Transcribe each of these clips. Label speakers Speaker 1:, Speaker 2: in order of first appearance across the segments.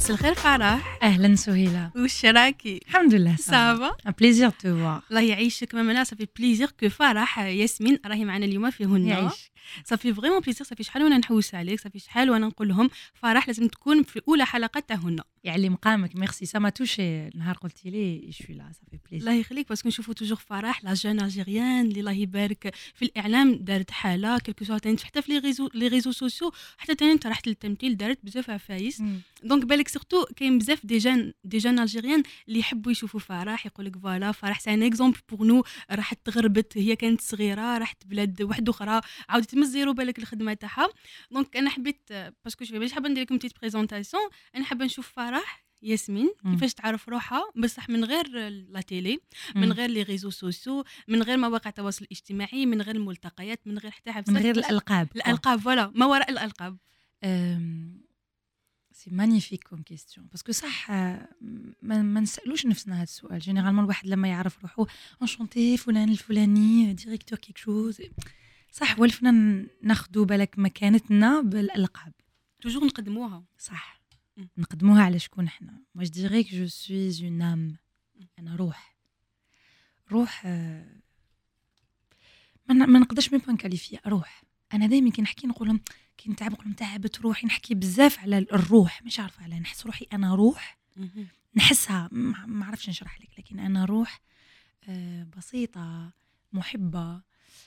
Speaker 1: مساء الخير فرح.
Speaker 2: اهلا سهيله.
Speaker 1: وش راكي؟
Speaker 2: الحمد لله
Speaker 1: سافا.
Speaker 2: ان بليزير تو فوار.
Speaker 1: الله يعيشك ماما. صافي بليزير كو فرح ياسمين راهي معنا اليوم في هنا.
Speaker 2: يعيش.
Speaker 1: صافي فريمون بليزير. صافي شحال وانا نحوس عليك، صافي شحال وانا نقول لهم فرح لازم تكون في اولى حلقه تاع هنا.
Speaker 2: يعلي مقامك. ميرسي سا ما توشي نهار قلتي لي شوي لا صافي بليزير.
Speaker 1: الله يخليك باسكو نشوفوا توجور فرح لا جون الجيريان اللي الله يبارك في الاعلام دارت حاله كلكو سوا تاني حتى في لي ريزو سوسيو، حتى تاني انت رحت للتمثيل دارت بزاف عفايس. دونك بالك سورتو كاين بزاف دي جون الجيريان اللي يحبوا يشوفوا فرح، يقول لك فوالا فرح سي ان اكزومبل بور نو. راحت تغربت، هي كانت صغيره راحت بلاد واحده اخرى عاودت من الزيرو بالك الخدمه تاعها. دونك انا حبيت باسكو جو ماشي حابه ندير لكم بتيت بريزونطاسيون، انا حابه نشوف فرح ياسمين كيفاش تعرف روحها بصح من غير لا تيلي، من غير لي ريزو سوسيو، من غير مواقع التواصل الاجتماعي، من غير الملتقيات، من غير حتى
Speaker 2: من غير الالقاب.
Speaker 1: فوالا ما وراء الالقاب.
Speaker 2: سي مانيفيك كوم كيستيون باسكو صح ما نسالوش نفسنا هذا السؤال. جينيرالمون الواحد لما يعرف روحه انشونتي فلان الفلاني ديريكتور كيك شوز صح، ولفنا ناخذوا بالك مكانتنا بالالقاب
Speaker 1: توجور نقدموها
Speaker 2: صح. نقدموها على شكون احنا. moi je dirais que je suis une âme. انا روح ما نقدرش ميم نكاليفيا روح. انا دائما كي نحكي نقول كي نتعب نقول تعبت روحي، نحكي بزاف على الروح، مش عارفه على نحس روحي انا روح نحسها ما عرفش نشرح لك، لكن انا روح بسيطه محبه.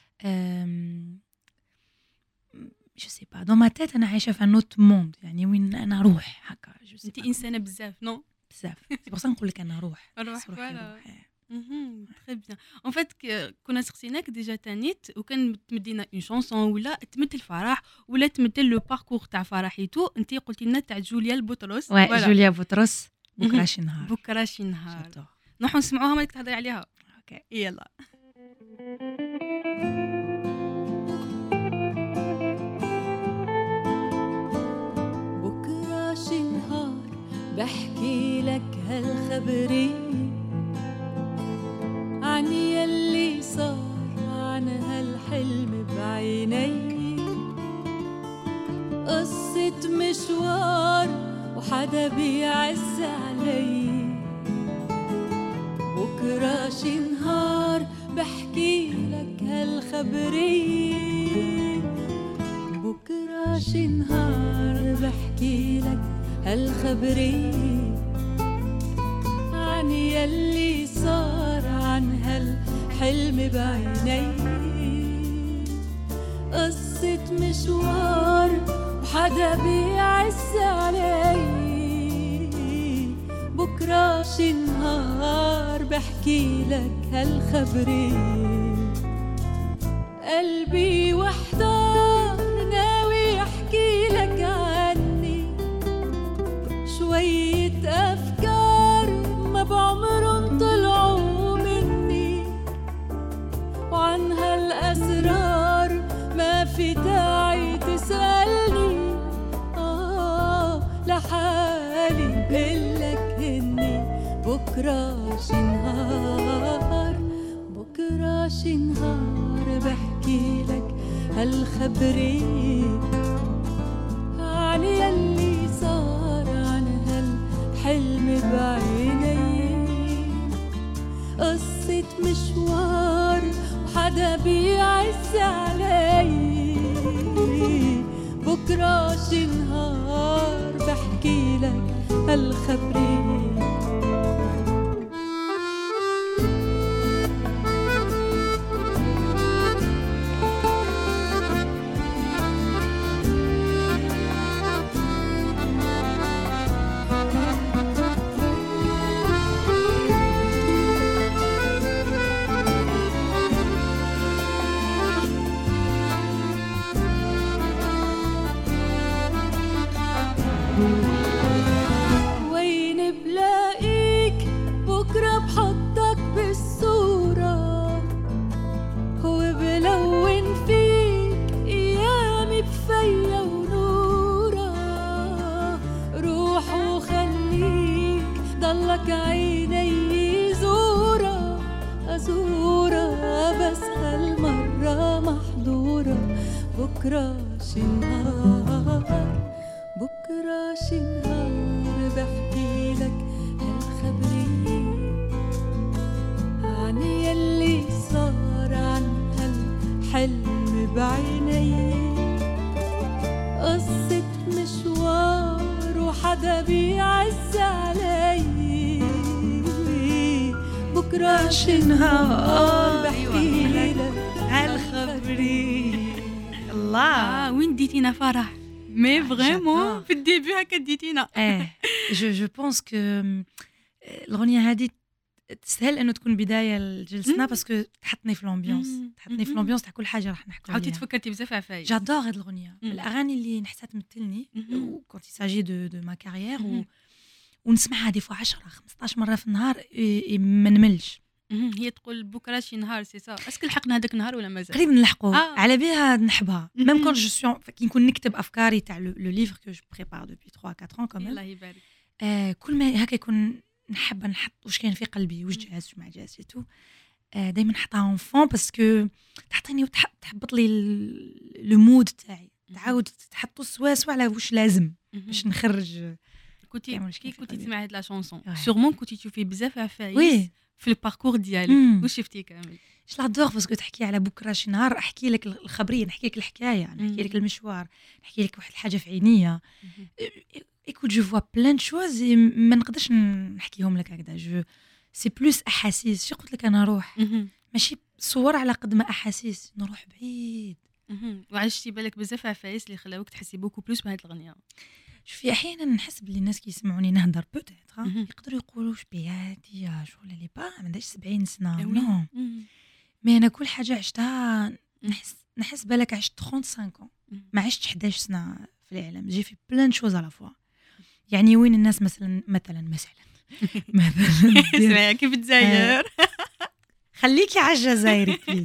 Speaker 2: جو سي با دون ما تيت انا عايشه في نوت موند، يعني وين انا روح هكا.
Speaker 1: انت انسانه بزاف نو
Speaker 2: بزاف سي بوغ نقول لك انا روح
Speaker 1: فوالا. تري بيان. اون فات كنا سقسيناك ديجا تانيت وكان تمدينا اون شانسون ولا تمثل فرح ولا تمثل لو باركور تاع فرحيتو. انت قلتي لنا تاع جوليا البطرس.
Speaker 2: جوليا بطرس. بكره شي نهار
Speaker 1: نروحوا نسمعوها مالك تهضري عليها.
Speaker 2: اوكي
Speaker 1: يلا.
Speaker 3: بكره شي نهار بحكي لك هالخبري عن يلي صار، عن هالحلم بعيني، قصة مشوار وحدا بيعز علي. بكرة شي نهار بحكي لك هالخبري، بكرة شي نهار بحكي لك هالخبري عن يلي صار، عن هالحلم بعيني، قصة مشوار وحدا بيعز علي. بكرة شي نهار بحكي لك هالخبري، قلبي وحدار ناوي احكي لك عني شوية أفكار ما بعمرن طلعوا مني، وعن هالأسرار ما في داعي تسألني. لحالي بقلك هني بكرة شي نهار، بكرة شي نهار بحكي لك هالخبري عن يلي صار، عن هالحلم بعيني، قصة مشوار وحدا بيعز علي. بكرة شي نهار بحكي لك هالخبري. وين بلاقيك بكرة بحطك بالصورة، وبلون فيك أيامي بفيا ونورة. روح وخليك ضلك عيني زورة بس هالمرة محظورة. بكرة شي نهار، بكرة شي نهار بحكي بعدها بيعز علي بكرة شي نهار بحكي لك
Speaker 2: هالخبري. الله
Speaker 1: وين ديتينا فرح مي فريمون
Speaker 2: j'adore.
Speaker 1: في الديبي هكا ديتينا.
Speaker 2: جو بونس كو الأغنية هذه تستاهل انه تكون بدايه لجلسنا باسكو تحطني في الامبيونس تحطني في الامبيونس تاع كل حاجه راح نحكوا عليها.
Speaker 1: عاودتي تفكرتي بزاف عفايس.
Speaker 2: جادور هاد الاغنيه من الاغاني اللي نحسها تمثلني كونت يساجي دو ما كارير ونسمعها دي فوا 10 15 مره في النهار ما نملش.
Speaker 1: هي تقول بكره شي نهار سي سا اسكو لحقنا هذاك النهار ولا مازال
Speaker 2: قريب نلحقوا على بها نحبها ميم كون جو سو كي نكون نكتب افكاري تاع لو ليفر كو جو بريبار دوبي 3 4 ans كمان.
Speaker 1: الله يبارك.
Speaker 2: كل ما هكا يكون نحب نحط واش كاين في قلبي واش جاز واش ما جاز تو دائما نحطها اون فون باسكو تعطيني تحبط لي لو مود تاعي تعاود تحطو سوا على واش لازم باش نخرج.
Speaker 1: كنتي تسمعي هاد لا شونسون سورمون كنتي تشوفي بزاف عفايس
Speaker 2: وي
Speaker 1: في الباركور ديالك واش شفتي كامل.
Speaker 2: جو لادور باسكو تحكي على بكره شي نهار احكي لك الخبريه نحكي لك الحكايه نحكي لك المشوار نحكي لك واحد الحاجه في عينيا. écoute je vois plein de choses ما نقدرش نحكيهم لك هكذا جو سي بلوس احاسيس. شي قلت لك انا روح ماشي صور على قد ما احاسيس نروح بعيد.
Speaker 1: وعشتي بالك بزاف عفايس اللي خلاوك تحسي بوكو بلوس بهاد الاغنيه.
Speaker 2: شوفي احيانا نحس بلي الناس كيسمعوني نهضر بوتيتر يقدروا يقولوا واش بياتي شغل اللي با ما عندهاش 70 سنه نو مي انا كل حاجه عشتها نحس بالك عشت 35 ans ما عشتش 11 سنه في العالم جي في بلان شوز على فوا. يعني وين الناس مثلا
Speaker 1: اسمعي كيف تزاير
Speaker 2: خليكي على الجزائر بليز.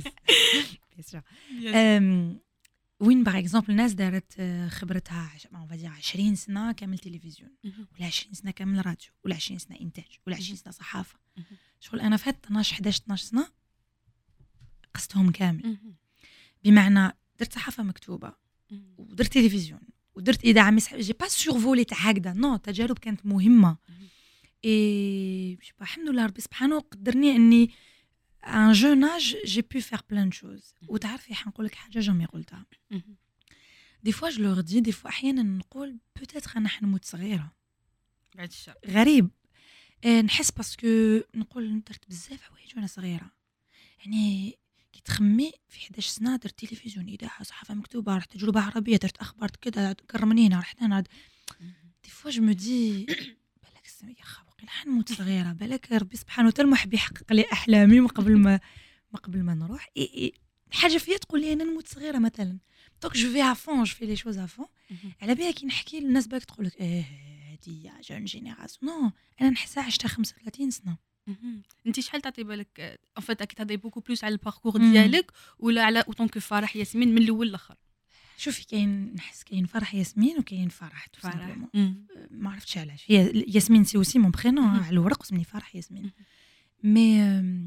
Speaker 2: وين باغ اكزومبل الناس دارت خبرتها 20 سنه كامل تلفزيون ولا 20 سنه كامل راديو ولا 20 سنه انتاج ولا 20 سنه صحافه. شغل انا فات 12 سنه قصتهم كامل بمعنى درت صحافه مكتوبه ودرت تلفزيون ودرت اذاعه جي با سورفولي تاع هكذا نو تجارب كانت مهمه. اي الحمد لله ربي سبحانه قدرني اني ان جون اج جي بو فير بلان شوز. وتعرفي حنقول لك حاجه جامي قلتها دي فوا جو لور دي فوا احيانا نقول بوتيتر انا حنموت صغيره
Speaker 1: بعد الشر
Speaker 2: غريب نحس باسكو نقول درت بزاف حوايج وانا صغيره. يعني كي تخمي في 11 سنه درت تلفزيون اذاعه صحافه مكتوبه رحت تجربه عربيه درت اخبار كذا كرمني هنا رحت هنا دي فوا جو مدي بالك يا خاوقي حنموت صغيره بالك ربي سبحانه وتعالى محب يحقق لي احلامي من قبل ما نروح. حاجه فيا تقول لي انا نموت صغيره مثلا دونك جو في افون جو في لي شوز افون. على بالي كي نحكي للناس باك تقول لك هادي جون جينيراسيون نو انا نحسها عشتها 35 سنه.
Speaker 1: انت شحال تعطي بالك ان فيت اكيد تهضري بوكو بلوس على الباركور ديالك ولا على اوتون كو فرح ياسمين من الاول للاخر؟
Speaker 2: شوفي كاين نحس كاين فرح ياسمين وكاين فرح ما عرفتش علاش هي ياسمين سي اوسي مون برينون على الورق اسمي فرح ياسمين مي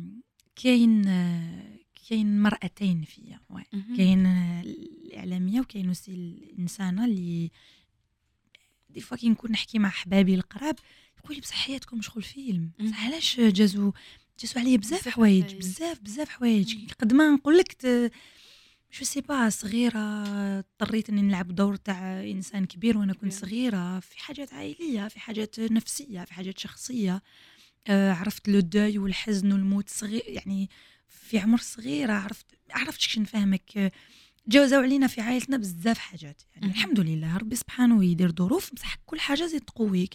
Speaker 2: كاين مرأتين فيا كاين الاعلاميه وكاين اوسي الانسانه اللي دي فوا كي نكون نحكي مع حبابي القراب يقول لي بصح حياتكم شغل فيلم بصح علاش جازوا عليا بزاف حوايج بزاف حوايج قد ما نقول لك جو سي با صغيره اضطريت اني نلعب دور تاع انسان كبير وانا كنت صغيره في حاجات عائليه في حاجات نفسيه في حاجات شخصيه. عرفت لو دوي والحزن والموت صغير يعني في عمر صغيره عرفت شكون نفهمك. جاوزوا علينا في عائلتنا بزاف حاجات يعني الحمد لله ربي سبحانه يدير ظروف بصح كل حاجه زي تقويك.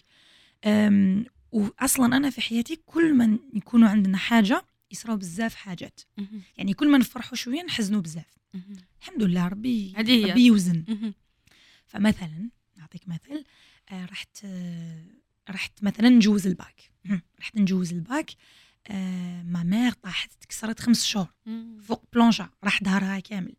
Speaker 2: واصلا انا في حياتي كل ما يكونوا عندنا حاجه يصراو بزاف حاجات يعني كل ما نفرحوا شويه نحزنوا بزاف. الحمد لله ربي يوزن. فمثلا نعطيك مثل رحت مثلا نجوز الباك ما مير طاحت تكسرت 5 شهور فوق بلونجا راح ظهرها كامل.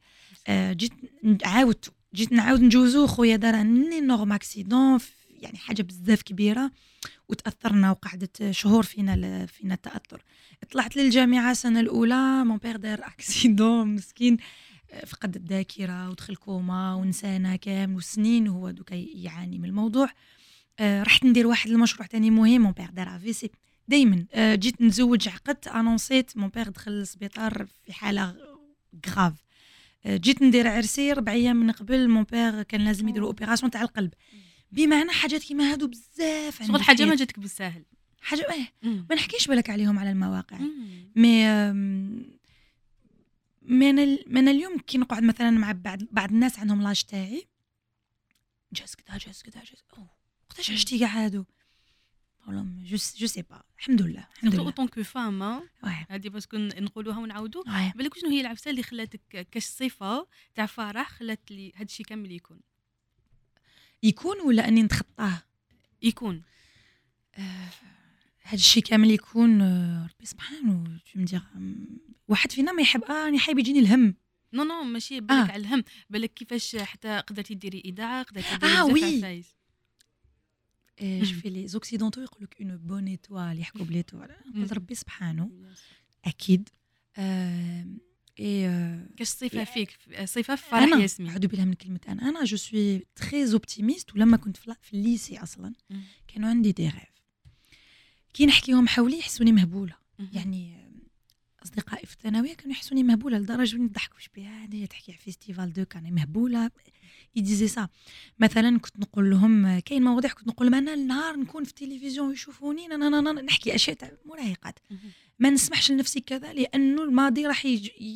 Speaker 2: جيت نعاود نجوزو خويا دار انورم اكسيدون يعني حاجه بزاف كبيره وتاثرنا وقعدت شهور فينا التاثر. طلعت للجامعه السنه الاولى مون بير دار اكسيدون مسكين فقد الذاكره ودخل كوما ونسانا كامل وسنين وهو دوكا يعاني من الموضوع. رحت ندير واحد المشروع تاني مهم مون بير دار افيسي دائما جيت نتزوج عقدت انونسيت مون بير دخل للسبيطار في حاله غراف. جيت ندير عرسي 4 ايام من قبل مون بير كان لازم يديروا اوبيراسيون تاع القلب بمعنى حاجات كيما هادو بزاف
Speaker 1: شغل حاجه ما جاتك بالساهل
Speaker 2: حاجه ما نحكيش بالك عليهم على المواقع مي انا اليوم كي نقعد مثلا مع بعض الناس عندهم لاج تاعي جاز كذا وقتاش عشتي كاع هادو والله جو سي با الحمد لله
Speaker 1: اوتون كو فام هذه باسكو نقولوها ونعاودوا بالك شنو هي العفسه اللي خلاتك كاش صفه تاع فرح خلات لي هذا الشيء كامل يكون
Speaker 2: ولا اني نتخطاه
Speaker 1: يكون
Speaker 2: هذا الشيء كامل يكون ربي سبحانه تمدير واحد فينا ما يحب راني حايب يجيني الهم
Speaker 1: نو ماشي بالك على الهم بالك كيفاش حتى قدرتي ديري اذاعه قدرتي ديري فايز
Speaker 2: شوفي لي زوكسيدونتو يقول لك اون بون ايطوال يحكوا بليطوال قلت ربي سبحانه اكيد
Speaker 1: كاش صفه فيك صفه في فرح ياسمين
Speaker 2: عدو بها من كلمه انا جو سوي تري اوبتيميست ولما كنت في الليسي اصلا كانوا عندي دي ريف كي نحكيهم حولي يحسوني مهبوله يعني اصدقائي في الثانويه كانوا يحسوني مهبوله لدرجه نضحكوا بها هذه تحكي على فيستيفال دو كان مهبوله يديزي سا مثلا كنت نقول لهم كاين مواضيع كنت نقول لهم انا النهار نكون في التلفزيون يشوفوني نحكي اشياء تاع مراهقات ما نسمحش لنفسي كذا لانه الماضي راح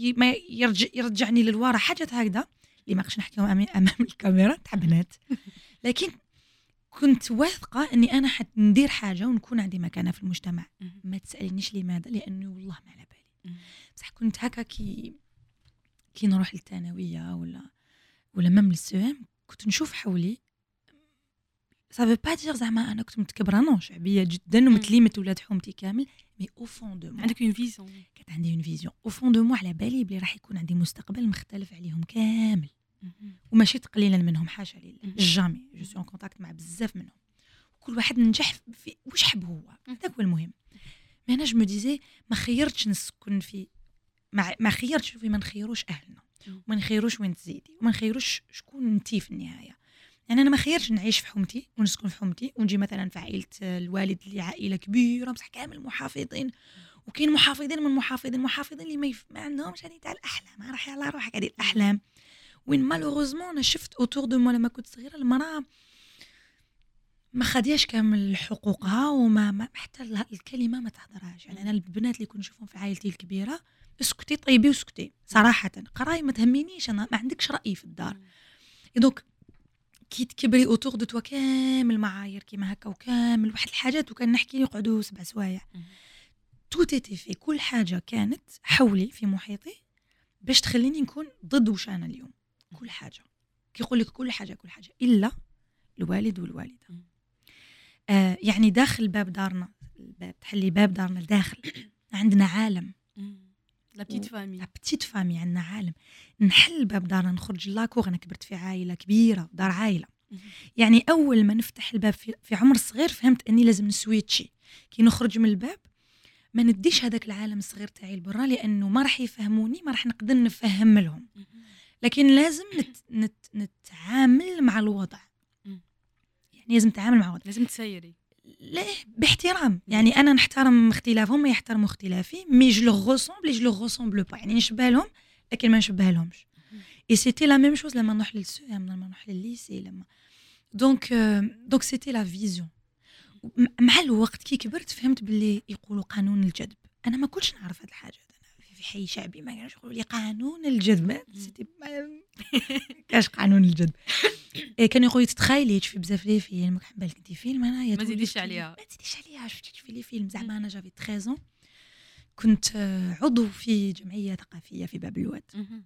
Speaker 2: يرجعني للوراء حاجات هكذا اللي ما نقدرش نحكيهم امام الكاميرا تاع بنات لكن كنت واثقه اني انا حندير حاجه ونكون عندي مكانه في المجتمع ما تسالنيش لماذا لانه والله ما على بالي بصح كنت هكا كي نروح للثانويه ولا مام للسوام كنت نشوف حولي سافو با دير زعما انا كنت متكبره نو شعبيه جدا ومتليمه ولاد حومتي كامل مي او فون دو مو
Speaker 1: عندك اون فيزيون
Speaker 2: كانت عندي اون فيزيون او فون دو مو على بالي بلي راح يكون عندي مستقبل مختلف عليهم كامل وماشي تقليلا منهم حاشا لله جامي جو سو ان كونتاكت مع بزاف منهم كل واحد نجح في واش حب هو هذاك هو المهم مي انا جو مو ديزي ما خيرتش نسكن في ما خيرتش في ما نخيروش اهلنا وما نخيروش وين تزيدي وما نخيروش شكون انتي في النهايه يعني انا ما خيرش نعيش في حومتي ونسكن في حومتي ونجي مثلا في عائله الوالد اللي عائله كبيره بصح كامل محافظين وكاين محافظين اللي ما عندهمش هذه تاع الاحلام راح على روحك هذه الاحلام وين مالوغوزمون انا شفت اوتور دو مو لما كنت صغيره المراه ما خدياش كامل حقوقها وما حتى الكلمه ما تهضرهاش يعني انا البنات اللي كنت نشوفهم في عائلتي الكبيره اسكتي طيبي وسكتي صراحه قراي ما تهمنيش انا ما عندكش راي في الدار دونك كي تكبري اوتور دو توا كامل معايير كيما هكا وكامل واحد الحاجات وكان نحكي يقعدوا 7 سوايع تو تيتي في كل حاجه كانت حولي في محيطي باش تخليني نكون ضد وش انا اليوم كل حاجه كيقول لك كل حاجه الا الوالد والوالده يعني داخل باب دارنا الباب تحلي باب دارنا الداخل عندنا عالم
Speaker 1: لا
Speaker 2: بتيت فامي عندنا عالم نحل باب دارنا نخرج لاكوغ انا كبرت في عائله كبيره دار عائله يعني اول ما نفتح الباب في عمر صغير فهمت اني لازم نسويتشي كي نخرج من الباب ما نديش هذاك العالم الصغير تاعي لبرا لانه ما راح يفهموني ما راح نقدر نفهم لهم لكن لازم نتعامل مع الوضع يعني لازم نتعامل مع الوضع
Speaker 1: لازم تسيري
Speaker 2: ليه باحترام يعني انا نحترم اختلافهم ما يحترموا اختلافي مي جو لو ريسومبل با يعني نشبه لهم لكن ما نشبه لهمش اي سيتي لا ميم شوز لما نروح للسوام لما نروح للليسي لما دونك سيتي لا فيزيون مع الوقت كي كبرت فهمت باللي يقولوا قانون الجذب انا ما كنتش نعرف هاد الحاجه انا في حي شعبي ما كانوش يقولوا لي قانون الجذب سيتي كاش قانون الجذب كانوا يقولوا تتخيلي تشوفي بزاف لي فيلم ما بالك انت فيلم انا
Speaker 1: ما تزيديش عليها
Speaker 2: شفتي تشوفي لي فيلم زعما انا جافي 13 كنت عضو في جمعيه ثقافيه في باب الواد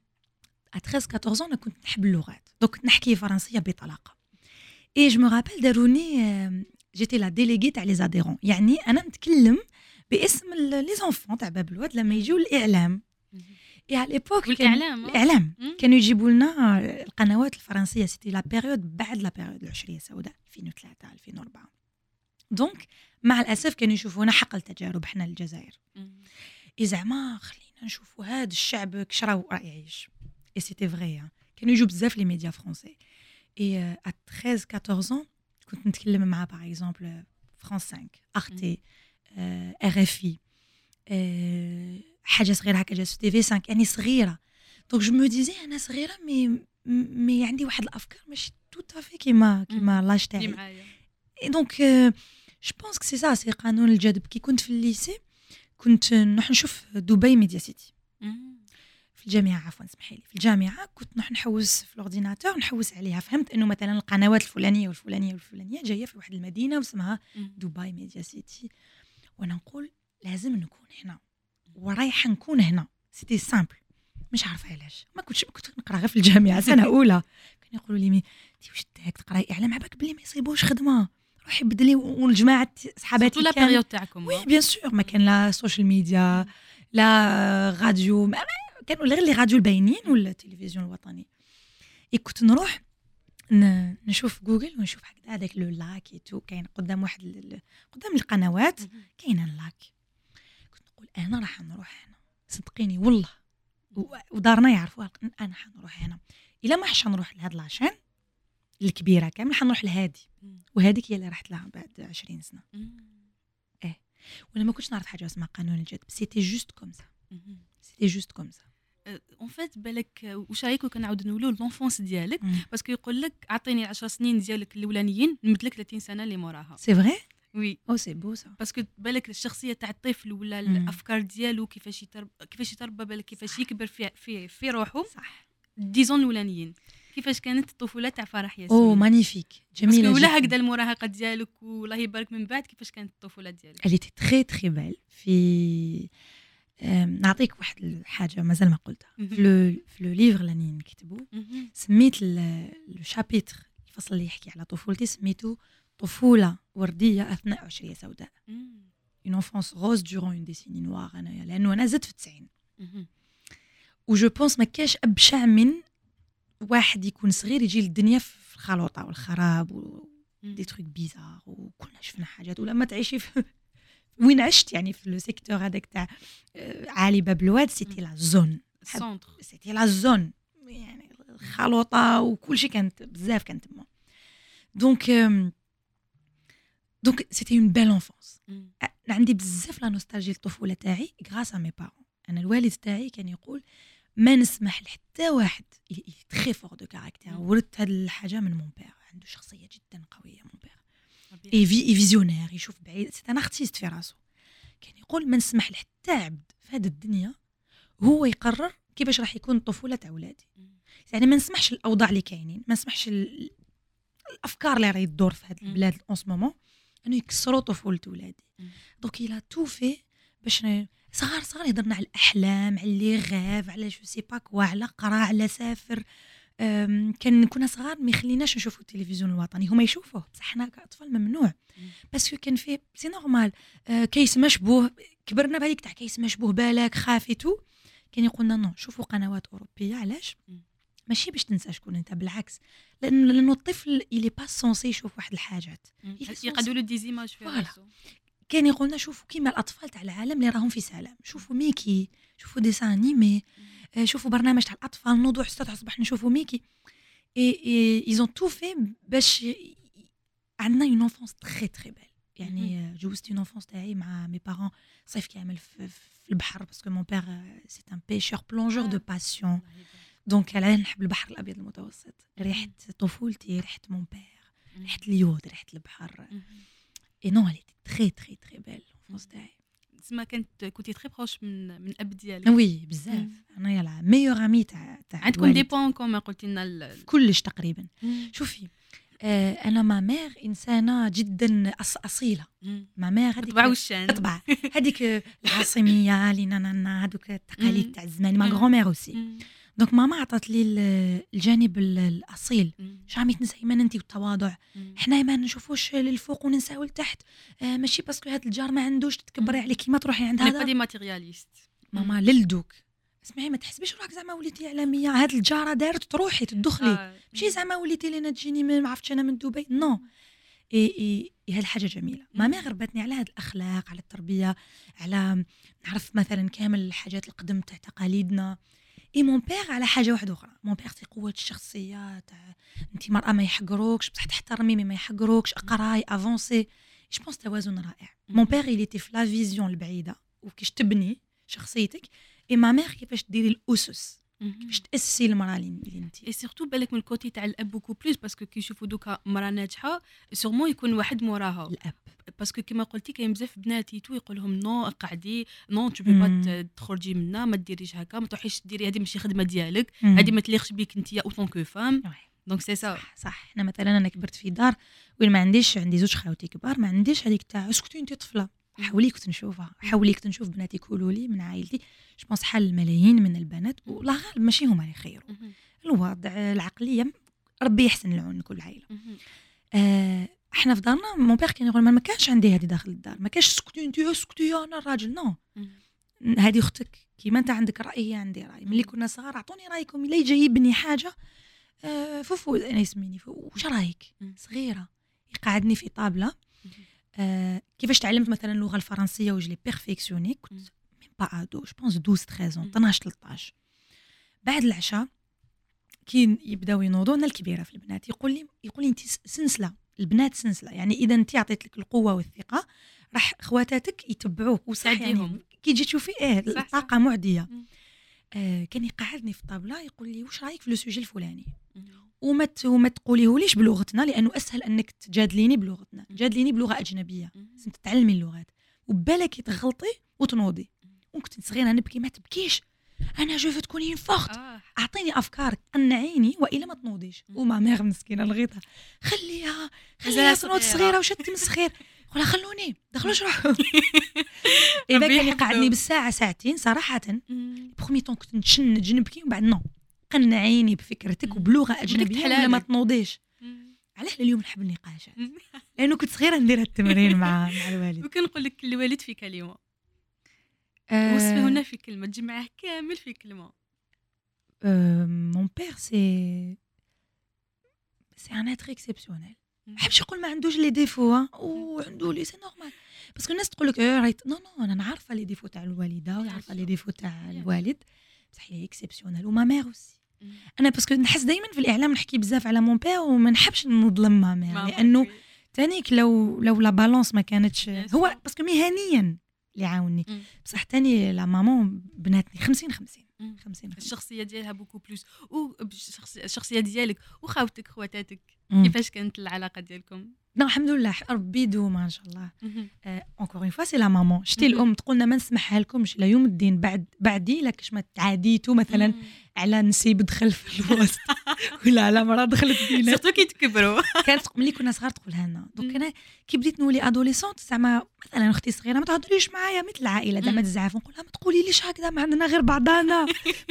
Speaker 2: 13 14 انا كنت نحب اللغات دونك نحكي فرنسيه بطلاقه اي جو مو رابيل داروني جيتي لا ديليغي تاع لي زاديرون يعني انا نتكلم باسم لي زونفون تاع باب الواد لما يجيو الاعلام اي على ليبوك الاعلام كانوا يجيبوا لنا القنوات الفرنسيه سيتي لا بيريود بعد لا بيريود العشريه السوداء 2003 2004 دونك مع الاسف كانوا يشوفونا حقل تجارب حنا الجزائر اي زعما خلينا نشوفوا هذا الشعب كشراو راه يعيش اي سيتي فري كانوا يجوا بزاف لي ميديا فرونسي اي 13 14 كنت نتكلم مع باغ اكزومبل فرانس 5 ارتي ار اف اي حاجه صغيره هكا جات في تي في 5 يعني صغيره دونك جو مو ديزي انا صغيره مي عندي واحد الافكار ماشي tout à fait كيما لاج
Speaker 1: اللي
Speaker 2: تاعي.
Speaker 1: معايا
Speaker 2: Et donc, je pense que c'est ça, c'est قانون الجذب. كي كنت في الليسي كنت نروح نشوف دبي ميديا سيتي في الجامعة، عفوا اسمحي لي، في الجامعة كنت نروح نحوس في الأورديناتور نحوس عليها. فهمت إنه مثلا القنوات الفلانية والفلانية والفلانية جاية في واحد المدينة واسمها دبي ميديا سيتي، وأنا نقول لازم نكون هنا ورايحة نكون هنا. سيتي سامبل، مش عارفة علاش ما كنت نقرا غير في الجامعة سنة أولى. كانوا يقولوا لي تي واش داك تقراي إعلام عباك بلي ما يصيبوش خدمة، روحي بدلي. والجماعة صحاباتي
Speaker 1: لا بيريود تاعكم
Speaker 2: وي بيان سور ما كان لا سوشيال ميديا لا راديو، كانوا غير لي راديو الباينين ولا التلفزيون الوطني. كنت نروح نشوف جوجل ونشوف هذاك لو لاك تو كاين قدام واحد قدام القنوات كاين اللاك. كنت نقول انا راح نروح هنا، صدقيني والله، ودارنا يعرفوا انا حنروح هنا. الا ما حش نروح لهاد لاشين الكبيره كامل حنروح لهادي، وهذيك هي اللي رحت لها بعد 20 سنه. وانا ما كنتش نعرف حاجه اسمها قانون الجذب. سيتي جوست كوم سا، سيتي جوست كوم سا.
Speaker 1: اون فيت بالك واش رايك كنعاود نقولوا لونفونس ديالك، باسكو يقول لك اعطيني 10 سنين ديالك الاولانيين نمدلك 30 سنه اللي موراها.
Speaker 2: سي فري
Speaker 1: وي
Speaker 2: او سي بو سا،
Speaker 1: باسكو بالك الشخصيه تاع الطفل ولا الافكار ديالو كيفاش يتربى بالك كيفاش يكبر في روحه.
Speaker 2: صح.
Speaker 1: ديزون الاولانيين كيفاش كانت الطفوله تاع فرح ياسين.
Speaker 2: او مانيفيك، جميله جدا.
Speaker 1: ولا هكذا المراهقه ديالك والله يبارك من بعد كيفاش كانت الطفوله ديالك.
Speaker 2: اللي تري تري بال. في نعطيك واحد الحاجه مازال ما قلتها في لو ليفر اللي نكتبو. سميت لو شابيتر الفصل اللي يحكي على طفولتي سميتو طفوله ورديه اثناء عشريه سوداء. une enfance rose durant une décennie noire. انايا لانه انا زدت في 90 وجو بونس ما كاش ابشع من واحد يكون صغير يجي للدنيا في الخلوطه والخراب ودي تروك بيزار، وكلنا شفنا حاجات. ولا ما تعيشي في وين عشت يعني في لو سيكتور هذاك تاع عالي باب الواد، سيتي لا زون
Speaker 1: سونتر،
Speaker 2: سيتي لا زون يعني الخلوطه وكل شيء كانت بزاف كانت تما. دونك سيتي اون بيل انفونس. عندي بزاف لا نوستالجي الطفوله تاعي غراس ا مي بارون. انا الوالد تاعي كان يقول ما نسمح لحتى واحد تري فور دو كاركتير. ورثت هاد الحاجه من مون بير، عنده شخصيه جدا قويه مون بير، اي فيزيونير، يشوف بعيد، سي ان ارتيست في راسو. كان يقول ما نسمح لحتى عبد في هذه الدنيا هو يقرر كيفاش راح يكون الطفوله تاع ولادي. يعني ما نسمحش الاوضاع اللي كاينين، ما نسمحش الافكار اللي راهي تدور في هذه البلاد اون سو مومون انه يكسروا طفوله ولادي. دونك الى تو في باش صغار يهضرنا على الاحلام، على لي غاف، على جو سي با كوا، على قرا، على سافر. كان كنا صغار ما يخليناش نشوفوا التلفزيون الوطني، هما يشوفوه بصح حنا كاطفال ممنوع. باسكو كان فيه سي نورمال كيس مشبوه، كبرنا بهذيك تاع كيس مشبوه بالك خافتو. كان يقولنا نو شوفوا قنوات اوروبيه. علاش؟ ماشي باش تنسى شكون انت، بالعكس لانه الطفل اللي با سونسي يشوف واحد الحاجات
Speaker 1: يقعدوا له ديزيماج في راسو.
Speaker 2: كان يقولنا شوفوا كيما الاطفال تاع العالم اللي راهم في سلام، شوفوا ميكي، شوفوا ديسان انيمي، شوفوا برنامج تاع الاطفال، نوضوا حتى الصباح نشوفوا ميكي. اي ايزون تو في باش عندنا اون انفونس تري تري بال. يعني جوزت اون انفونس تاعي مع مي بارون صيف كامل في البحر، باسكو مون بير سي ان بيشور بلونجور دو باسيون. دونك انا نحب البحر الابيض المتوسط. ريحه طفولتي، ريحه مون بير، ريحه اليود، ريحه البحر. اي نو لي تري تري تري بال الانفونس تاعي.
Speaker 1: تسمى كنتي تري بروش من الاب ديالك.
Speaker 2: وي بزاف. انا يلا ميور امي تاع
Speaker 1: عندكم دي بوين كومون قلتي لنا
Speaker 2: كلش تقريبا. شوفي انا ما مير انسانه جدا اصيله. ما مير هذيك
Speaker 1: طبع والشان،
Speaker 2: طبع هذيك العاصميه لينا هذوك التقاليد تاع زمان. ما غرو مير اوسي. دونك ماما عطات لي الجانب الاصيل. جامي تنسى ايمان انت والتواضع. حنا ما نشوفوش للفوق وننساو لتحت. ماشي باسكو هذا الجار ما عندوش تتكبري عليه كيما تروحي عند هذا.
Speaker 1: انا دي ماتيرياليست
Speaker 2: ماما للدوك. اسمعي ما تحسبيش روحك زعما وليتي اعلاميه. هاد الجاره دارت تروحي تدخلي. ماشي زعما وليتي لينا تجيني ما عرفتش انا من دبي. نو اي هاد الحاجه جميله. ماما غربتني على هاد الاخلاق، على التربيه، على نعرف مثلا كامل الحاجات القدم تاع تقاليدنا. اي مون بير على حاجه واحده اخرى. مون بير تي قوه الشخصيه تاع انت مراه ما يحقروكش بصح تحترمي ما يحقروكش، اقراي افونسي. جو بونس توازن رائع. مون بير اللي تي في لا فيزيون البعيده وكيش تبني شخصيتك. اي ما مير كيفاش ديري الاسس كيفاش تاسسي المراه اللي انت.
Speaker 1: اي سورتو بالك من الكوتي تاع الاب بوكو بلوس باسكو كي يشوفوا دوكا مراه ناجحه سورمون يكون واحد موراها
Speaker 2: الاب
Speaker 1: باسكو كيما قلتي كاين بزاف بناتي تو يقول لهم نو قعدي نو تو بي با تخرجي منا ما ديريش هكا ما تروحيش ديري هذه ماشي خدمه ديالك هذه ما تليقش بيك انت اوتون كو فام دونك سي سا
Speaker 2: صح. احنا مثلا انا كبرت في دار وين ما عنديش عندي زوج خاوتي كبار ما عنديش هذيك تاع اسكتي انت طفله حاوليك تنشوفها حاوليك تنشوف بناتي يقولوا لي من عائلتي جو بونس حال الملايين من البنات والله غالب ماشي هما اللي خيروا الوضع العقليه ربي يحسن العون لكل عائله. احنا في دارنا مون بير كان يقول ما كانش عندي هذه داخل الدار ما كانش اسكتي انت اسكتي انا الراجل نو هذه اختك كيما انت عندك راي هي عندي راي ملي كنا صغار اعطوني رايكم الا يجي يبني حاجه فوفو انا يسميني واش رايك صغيره يقعدني في طابله كيفاش تعلمت مثلا اللغه الفرنسيه وجلي بيرفيكسيوني كنت ميم با ادو جو بونس 12 13 12 13 بعد العشاء كي يبداو ينوضوا انا الكبيره في البنات يقول لي انت سنسله البنات سنسله يعني اذا انت عطيت لك القوه والثقه راح خواتاتك يتبعوك وساعديهم كي تجي تشوفي الطاقه معديه. كان يقعدني في الطابله يقول لي واش رايك في لو سوجي الفلاني وما تقوليهوليش بلغتنا لانه اسهل انك تجادليني بلغتنا جادليني بلغه اجنبيه لازم تتعلمي اللغات وبالك تغلطي وتنوضي وكنت صغيره نبكي ما تبكيش انا جو تكونين فخت اعطيني افكار قنعيني والا ما تنوضيش وما ميغ مسكينه لغيتها خليها تنوض صغيره وش تمسخير قولها خلوني دخلوش روحوا اذا كان يقعدني بالساعه ساعتين صراحه بخومي طون كنت نتشنج نبكي ومن بعد نو قنعيني بفكرتك وبلغه اجنبيه ولا ما تنوضيش. علاه اليوم نحب النقاشات لانه كنت صغيره ندير التمرين مع الوالد
Speaker 1: وكنقول لك الوالد في كلمه وصفه هنا في كلمه تجمعه كامل في كلمه.
Speaker 2: مون بير سي ان اتر اكسبسيونيل ما بحبش نقول ما عندوش لي ديفو وعنده لي سي نورمال باسكو الناس تقول لك رايت نو انا عارفه لي ديفو تاع الوالده وعارفه لي ديفو تاع الوالد بصح هي اكسبسيونيل وما مير اوسي. انا باسكو نحس دائما في الاعلام نحكي بزاف على مون بير وما نحبش نظلم ما مير لانه تانيك لو لا بالانس ما كانتش هو باسكو مهنيا اللي عاوني بصح تاني لا مامون بناتني 50
Speaker 1: الشخصيه ديالها بوكو بلوس الشخصيه ديالك وخاوتك خواتاتك كيفاش كانت العلاقه ديالكم؟
Speaker 2: نو الحمد لله ربي يدوم ما شاء الله. اونكور اون فوا سي لا مامون شتي الام تقولنا ما نسمحها لكمش لا يوم الدين بعدي لكش ما تعاديتو مثلا على نسيب دخل في الوسط ولا على مرا دخلت فينا
Speaker 1: سورتو كي تكبروا
Speaker 2: كانت ملي كنا صغار تقولها لنا دونك انا كي بديت نولي ادوليسونت زعما مثلا اختي صغيره ما تهضريش معايا مثل العائله زعما تزعف نقول لها ما تقوليليش هكذا ما عندنا غير بعضانا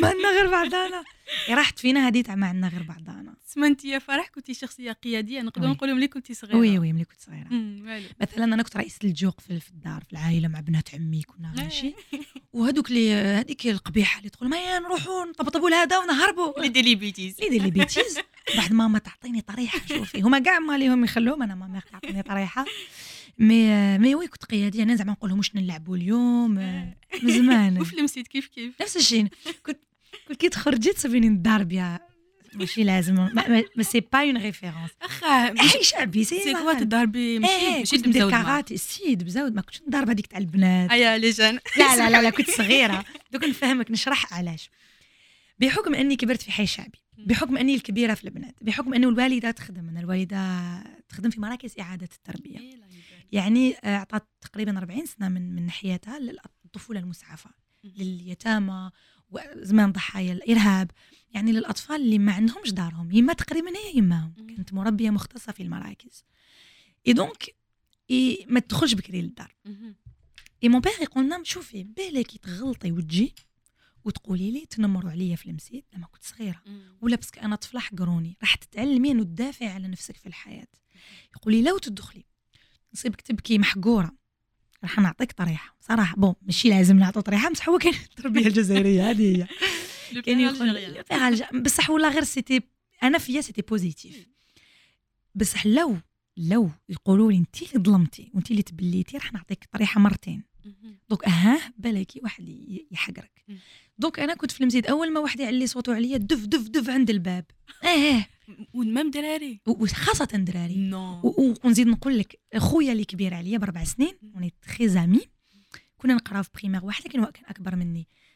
Speaker 2: راحت فينا هذه تاع ما عندنا غير بعضانا.
Speaker 1: سمنتي يا فرح كنتي شخصيه قياديه نقدر نقولوا ملي كنتي صغيره
Speaker 2: وي ملي كنت صغيره مثلا انا كنت رئيسه الجوق في الدار في العائله مع بنات عمي كنا ماشي وهذوك اللي هذيك القبيحه اللي تقول ما نروحوا نطبطبوا لهذا ونهربوا
Speaker 1: اللي دير لي بيتيز
Speaker 2: بعد ماما تعطيني طريحه شوفي هما كاع ما ليهم يخلوهم انا ماما تعطيني طريحه مي وي كنت قياديه انا زعما نقول لهم واش نلعبوا اليوم من زمان
Speaker 1: وفي المسيت كيف
Speaker 2: نفس الشيء كنت كي تخرجي تصيبيني نضرب يا ماشي لازم ما سي با اون ريفيرونس اخي شعبي سي
Speaker 1: كوا تضربي ماشي
Speaker 2: ندير كاراتي السيد بزاود ما كنتش نضرب هذيك تاع البنات
Speaker 1: ايا لي جان
Speaker 2: لا كنت صغيره دوك نفهمك نشرح علاش بحكم اني كبرت في حي شعبي بحكم اني الكبيره في البنات بحكم انه الوالده تخدم انا الوالده تخدم في مراكز اعاده التربيه يعني اعطت تقريبا 40 سنه من ناحيتها للطفوله المسعفه لليتامى وزمان ضحايا الارهاب يعني للاطفال اللي ما عندهمش دارهم يما تقريبا هي يماهم كانت مربيه مختصه في المراكز دونك ما تدخلش بكري للدار مون بير يقول لنا شوفي بالك تغلطي وتجي وتقولي لي تنمروا عليا في المسيد لما كنت صغيره ولا باسكو انا طفله حقروني راح تتعلمي انه تدافعي على نفسك في الحياه. يقولي لو تدخلي نصيبك تبكي محقوره راح نعطيك طريحه صراحه بون ماشي لازم نعطو طريحه بصح هو كان التربيه الجزائريه هذه هي كان يقول بصح ولا غير سيتي انا فيا سيتي بوزيتيف بصح لو يقولوا لي انت اللي ظلمتي وانت اللي تبليتي راح نعطيك طريحه مرتين دوك بالك واحد يحقرك دوك انا كنت في المسجد اول ما واحد يعلي صوته عليا دف عند الباب
Speaker 1: ومام دراري
Speaker 2: وخاصه دراري ونزيد نقول لك خويا اللي كبير عليا ب4 سنين وني تري زامي كنا نقراو في بريمير واحد لكن هو كان اكبر مني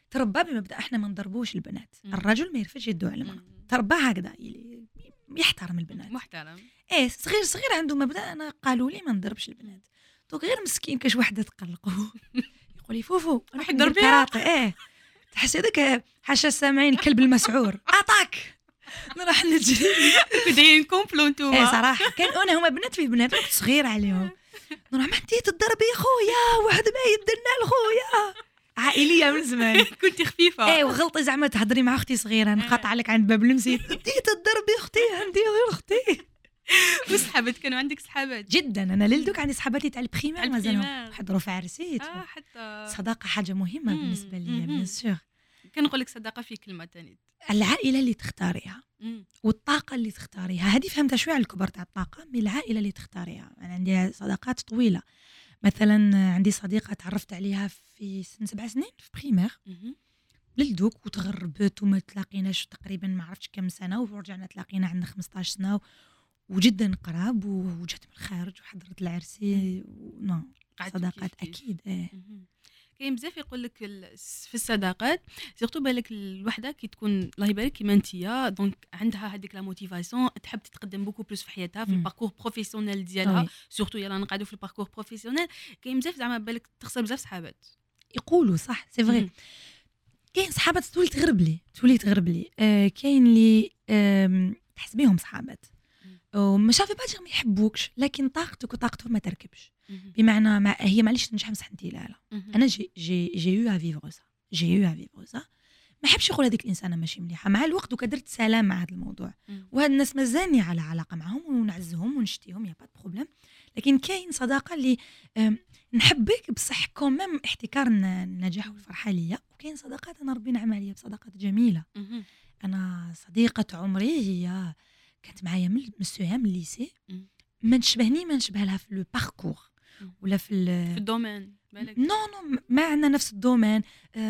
Speaker 2: تربى بمبدا احنا ما نضربوش البنات، الرجل ما يرفدش يدو على المرأة، تربى هكذا يحترم البنات
Speaker 1: محترم.
Speaker 2: ايه صغير عنده مبدا، انا قالوا لي ما نضربش البنات، دوك غير مسكين كاش وحده تقلقه يقول لي فوفو
Speaker 1: راح يضرب كراطه.
Speaker 2: ايه تحس هذاك حاشا السامعين الكلب المسعور اطاك نروح نجري
Speaker 1: دايرين كومبلو نتوما.
Speaker 2: ايه صراحه كان انا هما بنات في بنات كنت صغير عليهم، نروح ما انتي تضربي خويا واحد ما يدنا لخويا، عائليه من زمان.
Speaker 1: كنتي خفيفه.
Speaker 2: ايه وغلطي زعما تهضري مع اختي صغيره نقاطع لك عند باب المسجد، انتي تضربي اختي عندي غير اختي.
Speaker 1: وصحابات كانوا عندك صحابات؟
Speaker 2: جدا انا للدوك عندي صحاباتي تاع البريمير مازالهم
Speaker 1: البريمير.
Speaker 2: حضروا في عرسيت.
Speaker 1: حتى
Speaker 2: الصداقه حاجه مهمه بالنسبه لي بيان سور.
Speaker 1: كنقول لك صداقه في كلمه ثانيه،
Speaker 2: العائله اللي تختاريها والطاقه اللي تختاريها، هذه فهمتها شويه على الكبر تاع الطاقه، من العائله اللي تختاريها. انا عندي صداقات طويله، مثلا عندي صديقه تعرفت عليها في سن 7 سنين في بريمير للدوك، وتغربت وما تلاقيناش تقريبا ما عرفتش كم سنه، ورجعنا تلاقينا عندنا 15 سنه وجدا قراب، وجات من الخارج وحضرت العرسي صداقات اكيد.
Speaker 1: كاين بزاف يقول لك في الصداقات سيرتو بالك الوحده كي تكون الله يبارك كيما نتيا دونك عندها هذيك لا موتيفاسيون تحب تتقدم بوكو بلوس في حياتها في الباركور بروفيسيونيل ديالها، سورتو يلا نقعدوا في الباركور بروفيسيونيل. كاين بزاف زعما بالك تخسر بزاف صحابات يقولوا
Speaker 2: صح سي فري. كاين صحابات تولي تغرب لي كاين اللي تحس بيهم صحابات وما شافي باجي ما يحبوكش، لكن طاقتك وطاقتهم ما تركبش. بمعنى هي معليش تنجح مسح انت لا انا جي يو ا فيفر سا ما حبش يقول هذيك الانسانه ماشي مليحه. مع الوقت وكدرت سلام مع هذا الموضوع، وهاد الناس مازالني على علاقه معهم ونعزهم ونشتيهم يا با بروبليم. لكن كاين صداقه اللي نحبك بصح كومام احتكار النجاح والفرحه ليا، وكاين صداقات انا ربي نعم عليا بصداقات جميله. انا صديقه عمري هي كانت معايا من السوام الليسي، ما نشبه لها في لو باركور ولا في
Speaker 1: الدومين بالك.
Speaker 2: نو ما عندنا نفس الدومين.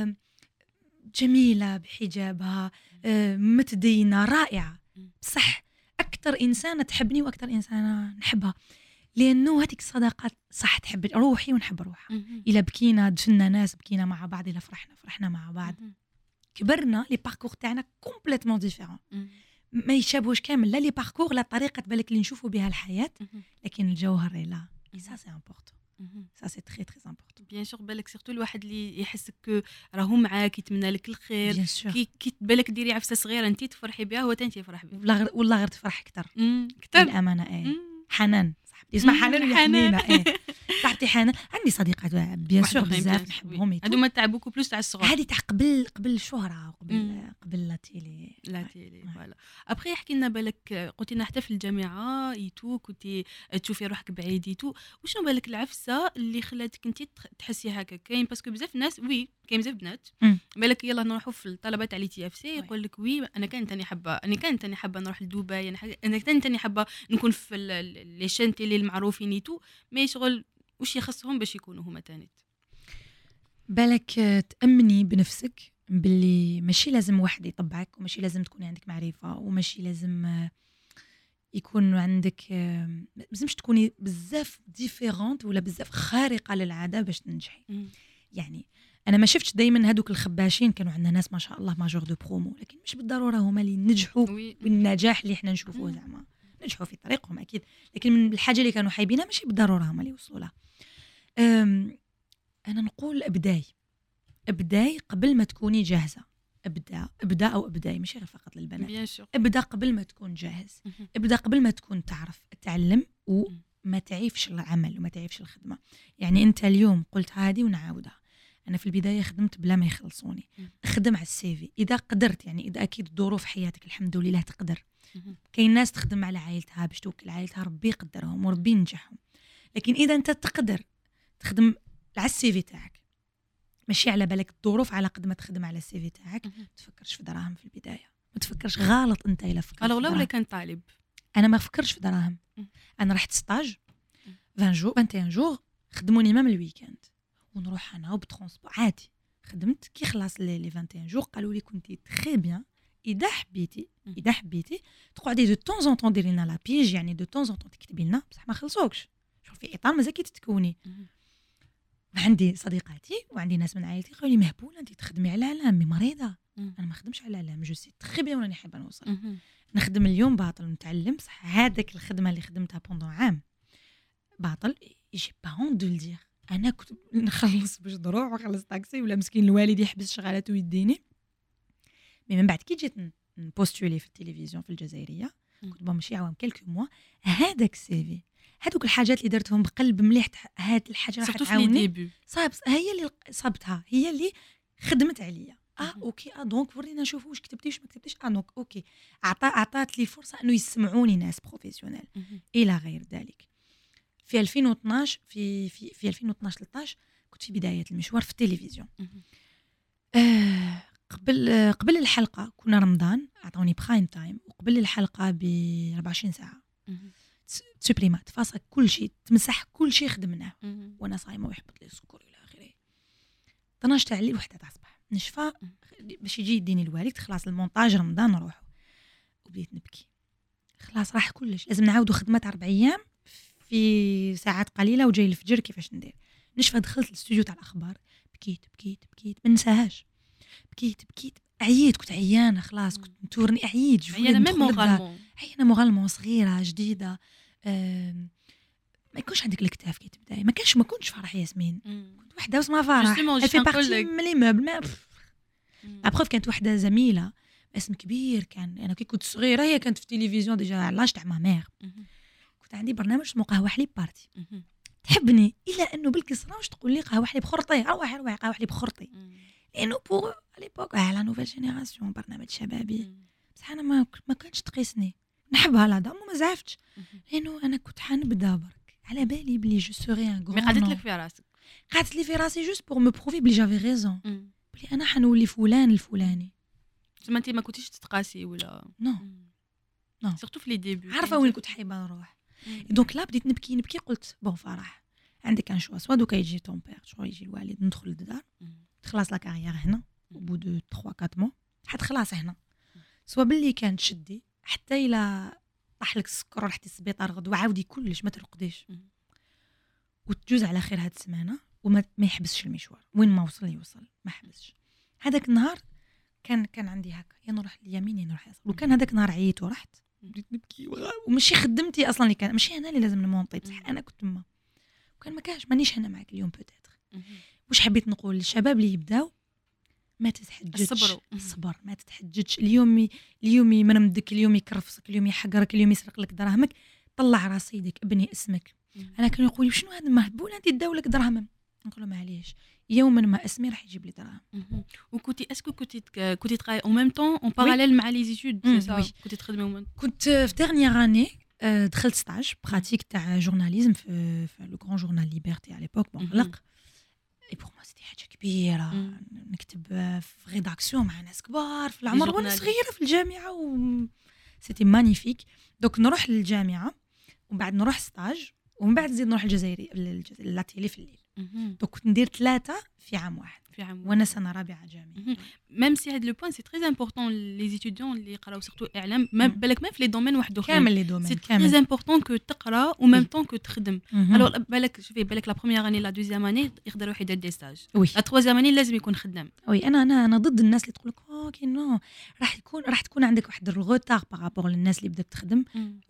Speaker 2: جميله بحجابها، متدينه رائعه، بصح اكثر انسانه تحبني واكثر انسانه نحبها، لانه هذيك الصداقات صح تحب روحي ونحب روحها. الا بكينا دفنا ناس بكينا مع بعض، الا فرحنا مع بعض. كبرنا لي باركور تاعنا كومبليتمون ديفيرون، ما يشابهوش كامل، لا لي باركور لا طريقه بالك اللي نشوفوا بها الحياه، لكن الجوهر لا سا سي امبورطون. سا سي تري تري امبورطون.
Speaker 1: بيان سور بالك سيرتو الواحد اللي يحسك راهو معاك يتمنى لك الخير، كي بالك ديري عفسه صغيره انت تفرحي بها هو انت يفرح بها،
Speaker 2: والله غير تفرح اكثر الامانه. حنان صاحبتي اسمها حنان حنينه. صاحبتي حنان عندي صديقات بيان سور بزاف نحبهم،
Speaker 1: هذوما تاع بوكو بلوس تاع الصغر،
Speaker 2: هذه تاع قبل الشهره قبل لا تيلي
Speaker 1: فوالا. ابخي يحكي لنا بالك قلتي لنا حتى في الجامعه ايتو كنتي تشوفي روحك بعيد ايتو، وشنو بالك العفسه اللي خلاتك انت تحسي هكا؟ كاين باسكو بزاف ناس كاين بزاف بنات بالك يلا نروحوا في الطلبه تاع لي تي اف سي يقول لك انا كانت تاني حابه نروح لدبي، انا كانت تاني حابه نكون في لي شين تيلي المعروفين ايتو، مي شغل وش يخصهم باش يكونوا هما تانيت.
Speaker 2: بالك تأمني بنفسك باللي ماشي لازم واحد يطبعك، وماشي لازم تكوني عندك معرفة، وماشي لازم يكون عندك لازمش تكوني بزاف ديفيرونت ولا بزاف خارقة للعادة باش تنجحي. يعني أنا ما شفتش دايما هادوك الخباشين كانوا عندنا ناس ما شاء الله ماجور دو برومو، لكن مش بالضرورة هما اللي نجحوا بالنجاح اللي احنا نشوفوه. زعما نجحوا في طريقهم أكيد، لكن من الحاجة اللي كانوا حايبينها ماشي بالضرورة هما اللي وصلوا لها. أنا نقول ابداي قبل ما تكوني جاهزة. ابدا أو ابداي ماشي غير فقط للبنات، ابدا قبل ما تكون جاهز، ابدا قبل ما تكون تعرف تعلم وما تعيفش العمل وما تعيفش الخدمة. يعني أنت اليوم قلت هذه ونعاودها، أنا في البداية خدمت بلا ما يخلصوني، خدم على السيفي إذا قدرت. يعني إذا أكيد ظروف حياتك الحمد لله تقدر. كاين ناس تخدم على عائلتها باش توكل عائلتها، ربي يقدرهم وربي ينجحهم. لكن إذا أنت تقدر تخدم على السيفي تاعك، ماشي على بالك الظروف على قد ما تخدم على السيفي تاعك، ما تفكرش في دراهم في البداية، ما تفكرش غلط. أنت إلا فكرت
Speaker 1: ولا كان طالب،
Speaker 2: أنا ما فكرش في دراهم. أنا رحت ستاج 21 جور خدموني مام الويكاند، ونروح أنا وبترونسبور عادي. خدمت كي خلاص لي 21 جور قالوا لي كنتي تري بيان، إذا حبيتي تقعدي دو طون زون طون ديري لنا لا بيج، يعني دو طون زون طون تكتبي لنا بصح ما خلصوكش، شوف في إطار مازال كي تتكوني. عندي صديقاتي وعندي ناس من عائلتي قالوا لي مهبوله انت تخدمي على الاعلام، مريضه. انا ما نخدمش على الاعلام، جو سي تري بيان راني حابه نوصل. نخدم اليوم باطل نتعلم صح. هذاك الخدمه اللي خدمتها بوندون عام باطل، جي با هون دو لدير. انا كنت نخلص باش نروح ونخلص طاكسي، ولا مسكين الوالد يحبس شغالاته ويديني. مي من بعد كي جيت نبوستولي في التلفزيون في الجزائريه، كنت ماشي عوام كلكو موا، هذاك السيفي هذوك الحاجات اللي درتهم بقلب مليح، هاد الحاجه راح تعاوني. صاب هي اللي صابتها، هي اللي خدمت عليا. اوكي دونك ورينا نشوفوا واش كتبتي واش ما كتبتيش. دونك اوكي عطات لي فرصه انه يسمعوني ناس بروفيسيونيل الى غير ذلك. في 2012 في 2012 13 كنت في بدايه المشوار في التلفزيون. قبل الحلقه كنا رمضان، عطوني برايم تايم، وقبل الحلقه ب 24 ساعه سوبريمات فاصل كل شيء، تمسح كل شيء خدمناه وانا صايمه ويحبط لي السكر الى اخره. 12 تاع الليل وحده تاع الصباح نشفى باش يجي يديني الوالد. خلاص المونتاج رمضان نروح، وبديت نبكي. خلاص راح كلش، لازم نعاودوا خدمه 4 ايام في ساعات قليله وجاي الفجر. كيفاش ندير؟ نشفى دخلت الاستوديو تاع الاخبار، بكيت ما ننساهاش. بكيت عييت، كنت عيانه خلاص، كنت نتورني عييت.
Speaker 1: عيانه
Speaker 2: مورالمون صغيره جديده. ما يكونش عندك الكتاف كي تبداي، ما كنتش فرح ياسمين. كنت وحده واسمها فرح في بارتي من لي موبل. ما ابروف كانت وحده زميله اسم كبير كان. انا كي كنت صغيره هي كانت في التلفزيون ديجا على لاج تاع ما مير. كنت عندي برنامج اسمه قهوه حليب بارتي. تحبني الا انه بالكسره واش تقول لي قهوه حليب خرطي، روحي قهوه حليب خرطي، لانه بوغ ليبوك على نوفيل جينيراسيون برنامج شبابي. بصح انا ما كانتش تقيسني، نحبها لا دام وما زعفتش، لانه انا كنت حنبدا برك على بالي بلي جو سوري ان غران.
Speaker 1: مي قعدت لك في راسك؟
Speaker 2: قعدت لي في راسي جوست بور مو بروفي بلي جافي ريزون، بلي انا حنولي فلان الفلاني.
Speaker 1: زعما انت ما كنتيش تتقاسي ولا
Speaker 2: نو
Speaker 1: سورتو في لي ديبي،
Speaker 2: عارفه وين كنت حايبه نروح. دونك لا بديت نبكي. قلت بون فرح عندك ان شوا، سوا دوكا يجي طون بير شو يجي الوالد، ندخل للدار تخلص لا كارير هنا وبو دو 3 4 مو حد خلاص هنا، سوا باللي كان تشدي حتى الى طاح لك السكر ورحتي السبيطار غدوه عاودي كلش ما ترقديش وتجوز على خير هاد السمانه وما يحبسش المشوار. وين ما وصل يوصل ما حبسش. هذاك النهار كان عندي هكا، يا نروح اليمين يا نروح يسار. وكان هذاك النهار عييت ورحت بديت نبكي وماشي خدمتي اصلا اللي كان، ماشي انا اللي لازم نمونطي، بصح انا كنت تما وكان ما كاش مانيش هنا معك اليوم بوتيتر. واش حبيت نقول للشباب اللي يبداو؟ ما تتحججش، الصبر ما تتحججش. اليوم يمرمدك، اليوم يكرفسك، اليوم يحقرك، اليوم يسرق لك دراهمك، طلع رصيدك، ابني اسمك. انا كانوا يقولوا شنو هذا مهبول انت تداولك دراهم؟ نقول لهم معليش، يوما ما اسمي راح يجيب لي دراهم.
Speaker 1: وكنتي اسكو كنتي تقراي او ميم طون اون باراليل مع لي زيتود؟ كنتي تخدمي كنت
Speaker 2: في ديرنيير اني دخلت ستاج براتيك تاع جورناليزم في لو غران جورنال ليبرتي على ليبوك مغلق. اي بور ما سيتي حاجه كبيره، نكتب في ريداكسيون مع ناس كبار في العمر وانا صغيره في الجامعه سيتي مانيفيك. دوك نروح للجامعه ومن بعد نروح ستاج ومن بعد نزيد نروح الجزائري لاتيلي في الليل. دوك كنت ندير 3 في عام واحد وانا سنه رابعه جامعي.
Speaker 1: ميم سي هاد لو بوين سي تري امبورطون لي ستوديون اللي يقراو سورتو اعلام، ما بالك ما في لي دومين واحد اخرين،
Speaker 2: كامل لي دومين
Speaker 1: سي تري امبورطون كو تقرا و ميم طون كو تخدم. الوغ بالك شوفي، بالك لا بروميير اني لا دوزيام اني يقدر يروح يدير دي ستاج، لا تروازيام اني لازم يكون خدام.
Speaker 2: وي انا ضد الناس اللي تقول لك اوكي نو راح تكون عندك واحد الروتار بارابور للناس اللي بدات تخدم.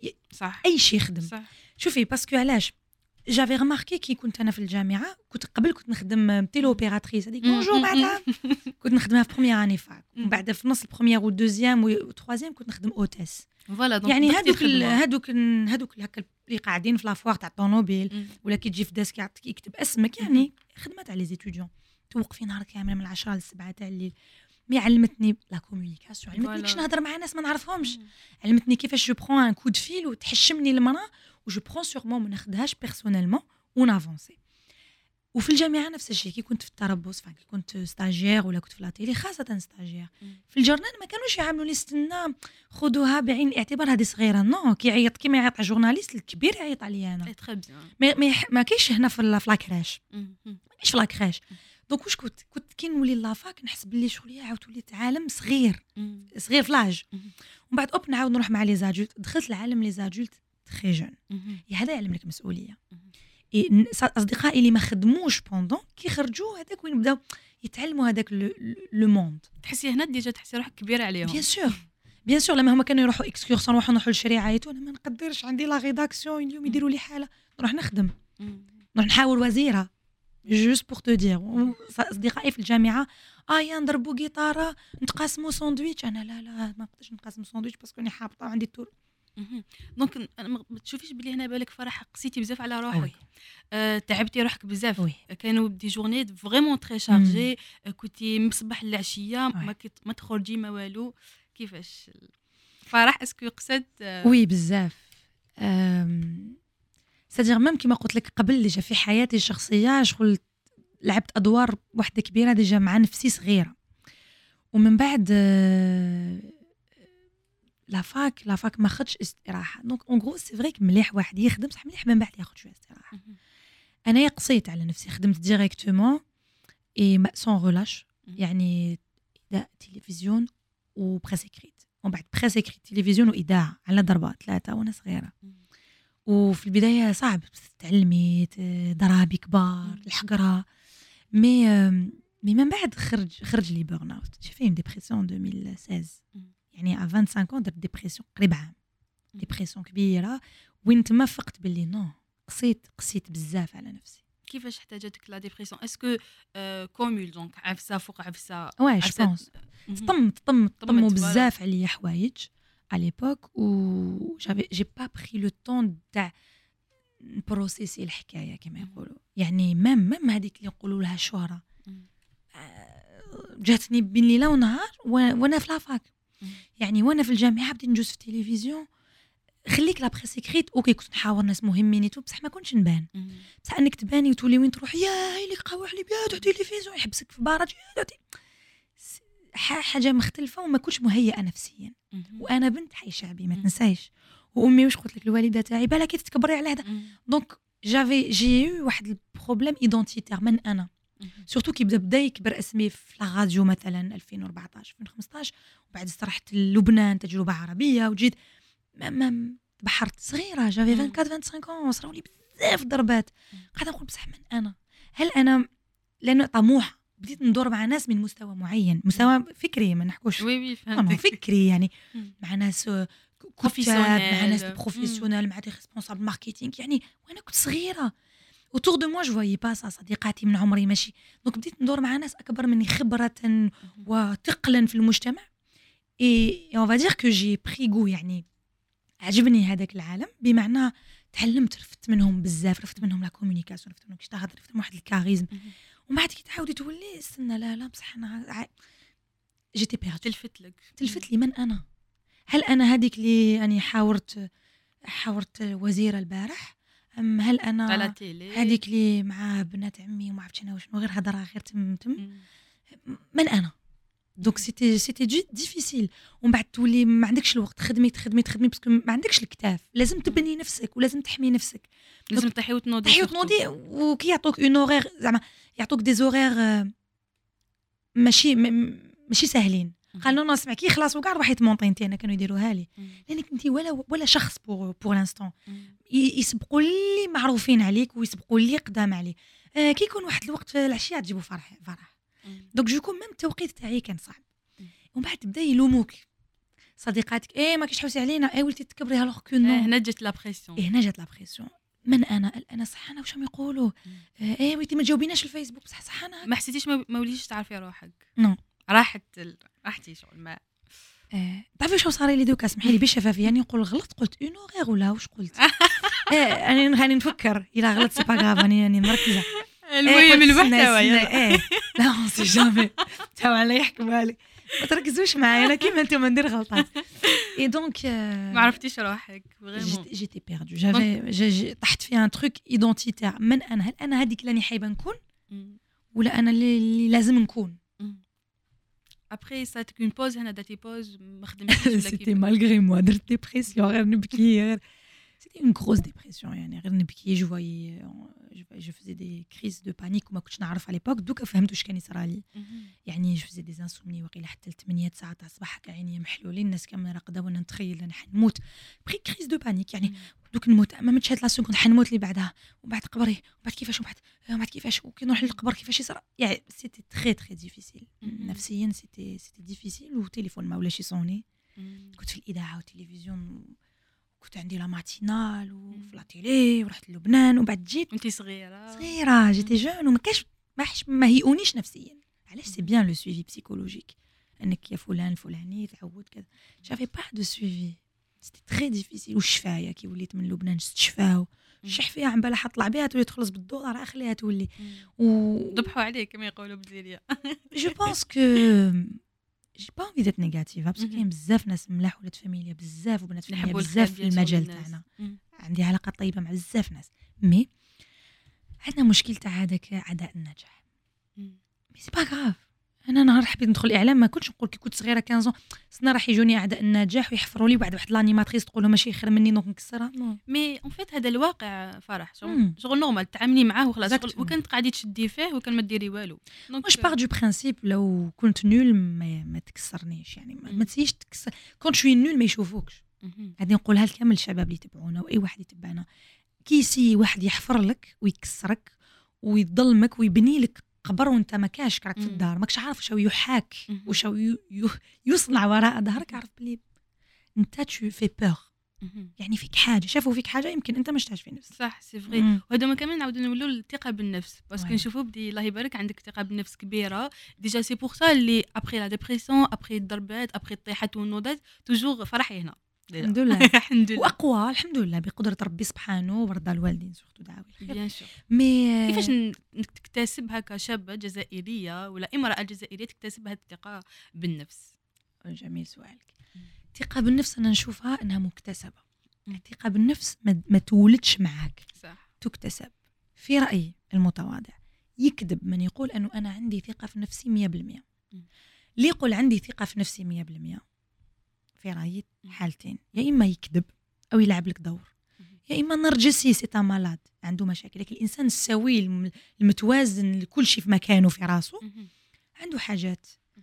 Speaker 1: صح،
Speaker 2: اي شيء خدم. شوفي باسكو علاش جافي رماركي كي كنت انا في الجامعه، كنت نخدم تيلو اوبيراتريس هذيك بونجور، بعدها كنت نخدمها في بروميير اني فاك، ومن بعد في نص البروميير والدوزيام والتروازيام كنت نخدم اوتيس.
Speaker 1: يعني
Speaker 2: هذوك هكا اللي قاعدين في لافوار تاع الطوموبيل ولا كي تجي في ديسك يعطيك يكتب اسمك، يعني خدمه تاع لي زيتوديون. توقفي نهار كامل من 10 ل 7 تاع الليل. مي علمتني لا كومونيكاسيون، علمتني كيفاش نهضر مع ناس ما نعرفهمش، علمتني كيفاش جو برون ان كود فيل وتحشمني المراه وجو برون سيغمون ما ناخذهاش بيرسونيلمون ونافونسي. وفي الجامعه نفس الشيء، كي كنت في التربص كي كنت ستاجير ولا كنت في لاتيلي خاصه ستاجير في الجورنال ما كانوش يعاملوا لي استنى خذوها بعين الاعتبار هذه صغيره. نو كي يعيط كيما يعيط على جورناليست الكبير يعيط عليا انا. ما كاينش هنا في لاكراش، ماشي في لاكراش. دونك واش كنت كي نولي لافاك نحس باللي شغلي عاود وليت عالم صغير في لاج. ومن بعد نعاود نروح مع لي زادولت. دخلت العالم لي زادولت تري جون. هذا يعلم لك مسؤوليه. اصدقائي اللي ما خدموش بوندون كي خرجوا هذاك وين بداو يتعلموا هذاك لو موند.
Speaker 1: تحسي هنا ديجا تحسي روحك كبيره عليهم.
Speaker 2: بيان سور لما هما كانوا يروحوا اكسكورسيون نروحوا للشريعه انا ما نقدرش عندي لا ريداكسيون اليوم يديروا لي حاله نروح نخدم نروح نحاول وزيره جوست بور تو دير. اصدقائي في الجامعه يا نضربوا جيتاره نتقاسموا ساندويتش انا لا ما نقدرش نقاسم ساندويتش باسكو راني حابطه وعندي الطول.
Speaker 1: دونك ما تشوفيش بلي هنا بالك فرح قسيتي بزاف على روحك تعبتي روحك بزاف كانوا دي جورني فريمون تري شارجي كنتي من الصباح للعشيه ما تخرجي ما والو كيفاش فرح اسكو قصد
Speaker 2: وي بزاف سادير ميم كيما قلت لك قبل ديجا في حياتي الشخصيه شغل لعبت ادوار وحده كبيره ديجا مع نفسي صغيره ومن بعد لا فاك ما خدش استراحه دونك اون غرو سي فري مليح واحد يخدم صح مليح من بعد ياخذ شويه استراحه. انا قصيت على نفسي خدمت ديريكتومون اي سون رولاش يعني اذاعه تلفزيون وبريس اكريت ومن بعد بريس اكريت تلفزيون واذاعه على ضربه 3 وانا صغيره. وفي البدايه صعب تعلمي ضرابي كبار الحقره مي من بعد خرج لي بورن اوت جي في ديبرسيون 2016 يعني ا 25 ans درت ديبرسيون قريب عام ديبرسيون كبيره وين تما فقت باللي نو قسيت بزاف على نفسي.
Speaker 1: كيفاش احتاجتك لا ديبرسيون اسكو كومول دونك عفسه فوق عفسه
Speaker 2: واي جو بونس طموا بزاف عليا حوايج على ليبوك و جي با بري لو طون تاع بروسيسي الحكايه كما يقولوا يعني ميم هذيك اللي يقولوا لها شهره جاتني بين ليله ونهار وانا في لافاك يعني وانا في الجامعه بديت نجوز في التلفزيون خليك لا بريس اكريت اوكي كنت نحاور ناس مهمين بصح ما كنتش نبان بصح انك تباني وتولي وين تروح يا هاي اللي قاوح لي بيا تاع التلفزيون يحبسك في باراج حاجه مختلفه وما كنتش مهيئه نفسيا وانا بنت حي شعبي ما تنسايش وامي واش قلت لك الوالده تاعي بالك كي تتكبري على هذا دونك جي واحد البروبليم ايدونتيتير من انا سورتو كي بدا يكبر اسمي في لا راديو مثلا 2014 2015 وبعد استرحت للبنان تجربه عربيه وجيت بحرت صغيره جافي 24 25 صراو لي بزاف ضربات قاعده نقول بصح من انا هل انا لانه طموحه بديت ندور مع ناس من مستوى معين مستوى فكري ما نحكوش
Speaker 1: وي فهمتك
Speaker 2: فكري يعني مع ناس كتاب مع ناس بروفيسيونيل مع دي ريسبونسابل ماركتينغ يعني وانا كنت صغيره autour de moi je voyais pas ça صديقاتي من عمري ماشي دونك بديت ندور مع ناس اكبر مني خبره وثقلا في المجتمع et on va dire que j'ai pris goût يعني عجبني هذاك العالم بمعنى تعلمت رفت منهم بزاف رفت منهم لا كومونيكاسيون رفت منهم كيش تهضر رفت منهم واحد الكاريزم ومن بعد كي تعاودي تولي استنى لا بصح انا جيتي بيرد تلفت لي من انا هل انا هذيك اللي اني حاورت وزيره البارح ام هل انا هذيك اللي مع بنات عمي وما عرفتش انا وشنو غير هضره غير تم من انا دونك سيتي ديفيسيل ومن بعد تولي ما عندكش الوقت تخدمي باسكو ما عندكش الكتاف لازم تبني نفسك ولازم تحمي نفسك
Speaker 1: لازم تحيي وتنوضي
Speaker 2: وكي يعطوك اون اورير زعما يعطوك دي زورير ماشي ساهلين قال نو اسمع كي خلاص وكاع روحي تمونطي انت انا كانوا يديروها لي لانك انت ولا شخص بور لانستون يسبقوا اللي معروفين عليك ويسبقوا اللي قدام عليه كي يكون واحد الوقت في العشيه تجيبوا فرح دونك جو كون ميم التوقيت تاعي كان صعب ومن بعد تبدا يلوموك صديقاتك ما كيش تحوسي علينا ولتي تكبري الوغ كو نو
Speaker 1: هنا جات لا
Speaker 2: بريسيون من انا صح انا واش راهم يقولوا ولتي ما تجاوبيناش الفيسبوك صح انا
Speaker 1: ما حسيتيش ما وليتيش تعرفي روحك
Speaker 2: نو
Speaker 1: راحتي شغل ما
Speaker 2: تعرفي واش صار لي دوكا اسمحي لي بالشفافيه يعني نقول غلط قلت اون غير ولا واش قلت انا نفكر الا غلط سي با غاف راني مركزه
Speaker 1: المهم المحتوى
Speaker 2: لا سي جامي تاو على يحكموا لي ما تركزوش معايا انا كيما انتم ندير غلطات اي دونك
Speaker 1: ما عرفتيش روحك فريمون
Speaker 2: جيتي بيردو جافي طحت في ان تروك ايدونتيتير من انا هل انا هذيك اللي حايبه نكون ولا انا اللي لازم نكون
Speaker 1: ابري ساتك اون بوز هنا درتي بوز ما خدمتيش ولا
Speaker 2: سيتي مالغري موا درت ديبرسيون غير نبكي غير c'était une grosse dépression يعني غير نبكي je faisais des crises de panique وما كنتش نعرف على l'époque دوكا فهمت واش كان يصرى لي يعني je faisais des insomnies وقيله حتى 8 9 تاع الصباح هكا عيني محلولين الناس كامل راقده وانا نتخيل انا حنموت بخي كريز دو بانيك يعني دوك نموت ما متشات لا سكون حنموت اللي بعدها وبعد قبري وبعد كيفاش وبعد كيفاش وكي نروح للقبر كيفاش يصرى يعني سيتي تري تري ديفيسيل نفسيا سيتي ديفيسيل والتليفون ما ولاش يصوني كنت في الاذاعه والتلفزيون كنت عندي لا ماتينال وفي لا تيلي ورحت للبنان وبعد جيت
Speaker 1: انت صغيره
Speaker 2: جيتي جون وما كاش ما هيئونيش نفسيا علاش سي بيان لو سويفي بسيكولوجيك انك يا فلان الفلاني تعود كذا جافي با دو سويفي سيتي تري ديفيسيل والشفايه كي وليت من لبنان شفاو الشحفيه عم بالها حطلع بها تولي تخلص بالدولار راه خليها تولي
Speaker 1: ذبحوا عليك كما يقولوا بالجزائريه
Speaker 2: جو بونس كو جي با انفي ديت نيجاتيف باسكو كاين بزاف ناس ملاح ولاد فاميليا بزاف وبنات فاميليا بزاف في المجال تاعنا عندي علاقات طيبه مع بزاف ناس مي عندنا مشكل تاع هذاك عداء النجاح مي سي با غاف انا نهار حبيت ندخل الاعلام ما كنتش نقول كي كنت صغيره 15 سنه راح يجوني اعداء النجاح ويحفروا لي بعد واحد لانيماتريس تقول له ماشي خير مني دونك نكسرها
Speaker 1: مي اون فيت هذا الواقع فرح شغل نورمال تعاملي معاه وخلاص وكنت قاعدي تشدي فيه وكان ما ديري والو
Speaker 2: واش باغ دو برينسيپ لو كنت نول ما تكسرنيش يعني ما تسيش تكسر كنت شوي نول ما يشوفوكش غادي نقولها لكامل الشباب اللي يتبعونا واي واحد يتبعنا كيسي واحد يحفر لك ويكسرك ويظلمك ويبني لك قبر وانت ما كاش راك في الدار ماكش عارف واش يحاك واش يصنع وراء ظهرك عارف بلي انت تو في بور يعني فيك حاجه شافوا فيك حاجه يمكن انت ما شفتهاش في نفسك
Speaker 1: صح سي فري وهذا ما كمان نعاودوا نولوا الثقه بالنفس باسكو نشوفوا بدي الله يبارك عندك ثقه بالنفس كبيره ديجا سي بور سا اللي ابري لا ديبرسيون ابري الضربات ابري الطيحات والنوضات توجور فرحي هنا
Speaker 2: الحمد لله الحمد لله واقوى الحمد لله بقدره ربي سبحانه ورضا الوالدين سورتو دعاوي الخير
Speaker 1: بيان سور
Speaker 2: مي
Speaker 1: كيفاش تكتسبها كشابه جزائريه ولا امراه جزائريه تكتسب هذه الثقه بالنفس
Speaker 2: جميل سؤالك الثقه بالنفس انا نشوفها انها مكتسبه الثقه بالنفس ما تولدش معاك
Speaker 1: صح
Speaker 2: تكتسب في رايي المتواضع يكذب من يقول انه انا عندي ثقه في نفسي 100% اللي يقول عندي ثقه في نفسي 100% في رايي حالتين يا اما يكذب او يلعب لك دور يا اما نرجسي سيتا مالاد عنده مشاكل لكن الانسان السوي المتوازن لكل شيء في مكانه في راسه عنده حاجات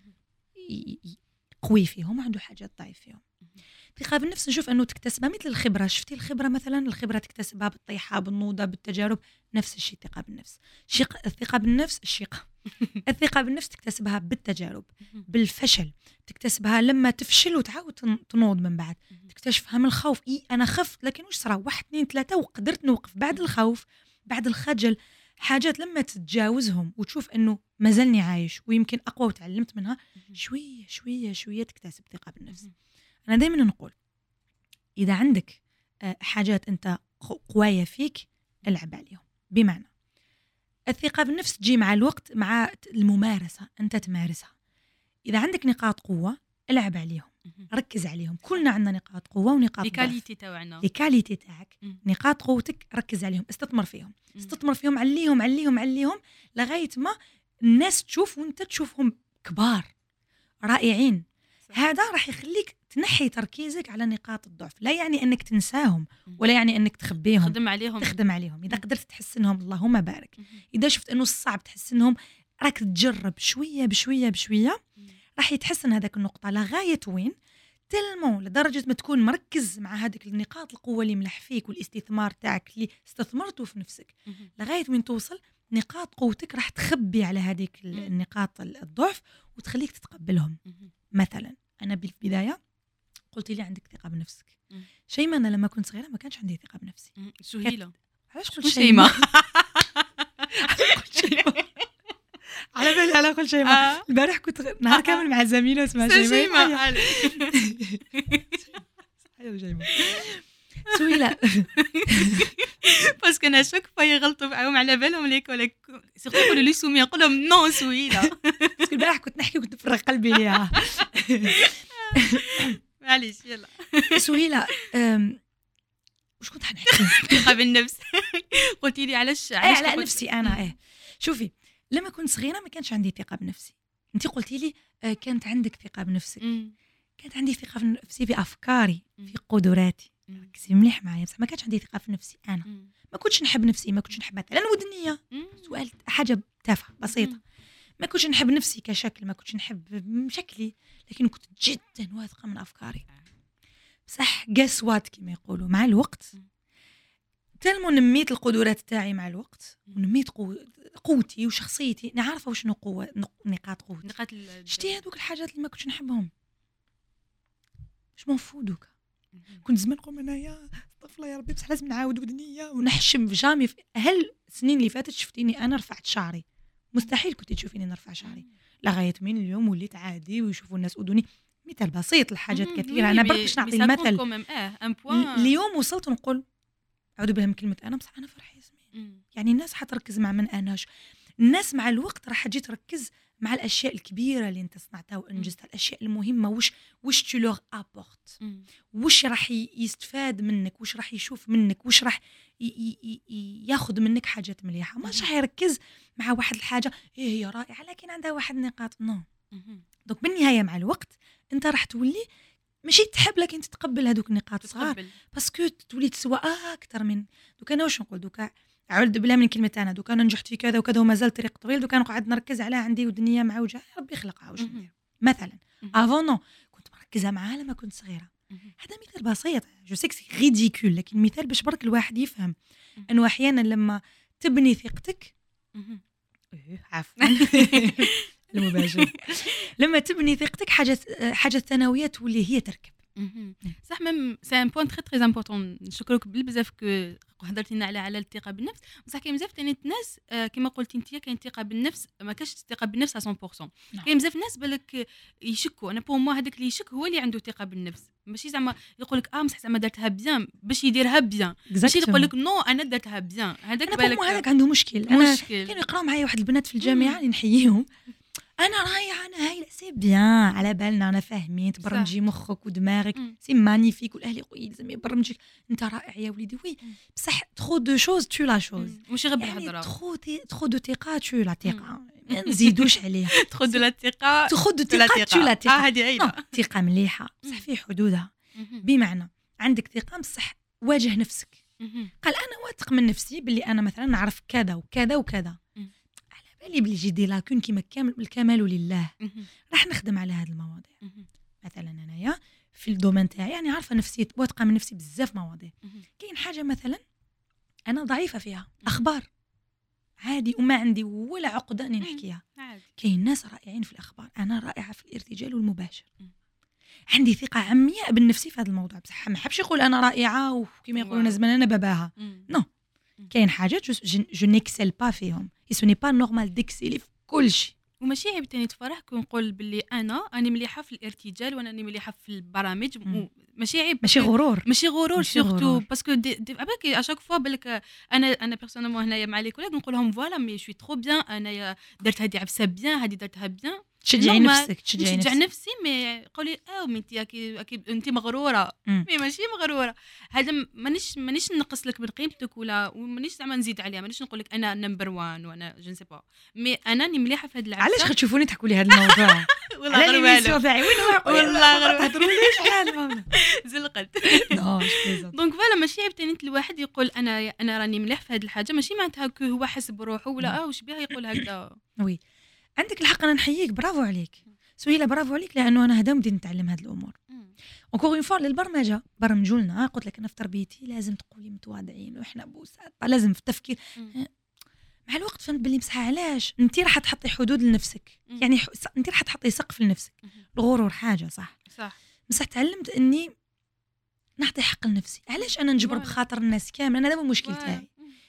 Speaker 2: قوي فيهم وعنده حاجات ضعيف فيهم الثقه بالنفس نشوف انه تكتسبها مثل الخبره شفتي الخبره مثلا الخبره تكتسبها بالطيحه بالنوضه بالتجارب نفس الشيء الثقه بالنفس الثقه بالنفس الثقه بالنفس تكتسبها بالتجارب بالفشل تكتسبها لما تفشل وتعاود تنوض من بعد تكتشفها من الخوف انا خفت لكن واش صرا 1 2 3 وقدرت نوقف بعد الخوف بعد الخجل حاجات لما تتجاوزهم وتشوف انه مازلني عايش ويمكن اقوى وتعلمت منها شويه شويه شويه تكتسب ثقه بالنفس انا دائما نقول اذا عندك حاجات انت قوايه فيك العب عليهم بمعنى الثقه بالنفس تجي مع الوقت مع الممارسه انت تمارسها اذا عندك نقاط قوه العب عليهم ركز عليهم كلنا عندنا نقاط قوه ونقاط ضعف
Speaker 1: الكاليتي تاعنا
Speaker 2: الكاليتي تاعك نقاط قوتك ركز عليهم استثمر فيهم عليهم لغايه ما الناس تشوف وانت تشوفهم كبار رائعين هذا راح يخليك تنحي تركيزك على نقاط الضعف لا يعني انك تنساهم ولا يعني انك تخبيهم تخدم عليهم اذا قدرت تحسنهم اللهم بارك اذا شفت انه صعب تحسنهم راك تجرب شويه بشويه راح يتحسن هذاك النقطه لغايه وين تلمو لدرجه ما تكون مركز مع هذيك النقاط القوه اللي ملح فيك والاستثمار تاعك اللي استثمرته في نفسك لغايه وين توصل نقاط قوتك راح تخبي على هذيك النقاط الضعف وتخليك تتقبلهم مثلا انا بالبدايه قلت لي عندك ثقه بنفسك شيماء انا لما كنت صغيره ما كانش عندي ثقه بنفسي
Speaker 1: سهيله
Speaker 2: علاش قلت شيماء على بالي على كل شيء البارح كنت نهار كامل مع زميله اسمها شيماء شيماء سهيله
Speaker 1: باسكو انا شوك فيغلطوا معاهم على بالهم ليك ولا سيرتو يقولوا لي سميه نقول لهم نو سهيله
Speaker 2: باسكو البارح كنت نحكي وكنت نفرغ قلبي ليها
Speaker 1: معليش يلا
Speaker 2: سهيله واش كنت حنحكي
Speaker 1: ثقه بالنفس قلتي لي علاش
Speaker 2: على نفسي انا شوفي لما كنت صغيره ما كانش عندي ثقه بنفسي انت قلتي لي كانت عندك ثقه بنفسك كانت عندي ثقه بنفسي في افكاري في قدراتي ركزي مليح معايا بصح ما كانش عندي ثقه في نفسي انا ما كنتش نحب نفسي ما كنتش نحب مثلا ودنيه سؤال حاجه تافهه بسيطه ما كنتش نحب نفسي كشكل ما كنتش نحب شكلي لكن كنت جدا واثقه من افكاري بصح قسوات كما يقولوا مع الوقت تلمو نميت القدرات تاعي مع الوقت ونميت قوتي وشخصيتي نعرف شنو قوه نقاط قوتي شتي هذوك الحاجات اللي ما كنتش نحبهم مش منفودوك كنت زمان نقول انايا طفله يا ربي بصح لازم نعاود ودنيا ونحشم في جامي هل السنين اللي فاتت شفتيني انا رفعت شعري مستحيل كنت تشوفيني نرفع شعري لغايه من اليوم وليت عادي ويشوفوا الناس اذني مثال بسيط لحاجات كثيره انا بركش نعطي المثل اليوم وصلت نقول اعوذ بالله من كلمه انا بصح انا فرحي ياسمين يعني الناس حتركز مع من اناش الناس مع الوقت راح تجي تركز مع الاشياء الكبيره اللي انت صنعتها وانجزتها الاشياء المهمه وش تو لوغ ابورت وش راح يستفاد منك وش راح يشوف منك وش راح ياخذ منك حاجات مليحه مش راح يركز مع واحد الحاجه هي رائعه لكن عندها واحد النقاط نو دونك بالنهايه مع الوقت انت راح تولي ماشي تحب لكن تتقبل هذوك النقاط الصغار باسكو تولي تسوى اكثر من دوك انا واش نقول دوك اعوذ بالله من كلمه انا دوك انا نجحت في كذا وكذا ومازال طريق طويل دوك انا نقعد نركز على عندي ودنيا معوجه ربي يخلقها واش ندير مثلا افون نو كنت مركزه معاها لما كنت صغيره هذا مثال بسيط جو سيكسي ريديكول لكن مثال باش برك الواحد يفهم انه احيانا لما تبني ثقتك عفوا المباشر لما تبني ثقتك حاجه ثانويه تولي هي تركب
Speaker 1: صح ميم سي ان بوين تري امبورطون نشكرك بزاف كو هضرتي لنا على الثقه بالنفس بصح كاين بزاف تاني الناس كما قلتي انت كاين ثقه بالنفس ما كاش ثقه بالنفس 100% كاين بزاف ناس بالك يشكوا انا بور مو هذاك اللي يشك هو اللي عنده ثقه بالنفس ماشي زعما يقول لك بصح زعما درتها بيان باش يديرها بيان ماشي يقول لك نو انا درتها بيان هذاك
Speaker 2: بالك هذاك عنده مشكل انا كانوا يقراو معايا واحد البنات في الجامعه اللي نحييهم انا رايحه انا هايله سي بيان على بالنا انا فاهمين تبرمجي مخك ودماغك سي مانيفيك والاهل يقول لازم يبرمجك انت رائع يا وليدي وي بصح ترو دو شوز تو لا شوز
Speaker 1: ماشي غير بالهضره
Speaker 2: ترو دو ثقه تو لا ثقه ما نزيدوش عليها
Speaker 1: ترو دو لا ثقه
Speaker 2: ترو دو ثقه تو لا ثقه
Speaker 1: هذه عيله
Speaker 2: ثقه مليحه بصح في حدودها بمعنى عندك ثقه بصح واجه نفسك قال انا واثق من نفسي باللي انا مثلا نعرف كذا وكذا وكذا اللي بلي دي لاكون كيما الكمال لله راح نخدم على هذه المواضيع مثلا انايا في الدومين تاعي يعني عارفه نفسي واثقه من نفسي بزاف مواضيع كاين حاجه مثلا انا ضعيفه فيها اخبار عادي وما عندي ولا عقده اني نحكيها كاين ناس رائعين في الاخبار انا رائعه في الارتجال والمباشر عندي ثقه عمياء بالنفسي في هذا الموضوع بصح ما حبش يقول انا رائعه وكما يقولون زمان انا باباها نو كاين حاجات جو نيكسل با فيهم سو ني با نورمال ديكسيلي في كل شيء
Speaker 1: وماشي عيب تاني تفرح كون نقول باللي انا مليحه في الارتجال وانا مليحه في البرامج ماشي عيب
Speaker 2: ماشي غرور
Speaker 1: سورتو باسكو اباك اشاك فوا بالك انا بيرسونيلمون هنايا مع لي كوليغ نقول لهم فوالا مي شوي ترو بيان انايا درت هذه عفسه بيان هذه درتها بيان
Speaker 2: تشجعي نفسك
Speaker 1: تشجع نفسي مي قولي انت اكيد انت مغروره مي ماشي مغروره هذا مانيش نقص لك من قيمتك ولا مانيش زعما نزيد عليها مانيش نقول لك انا نمبر 1 وانا جو نسي با مي انا راني مليحه في هذه العفسه
Speaker 2: علاش تشوفوني تحكوا لي هذا الموضوع
Speaker 1: والله غير والو
Speaker 2: والله غير تهضروليش على الموضوع
Speaker 1: زلقت دونك فوالا ماشي عيب تاني الواحد يقول انا راني مليح في هذه الحاجه ماشي معناتها كو هو حس بروحه ولا واش بها يقول هكذا
Speaker 2: وي عندك الحق انا نحييك برافو عليك سهيله برافو عليك لانه انا هذا بديت نتعلم هذه الامور اونكور اون فوا للبرمجه برمجوا لنا قلت لك انا في تربيتي لازم تقولي متواضعين وإحنا بوساطه لازم في التفكير مع الوقت فهمت باللي مسح علاش انت راح تحطي حدود لنفسك يعني انت راح تحطي سقف لنفسك الغرور حاجه صح بصح تعلمت اني نعطي حق لنفسي علاش انا نجبر بخاطر الناس كامل انا هذا هو المشكل تاعي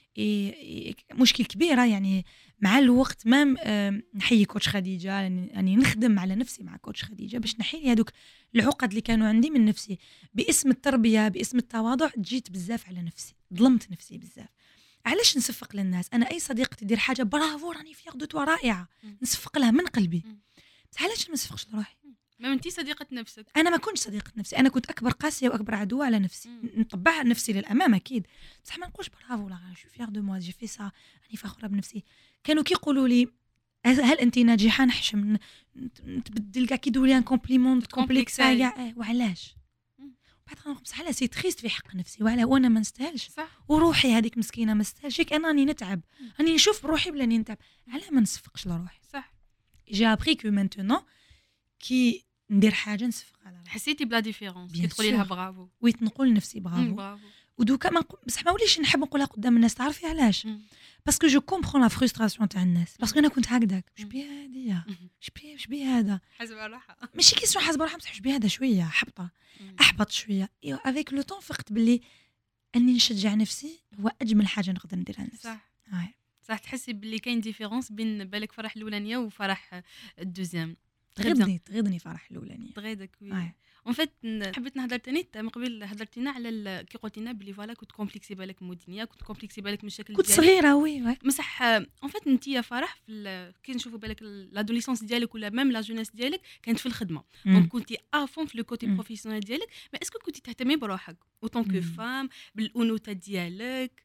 Speaker 2: مشكل كبيره يعني مع الوقت ما نحيي كوتش خديجه يعني نخدم على نفسي مع كوتش خديجه باش نحيي هذوك العقد اللي كانوا عندي من نفسي باسم التربيه باسم التواضع جيت بزاف على نفسي ظلمت نفسي بزاف علاش نصفق للناس انا اي صديقه تدير حاجه برافو راني فيغ دو توا رائعه نصفق لها من قلبي بس علاش ما نصفقش لروحي
Speaker 1: ما انتي صديقه نفسك
Speaker 2: انا ما كنتش صديقه نفسي انا كنت اكبر قاسيه واكبر عدوه على نفسي نطبع نفسي للامام اكيد بصح ما نقولش برافو لا جو فيغ دو موا جي في سا راني فخوره بنفسي كانوا كيقولوا لي هل انت ناجحه نحشم نتبدل كاع كيدوا لي ان كومبليمون كومبلكس كاع وعلاش بعد بصح على سي تريست في حق نفسي وعلى وانا ما نستاهلش
Speaker 1: صح
Speaker 2: وروحي هذيك مسكينه ما نستاهلش انا راني نتعب راني نشوف بروحي بلا راني نتعب على ما نصفقش لروحي
Speaker 1: صح
Speaker 2: جي ابري كو مانتونون كي ندير حاجه نصفق على روحي
Speaker 1: حسيتي بلا ديفيرونس كي
Speaker 2: Bien
Speaker 1: تقولي لها
Speaker 2: sûr.
Speaker 1: برافو
Speaker 2: ويت نقول لنفسي برافو
Speaker 1: برافو
Speaker 2: ودوكا بصح ما وليش نحب نقولها قدام الناس تعرفي علاش باسكو جو كومبرون لا فرستراسيون تاع الناس باسكو انا كنت هكذاك واش بيا هاديه واش بيا هذا
Speaker 1: حسب الراحه
Speaker 2: ماشي كيسون حاسبه روحها بصح واش بيا هذا شويه حبطه احبط شويه ايوا افيك لو طون فقت باللي اني نشجع نفسي هو اجمل حاجه نقدر نديرها لنفسي
Speaker 1: صح
Speaker 2: هاي
Speaker 1: صح تحسي باللي كاين ديفيرونس بين بالك فرح الاولانيه وفرح الدوزيام
Speaker 2: تغيضني فرح الاولانيه
Speaker 1: تغيدك وي
Speaker 2: هاي
Speaker 1: اون فيت حبيت نهضر تاني من قبل هضرتينا على كي قلتي لنا بلي فوالا كنت كومبلكسي بالك مدنيه كنت كومبلكسي بالك من الشكل
Speaker 2: كنت صغيره وي
Speaker 1: مسح اون فيت انت يا فرح كي نشوفوا بالك لادوليسونس ديالك ولا ميم لا جونيس ديالك كانت في الخدمه دونك كنتي افون في لو كوتي بروفيسيونيل ديالك ما اسكو كنتي تهتمي بروحك اوتون كو فام بالانوثه ديالك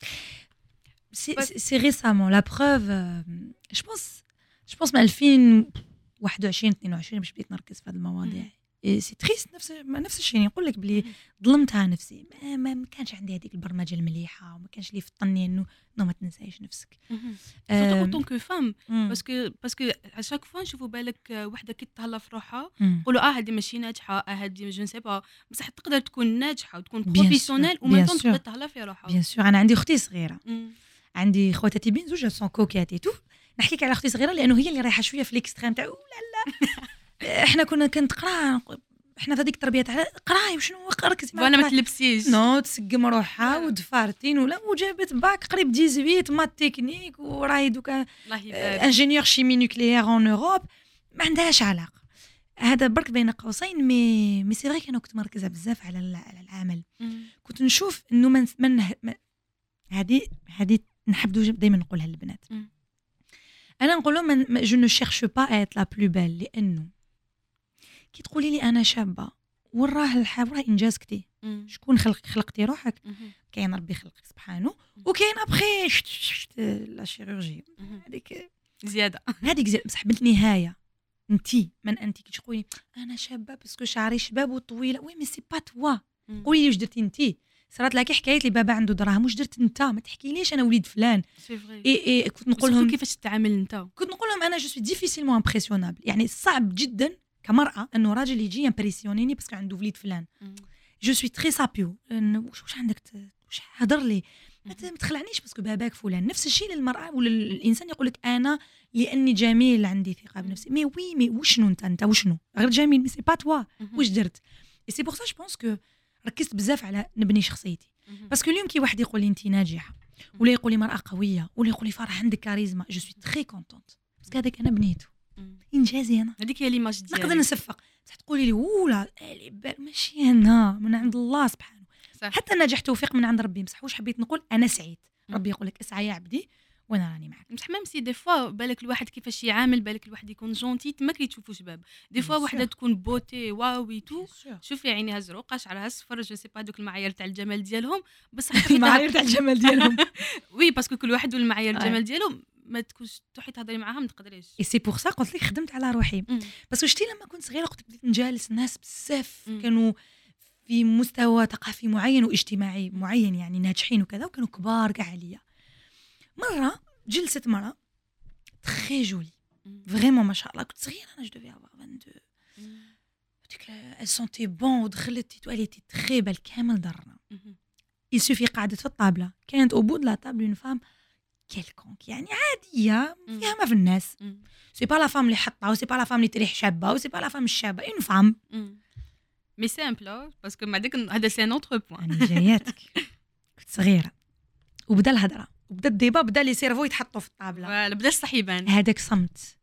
Speaker 2: سي ريسامون لا بروف جو بونس من 2021 22 باش بديت نركز في هذه المواضيع سي تريست نفس الشيء نقول لك بلي ظلمتها نفسي ما كانش عندي هذيك البرمجه المليحه وما كانش لي فطني انه ما تنسايش نفسك
Speaker 1: سورتو اوتون كو فام باسكو على شاك فوا نشوفوا بالك وحده كي تهلا في روحها نقولوا هذه ماشي ناجحه هذه جو نسي با بصح تقدر تكون ناجحه وتكون بروفيسيونيل وما تقدر تهلا في روحها
Speaker 2: بيان سور انا عندي اختي صغيره عندي خواتاتي بين زوج سون كوكياتي تو نحكيك على اختي صغيره لانه هي اللي رايحه شويه في ليكستريم تاع لا احنا كنت قرا احنا في هذيك التربيه تاع قراي وشنو ركزي
Speaker 1: وانا ما تلبسيش
Speaker 2: نو تسقم روحها ودفارتين ولا وجابت باك قريب 18 مات تكنيك وراهي دوكا انجينيور شيمي نوكليير اون اوروب ما عندهاش علاقه هذا برك بين قوسين مي سي فري انا كنت مركزه بزاف على العمل كنت نشوف انه من هذه نحب دائما نقولها للبنات انا نقول لهم جو نو شيرش با ايت لا بلو بيل لانه كي تقولي لي انا شابه وراه الحاب انجاز كتي شكون خلقتي روحك كاين ربي خلقك سبحانه وكاين ابخي لا شيروجي هذيك
Speaker 1: زياده
Speaker 2: بصح بالنهايه انتي كي تقولي انا شابه باسكو شعري شباب وطويله وي مي سي با توا قولي واش درتي انتي صارت لك حكايه لي بابا عنده دراهم واش درت انت ما تحكيليش انا وليد فلان
Speaker 1: سي فري
Speaker 2: اي كنت نقول لهم
Speaker 1: كيفاش تتعامل انت
Speaker 2: كنت نقول لهم انا جو سوي ديفيسيلمون امبرسيونابل يعني صعب جدا كمراه انه راجل يجي امبرسيونيني باسكو عنده وليد فلان جو سوي تري سابيو واش عندك واش هضر لي ما تخلعنيش باسكو باباك فلان نفس الشيء للمراه ولا الانسان يقول لك انا لاني جميل عندي ثقه بنفسي مي وشنو انت وشنو غير جميل مي سي با توا واش درت اي سي بور سا جو بونس كو ركزت بزاف على نبني شخصيتي باسكو اليوم كي واحد يقول لي انت ناجحه ولا يقول لي مراه قويه ولا يقول لي فرح عندك كاريزما جو سوي تري كونطونت باسكو هذاك انا بنيته انجازي انا
Speaker 1: هذيك هي ليماج ديالك
Speaker 2: نقدر نصفق بصح تقولي لي ولا ماشي انا من عند الله سبحانه حتى نجاح توفيق من عند ربي بصح واش حبيت نقول انا سعيد ربي يقول لك اسعى يا عبدي وانا راني معك
Speaker 1: بصح ميم سي دي فوا بالك الواحد كيفاش يعامل بالك الواحد يكون جونتي ما كيتشوفوا شباب دي فوا وحده تكون بوتي واوي تو شوفي عينيها زروقه شعرها اصفر جو سي با دوك المعايير تاع الجمال ديالهم بصح
Speaker 2: المعايير تاع الجمال ديالهم
Speaker 1: وي باسكو كل واحد والمعايير الجمال ديالو ما تكونش تروحي تهضري معاها ما تقدريش
Speaker 2: اي سي بور سا قلت لك خدمت على روحي باسكو شتي لما كنت صغيره كنت بديت نجالس ناس بزاف كانوا في مستوى ثقافي معين واجتماعي معين يعني ناجحين وكذا وكانوا كبار كاع عليا مره جلست مرة تري جولي فريمون ما شاء الله كنت صغيرة أنا جو دوفي افوار 22 ديك ال سونتي بون ودخلت تواليتي تري بال كامل درنا يسوفي قعدت في الطابلة كانت او بود لا طابل اون فام كيلكونك يعني عادية فيها ما في الناس سي با لا فام اللي حطها وسي با لا فام اللي تريح شابة وسي با لا فام الشابة اون فام
Speaker 1: مي سامبل باسكو مع ديك هذا سي نوتر بوين
Speaker 2: أنا جاياتك كنت صغيرة وبدا الهضرة وبدا الديبا بدا لي سيرفو يتحطوا في الطابله
Speaker 1: فوالا بدا الصحيبان
Speaker 2: هذاك صمت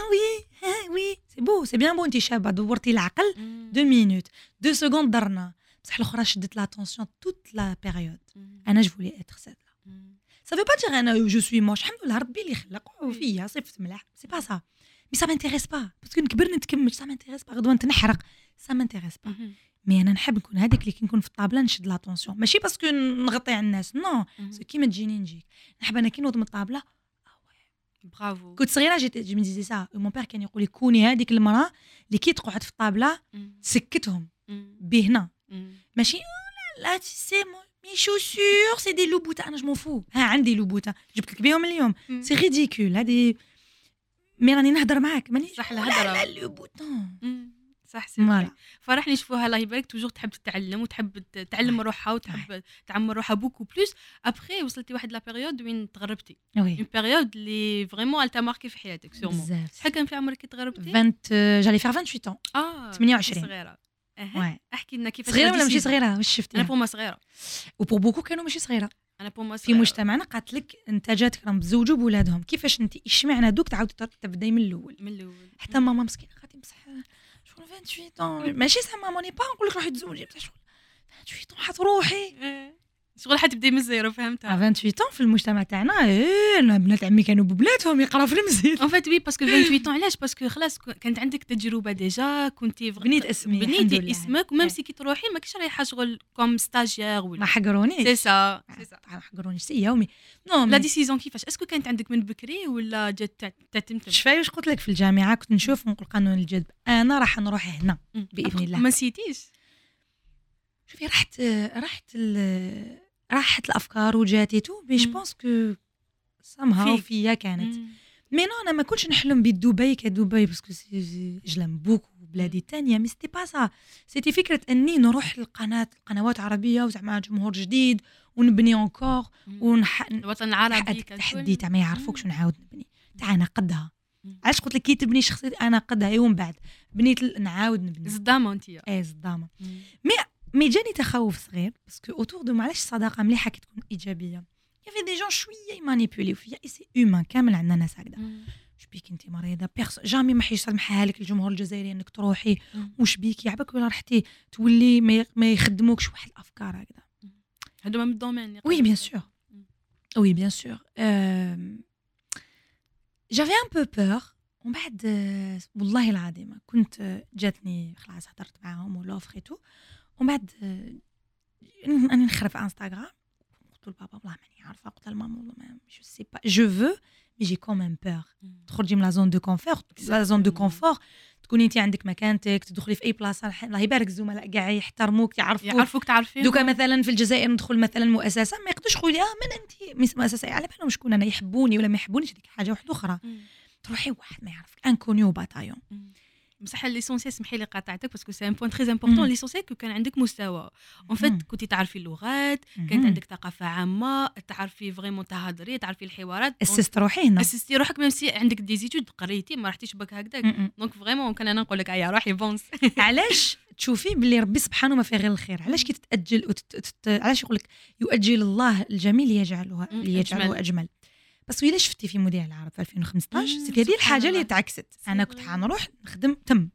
Speaker 2: وي سي بو سي بيان بو انت شابه دورتي العقل 2 مينوت 2 سكوند درنا بصح الاخرى شدت لاتونسيون توت لا بيريود انا جو فولي اتر سيت سا في با دير انا جو سوي موش الحمد لله ربي اللي خلق فيا صفت ملاح سي با سا مي سا مانتيريس با باسكو نكبر نتكمل سا مانتيريس با غدوه نتنحرق سا مانتيريس با مي انا نحب نكون هذيك اللي كي نكون في الطابله نشد لاتونسيون ماشي باسكو نغطي على الناس نو كيما تجيني نجيك نحب انا كي نوض من الطابله
Speaker 1: برافو
Speaker 2: كنت صغيره جيت مي ديزي سا مون بير كان يقول لي كوني هذيك المراه اللي كي تقعد في الطابله سكتهم بهنا ماشي لا سي مي شوسور سي دي لوبوتا انا جو فو ها عندي لوبوتا جبت لك بيهم اليوم سي ريديكول هذه مي راني نهضر معاك ماني
Speaker 1: صح الهضره
Speaker 2: لا لوبوتا
Speaker 1: صح سي فرح نشوفوها الله يبارك توجور تحب تتعلم وتحب تعلم روحها وتحب تعمر روحها بوكو بلوس ابخي وصلتي واحد لا بيريود وين تغربتي اون بيريود اللي فريمون التا ماركي في حياتك سيرمون شحال كان في عمرك كي تغربتي
Speaker 2: 20 جالي فير 28 28
Speaker 1: صغيره احكي لنا كيفاش
Speaker 2: صغيره ولا ماشي صغيره واش شفتي
Speaker 1: انا بوما صغيره
Speaker 2: وبور بوكو كانوا ماشي صغيره
Speaker 1: انا بوما
Speaker 2: في مجتمعنا قالت لك انتاجاتك راهم تزوجوا بولادهم كيفاش انت اشمعنى دوك تعاودي تبداي من الاول حتى ماما مسكينه غادي بصح شغل 28 ماشي سا ماما ني با نقول لك روحي تزوجي بصح شغل 28 حتروحي
Speaker 1: شغل حتبداي من الزيرو فهمتها
Speaker 2: 28 في المجتمع تاعنا انا بنات عمي كانوا ببلاتهم يقراو في المسجد
Speaker 1: ان فيت وي باسكو 28 علاش باسكو خلاص كانت عندك تجربه ديجا كنتي
Speaker 2: بنيتي
Speaker 1: اسمك وميم سي كي تروحي ما كاينش رايحه شغل كوم ستاجير ولا
Speaker 2: ما حقرونيش
Speaker 1: سي سا
Speaker 2: ما حقرونيش سي يومي نو
Speaker 1: لا ديسيزون كيفاش اسكو كانت عندك من بكري ولا جات تتمتم
Speaker 2: شفاي واش قلت لك في الجامعه كنت نشوف ونقول قانون الجذب انا راح نروح هنا باذن الله
Speaker 1: ما نسيتيش
Speaker 2: شوفي راحت الافكار وجاتي تو مي جو بونس كو سامها فيا كانت مي نو انا ما كنتش نحلم بدبي كدبي باسكو جلم بوكو بلادي تانية مي سيتي با سا سيتي فكره اني نروح القنوات عربيه وزعما جمهور جديد ونبني اونكور
Speaker 1: الوطن العربي
Speaker 2: تحدي تاع ما يعرفوكش نعاود نبني تاع انا قدها علاش قلت لك كي تبني شخصيتي انا قدها ومن بعد بنيت نعاود نبني
Speaker 1: صدامه انت
Speaker 2: صدامه مي جاني تخوف صغير باسكو اوتور دو معلاش الصداقه مليحه كي تكون ايجابيه يافي دي جون شويه يمانيبيوليو فيا اي سي هيومان كامل عندنا ناس هكذا واش بيك انت مريضه جامي ما حيسمحها لك الجمهور الجزائري انك تروحي واش بيك يعبك ولا رحتي تولي ما يخدموكش واحد الافكار هكذا
Speaker 1: هادو من الدومين
Speaker 2: وي بيان سور جافي ان بو بور ومن بعد والله العظيم كنت جاتني خلاص هضرت معاهم ولوفر تو ومن بعد انا نخرب في انستغرام قلت لبابا والله ماني عارفه قلت لماما والله ما جو سي با جو فو مي جي كومين بور تخرجي من لا زون دو كونفور تكوني انت عندك مكانتك تدخلي في اي بلاصه الله يبارك الزملاء كاع يحترموك يعرفوك
Speaker 1: تعرفين
Speaker 2: دوكا مثلا في الجزائر ندخل مثلا مؤسسه ما يقدرش يقولوا من انت مؤسسه على بالهم شكون انا يحبوني ولا ما يحبونيش هذيك حاجه واحده اخرى تروحي واحد ما يعرفك انكونيو باتايون
Speaker 1: بصح ليسونسيال سمحي لي قاطعتك باسكو سي ان بوين تري امبورطون ليسونسيال كو كان عندك مستوى اون فيت كنتي تعرفي اللغات كانت عندك ثقافه عامه تعرفي فريمون تهضري تعرفي الحوارات
Speaker 2: اسست روحي هنا
Speaker 1: اسستي روحك ميم سي عندك دي زيتود قريتي ما رحتيش بك هكذاك دونك فريمون كان انا نقول لك يا روحي بونس
Speaker 2: علاش تشوفي باللي ربي سبحانه ما فيه غير الخير علاش كي تتاجل علاش يقول لك يؤجل الله الجميل ليجعله اجمل بس الا شفتي في مذيع العرب في 2015 سيتي هذه الحاجه اللي تعكست انا كنت حنروح نخدم تم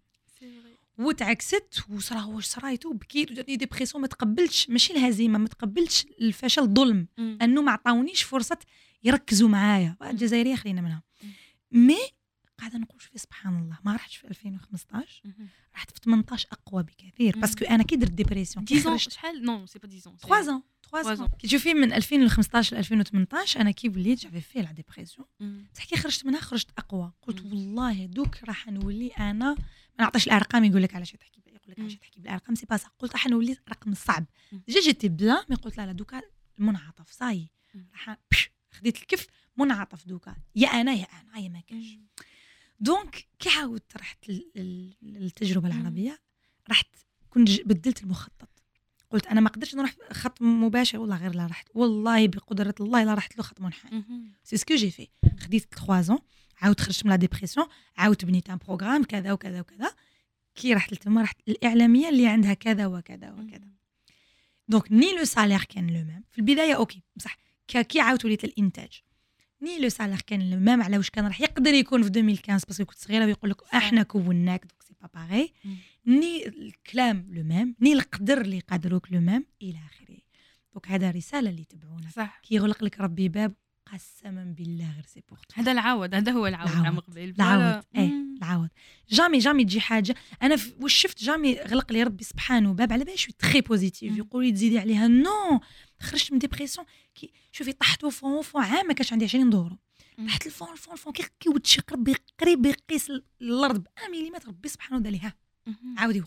Speaker 2: وتعكست واش صرايتو وبكيت وجاتني ديبرسيون ما تقبلتش ماشي الهزيمه ما تقبلتش الفشل الظلم انه ما عطاونيش فرصه يركزوا معايا الجزائريه خلينا منها مي قاعده نقول في سبحان الله ما رحتش في 2015 رحت في 18 اقوى بكثير باسكو انا كي درت ديبرسيون
Speaker 1: 10 شحال نو سي با
Speaker 2: 10 3 كي تشوفي من 2015 ل 2018 انا كي وليت جافي في لا ديبرسيون بصح كي خرجت منها خرجت اقوى قلت والله دوك راح نولي انا ما نعطيش الارقام يقول لك علاش تحكي يقول لك علاش تحكي بالارقام سي با صح قلت راح نولي رقم صعب ديجا جيتي بلا مي قلت لا دوكا المنعطف صاي راح خديت الكف منعطف دوكا يا انا يا ما كاش دونك كي عاودت رحت للتجربه العربيه رحت كنت بدلت المخطط قلت انا ما قدرتش نروح خط مباشر والله غير لا رحت والله بقدره الله لا رحت له خط منحني سي سكو جي في خديت 3 زون عاود خرجت من لا ديبرسيون عاود بنيت ان بروغرام كذا وكذا وكذا كي رحت لتما رحت الاعلاميه اللي عندها كذا وكذا وكذا دونك ني لو سالير كان لو ميم في البدايه اوكي بصح كي عاود وليت الانتاج ني لو سالير كان لو ميم على واش كان راح يقدر يكون في 2015 باسكو كنت صغيره ويقول لك احنا كوناك دونك سي با باغي ني الكلام لو ميم ني القدر اللي قادروك لو ميم الى اخره دونك هذا رساله اللي تبعونا كي يغلق لك ربي باب قسما بالله غير سي بور
Speaker 1: هذا العوض هذا هو العوض عام قبيل
Speaker 2: العوض العوض جامي تجي حاجه انا واش شفت جامي غلق لي ربي سبحانه باب على بالي شوي تري بوزيتيف يقول لي تزيدي عليها نو خرجت من ديبرسيون كي شوفي طحت فون عام ما كانش عندي 20 دورو طحت الفون كي ودشي ربي قريب يقيس الارض ب 1 ملم ربي سبحانه دار ليها عاودي وقفي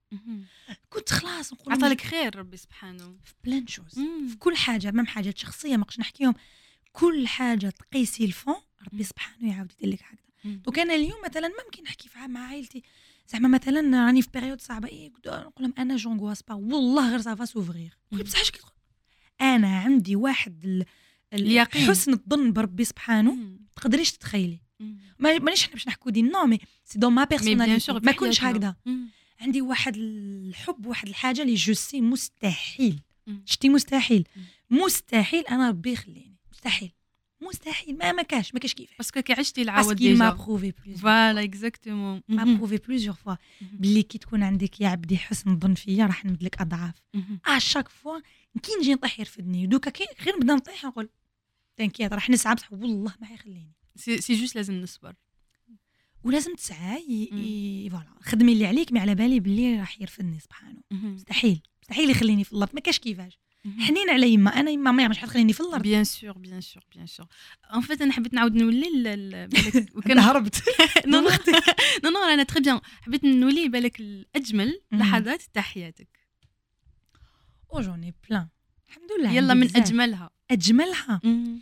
Speaker 2: كنت خلاص نقول
Speaker 1: عطالك خير ربي سبحانه
Speaker 2: في بلان شوز في كل حاجه، مام حاجات شخصيه ما نقدرش نحكيهم، كل حاجه تقيسي الفون ربي سبحانه يعاود يدير لك هكذا. دونك انا اليوم مثلا ممكن نحكي مع عائلتي زعما مثلا راني في بيريود صعبه نقول لهم انا جونغواس با والله غير سافا سوفغير، بصح اش انا عندي واحد
Speaker 1: اليقين
Speaker 2: حسن الظن بربي سبحانه تقدريش تتخيلي. مانيش حنا باش نحكوا دي نو مي سي دون ما بيرسوناليتي ما كنتش هكذا. عندي واحد الحب واحد الحاجه اللي جو سي مستحيل شتي مستحيل انا ربي يخليني مستحيل ما كاش كيفاش
Speaker 1: باسكو كي عشتي العاود
Speaker 2: ديجا ما بروفي بليز
Speaker 1: فوالا اكزاكتومون
Speaker 2: ما بروفي بليزيور فوا بلي كي تكون عندك يا عبدي حسن الظن فيا راح نمد لك اضعاف شاك فوا كي نجي نطيح يرفدني دوكا كي غير نبدا نطيح نقول تنكيات راح نسعى بصح والله ما حيخليني
Speaker 1: سي جوست لازم نصبر
Speaker 2: ولازم تسعى فوالا خدمي اللي عليك ما على بالي باللي راح يرفدني سبحانه مستحيل يخليني في الارض ما كاش كيفاش حنين على يما انا يما ما مش حتخليني في الارض
Speaker 1: بيان سور ان فيت انا حبيت نعاود نولي
Speaker 2: وكان هربت
Speaker 1: نو انا تري بيان حبيت نولي بالك الاجمل لحظات تحياتك
Speaker 2: او جوني بلان الحمد لله
Speaker 1: يلا من
Speaker 2: بزاف.
Speaker 1: اجملها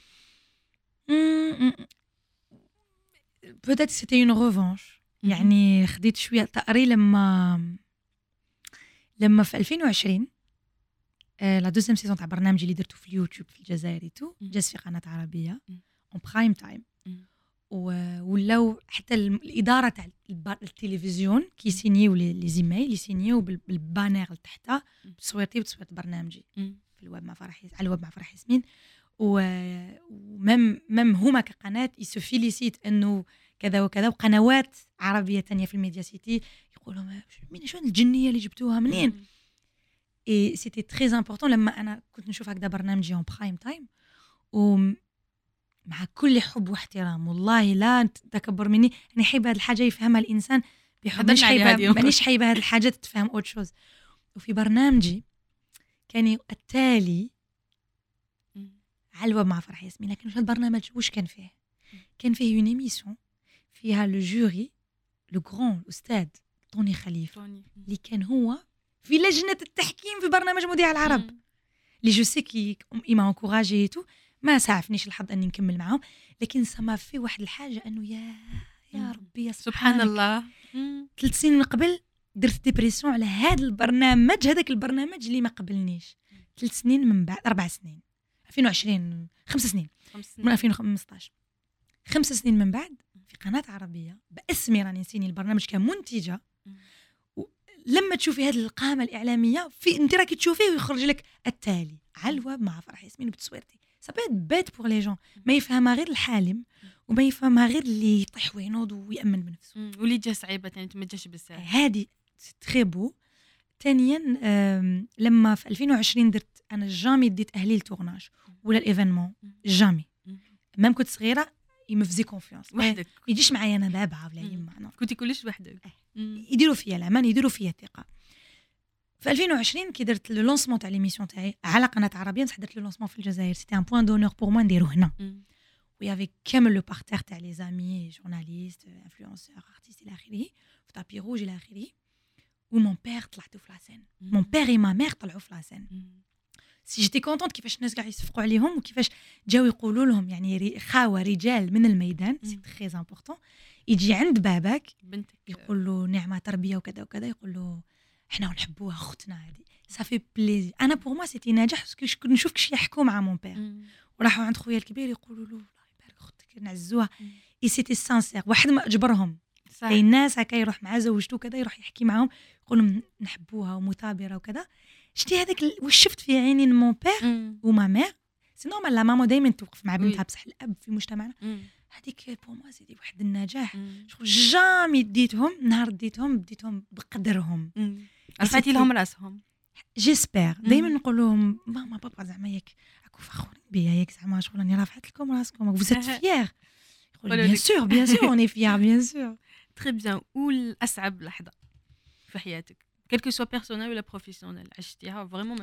Speaker 2: peut-être c'était une revanche يعني خديت شويه تقري لما في 2020 لا دوزيام سيزون تاع برنامجي اللي درته في اليوتيوب في الجزائر تو جاز في قناه عربيه اون برايم تايم ولاو حتى الاداره تاع التلفزيون كي سينيو لي زيميل يسينيو بالبانير لتحتها بصويرتي وتصويرت برنامجي في الويب مع فرح على الويب مع فرح ياسمين ومم هما كقناه يسفيليسيت انه كذا وكذا وقنوات عربيه تانية في الميديا سيتي يقولوا من شو الجنيه اللي جبتوها منين اي سيتي تري امبورطون لما انا كنت نشوف هكذا برنامجي اون برايم تايم ومع كل حب واحترام والله لا تكبر مني انا حيبه هذه الحاجه يفهمها الانسان بحب مانيش حيبه هذه الحاجه تتفهم اوت شوز وفي برنامجي كان التالي على الويب مع فرح ياسمين لكن هذا البرنامج واش كان فيه اون ايميسيون فيها لو جوري لو غران الاستاذ طوني خليفه اللي كان هو في لجنه التحكيم في برنامج مذيع العرب اللي جو سي كي ايما انكوراجي تو ما سعفنيش الحظ اني نكمل معاهم لكن سما في واحد الحاجه انه يا ربي
Speaker 1: سبحان الله
Speaker 2: 3 سنين من قبل درت ديبريسيون على هذا البرنامج هذاك البرنامج اللي ما قبلنيش 3 سنين من بعد 4 سنين 2020 5 سنين من 2015 5 سنين من بعد في قناة عربية باسمي راني نسيني البرنامج كمنتجة لما تشوفي هذه القامة الإعلامية في انت راكي تشوفيه ويخرج لك التالي على الويب مع فرح ياسمين بتصويرتي سابيت بيت بور لي جون ما يفهمها غير الحالم وما يفهمها غير اللي يطيح وينوض ويأمن بنفسه
Speaker 1: واللي جا صعيبة يعني ما جاش بزاف
Speaker 2: هذه تري بو. ثانيا لما في 2020 درت انا جامي ديت اهلي التورناج ولا الايفينمون جامي مام كنت صغيره يمفزي كونفيونس
Speaker 1: وحدك
Speaker 2: ما يجيش معايا انا بابا ولا يما
Speaker 1: كنتي كلش وحدك
Speaker 2: يديروا فيا الامان يديروا فيا الثقه. في 2020 كي درت لو لونسمون تاع ليميسيون تاعي على قناه عربيه بصح درت لو لونسمون في الجزائر سيتي ان بوين دونور بور موا نديرو هنا ويافي كامل لو بارتير تاع لي زامي جورناليست انفلونسور ارتيست الى اخره في طابي روج الى اخره ومون بير طلعتو في لاسين مون بير اي ما مير طلعوا في لاسين سي جيتي كونطونت كيفاش الناس كاع يصفقوا عليهم وكيفاش جاو يقولوا لهم يعني خاوه رجال من الميدان سي تري امبورطون يجي عند باباك
Speaker 1: بنتك
Speaker 2: يقول له نعمه تربيه وكذا وكذا يقول له احنا نحبوها اختنا هذه صافي بليزي انا بور ما سيتي نجاح باسكو كنت نشوف كيفاش يحكوا مع مون بير وراحوا عند خويا الكبير يقولوا له الله يبارك اختك نعزوها اي سيتي سانسير واحد ما اجبرهم اي الناس هكا يروح مع زوجته كذا يروح يحكي معاهم يقول لهم نحبوها ومثابره وكذا شتي هذاك واش شفت في عينين مون بير وما مير سي نورمال لا ماما دائما توقف مع بنتها بصح الاب في مجتمعنا هذيك بور ما سيدي واحد النجاح شغل جامي ديتهم نهار ديتهم بقدرهم
Speaker 1: رفعتي لهم راسهم
Speaker 2: جيسبر دائما نقول لهم ماما بابا زعما ياك راكو فخورين بيا ياك زعما شغل راني رافعت لكم راسكم فوزيت فيير بيان سور اوني فيير بيان سور
Speaker 1: تري بيان. والأصعب لحظة في حياتك quel que soit personnel ولا professionnel عشتيها فريمون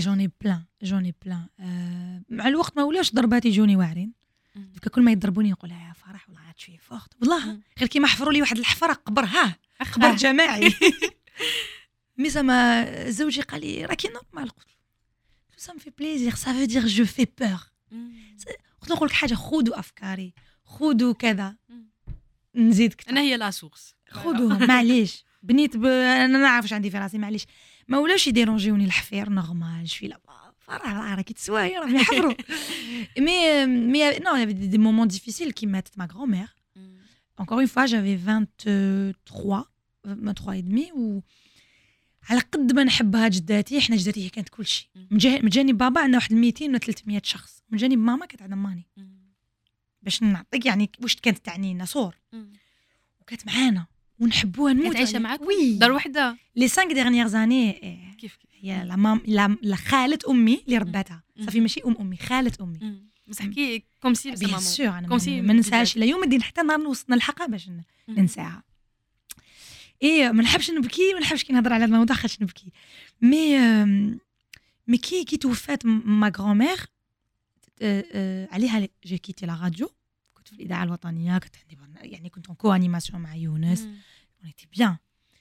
Speaker 1: جوني بلان مع الوقت ما ولاش ضربات يجوني واعرين كل ما يضربوني يقول يا فرح والله عاد شويه فوقت والله غير كيما حفروا لي واحد الحفره قبر جماعي
Speaker 2: مي زعما زوجي قال لي راكي نورمال. قلت له سا مفي بليزير سا فو دير جو في بور. قلت له نقول لك حاجه خذوا افكاري خذوا كذا نزيدك
Speaker 1: انا هي لا سورس
Speaker 2: خذوها معليش بنيت انا ما نعرفش عندي في راسي معليش ما ولاش يديرونجيوني الحفير نورمال شوي لا فراه راكي تسواي راهم يحفروا مي نو دي مومون ديفيسيل كي ماتت ما غرامير encore une fois j'avais 23 et demi و على قد ما نحبها جداتي احنا جداتي هي كانت كل شيء من جانب بابا عندنا واحد 200 ولا 300 شخص من جانب ماما كانت عندها ماني باش نعطيك يعني واش كانت تعني لنا صور وكانت معانا ونحبوها نموت.
Speaker 1: كانت عايشه معاك
Speaker 2: وي
Speaker 1: دار وحده
Speaker 2: لي 5 ديرنيير زاني
Speaker 1: كيف
Speaker 2: هي لا خالة امي اللي رباتها صافي ماشي امي خالة امي
Speaker 1: بس حكي كوم سي
Speaker 2: بيان سور انا ما ننساهاش الى يوم الدين حتى نهار وصلنا الحلقه باش ننساها. ايه ما نحبش نبكي ما نحبش كي نهضر على هذا الموضوع خاطش نبكي مي كي توفات ما غرامير عليها جي كيتي لا راديو كنت في الاذاعه الوطنيه كنت عندي يعني كنت ان كو انيماسيون مع يونس ونيتي بيان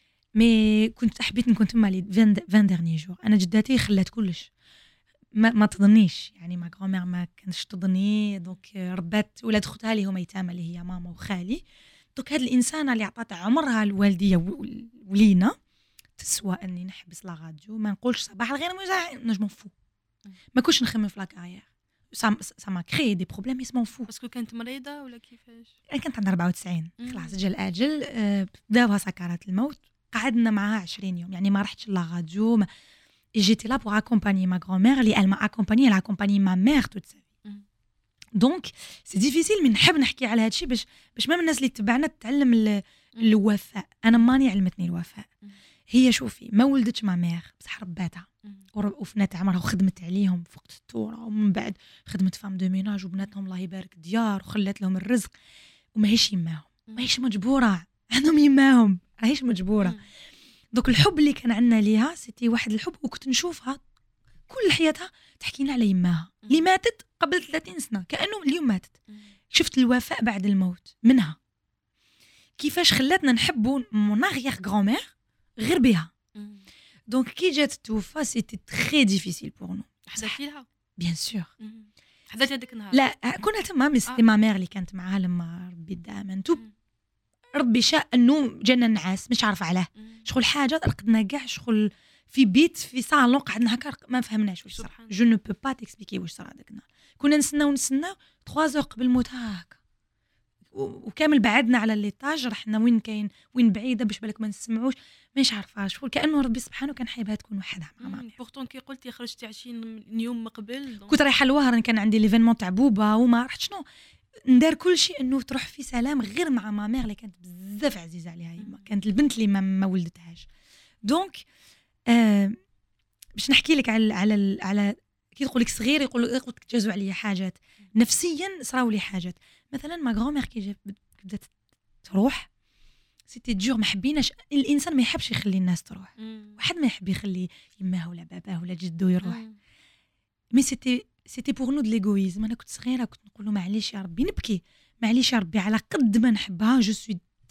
Speaker 2: مي كنت حبيت نكون تما لي 20 ديرني جور. انا جداتي خلات كلش ما تظنيش يعني ما غرامير ما كانش تظني دونك ربات ولاد اختها اللي هما يتامى اللي هي ماما وخالي دونك هاد الانسانه اللي عطات عمرها الوالديه ولينا تسوى اني نحبس لا راديو ما نقولش صباح الخير نجم فو ما كنتش نخمم في لا كارير ça m'a créé des problèmes اسمهم فو
Speaker 1: باسكو كانت مريضه ولا كيفاش
Speaker 2: انا كانت عندها 94 خلاص جا الاجل بداوها سكرات الموت قعدنا معها 20 يوم يعني ما رحتش لا راديو ما j'étais là pour accompagner ma grand-mère اللي elle m'a accompagné elle a accompagné ma mère toute sa vie donc c'est difficile من نحب نحكي على هادشي باش ما الناس اللي تبعنا تتعلم الوفاء. انا ماني علمتني الوفاء هي شوفي ما ولدتش ما مير بصح رباتها وفنات عمرها وخدمت عليهم فوق الثوره ومن بعد خدمت فام دو ميناج وبناتهم الله يبارك ديار وخلات لهم الرزق وماهيش يماهم ماهيش مجبوره عندهم يماهم راهيش مجبوره. دوك الحب اللي كان عندنا ليها سيتي واحد الحب وكنت نشوفها كل حياتها تحكينا على يماها اللي ماتت قبل 30 سنه كانه اليوم ماتت. شفت الوفاء بعد الموت منها كيفاش خلاتنا نحبوا مون اغيير غرامير غير بها. دونك كي جات توفى سيتي تري ديفيسيل بور نو.
Speaker 1: حضرتي لها
Speaker 2: بيان سور
Speaker 1: حضرتي هذاك النهار
Speaker 2: لا كنا تما مي سيتي ما مير اللي كانت معاها لما ربي دائما ربي شاء انه جانا نعاس مش عارفه علاه شغل حاجه رقدنا كاع شغل في بيت في صالون قعدنا هكا ما فهمناش واش صرا جو نو بو با تيكسبليكي واش صرا داك النهار كنا نستناو 3 اور قبل الموت هكا وكامل بعدنا على ليطاج رحنا وين بعيده باش بالك ما نسمعوش مش عارفه شغل كانه ربي سبحانه كان حايبها تكون وحدها مع مامي.
Speaker 1: بورتون كي قلتي خرجتي 20 يوم قبل
Speaker 2: كنت رايحه لوهران كان عندي ليفينمون تاع بوبا وما رحت شنو ندار كل شيء انه تروح في سلام غير مع مامير اللي كانت بزاف عزيزه عليها يما كانت البنت اللي ما ولدتهاش. دونك باش نحكي لك على كي تقول لك صغير يقول لك تجازوا عليا حاجات نفسيا صراو لي حاجات مثلا ما غرامير كي بدات تروح سيتي دجور ما حبيناش الانسان ما يحبش يخلي الناس تروح واحد ما يحب يخلي يماه ولا باباه ولا جدو يروح مي سيتي بور نو د ليغويزم. انا كنت صغيره كنت نقول له معليش يا ربي نبكي معليش يا ربي على قد ما نحبها جو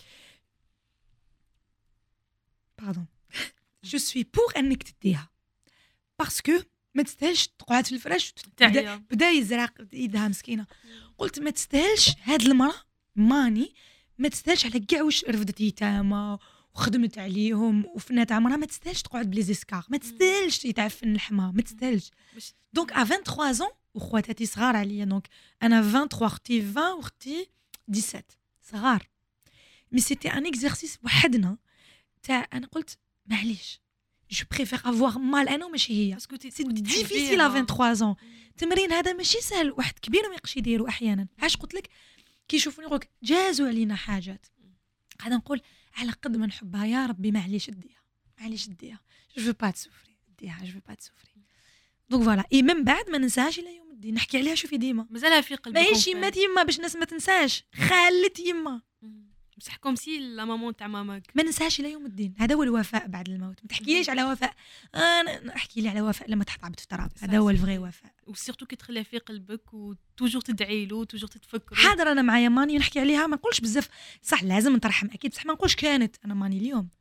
Speaker 2: سوي بور انك تديها باسكو ما تستاهلش تقعد في الفراش بدا يزرق ايدها مسكينه قلت ما تستاهلش هاد المراه ماني ما تستاهلش على كاع واش رفدت يتامى وخدمت عليهم وفنات عمرها ما تستاهلش تقعد بلي زيسكار ما تستاهلش يتعفن لحمها ما تستاهلش. دونك ا 23 ans وخواتاتي صغار عليا دونك انا 23 اختي 20 واختي 17 صغار مي سيتي ان اكزرسيس وحدنا تاع انا قلت معليش جو بريفير افوار مال انا وماشي هي باسكو سي ديفيسيل ا 23 ans تمرين هذا ماشي سهل واحد كبير ما يقدرش يديرو احيانا علاش قلت لك كي يشوفوني يقولوا جازوا علينا حاجات قاعده نقول على قد ما نحبها يا ربي معليش اديها جو فو با تسوفري اديها جو فو با تسوفري. دونك فوالا اي من بعد ما ننساهاش الى يوم الدين نحكي عليها شوفي ديما
Speaker 1: مازالها في قلبي
Speaker 2: ماهيش يما باش الناس ما تنساش خالت يما
Speaker 1: بصح كوم سي لا مامون تاع ماماك
Speaker 2: ما ننساهاش الى يوم الدين. هذا هو الوفاء بعد الموت. ما تحكيليش على وفاء انا احكي لي على وفاء لما تحط في التراب هذا هو الفغي وفاء
Speaker 1: وسيرتو كي تخليها في قلبك وتوجور تدعي له توجور تتفكر
Speaker 2: حاضر. انا معايا ماني نحكي عليها ما نقولش بزاف صح لازم نترحم اكيد بصح ما نقولش كانت انا ماني اليوم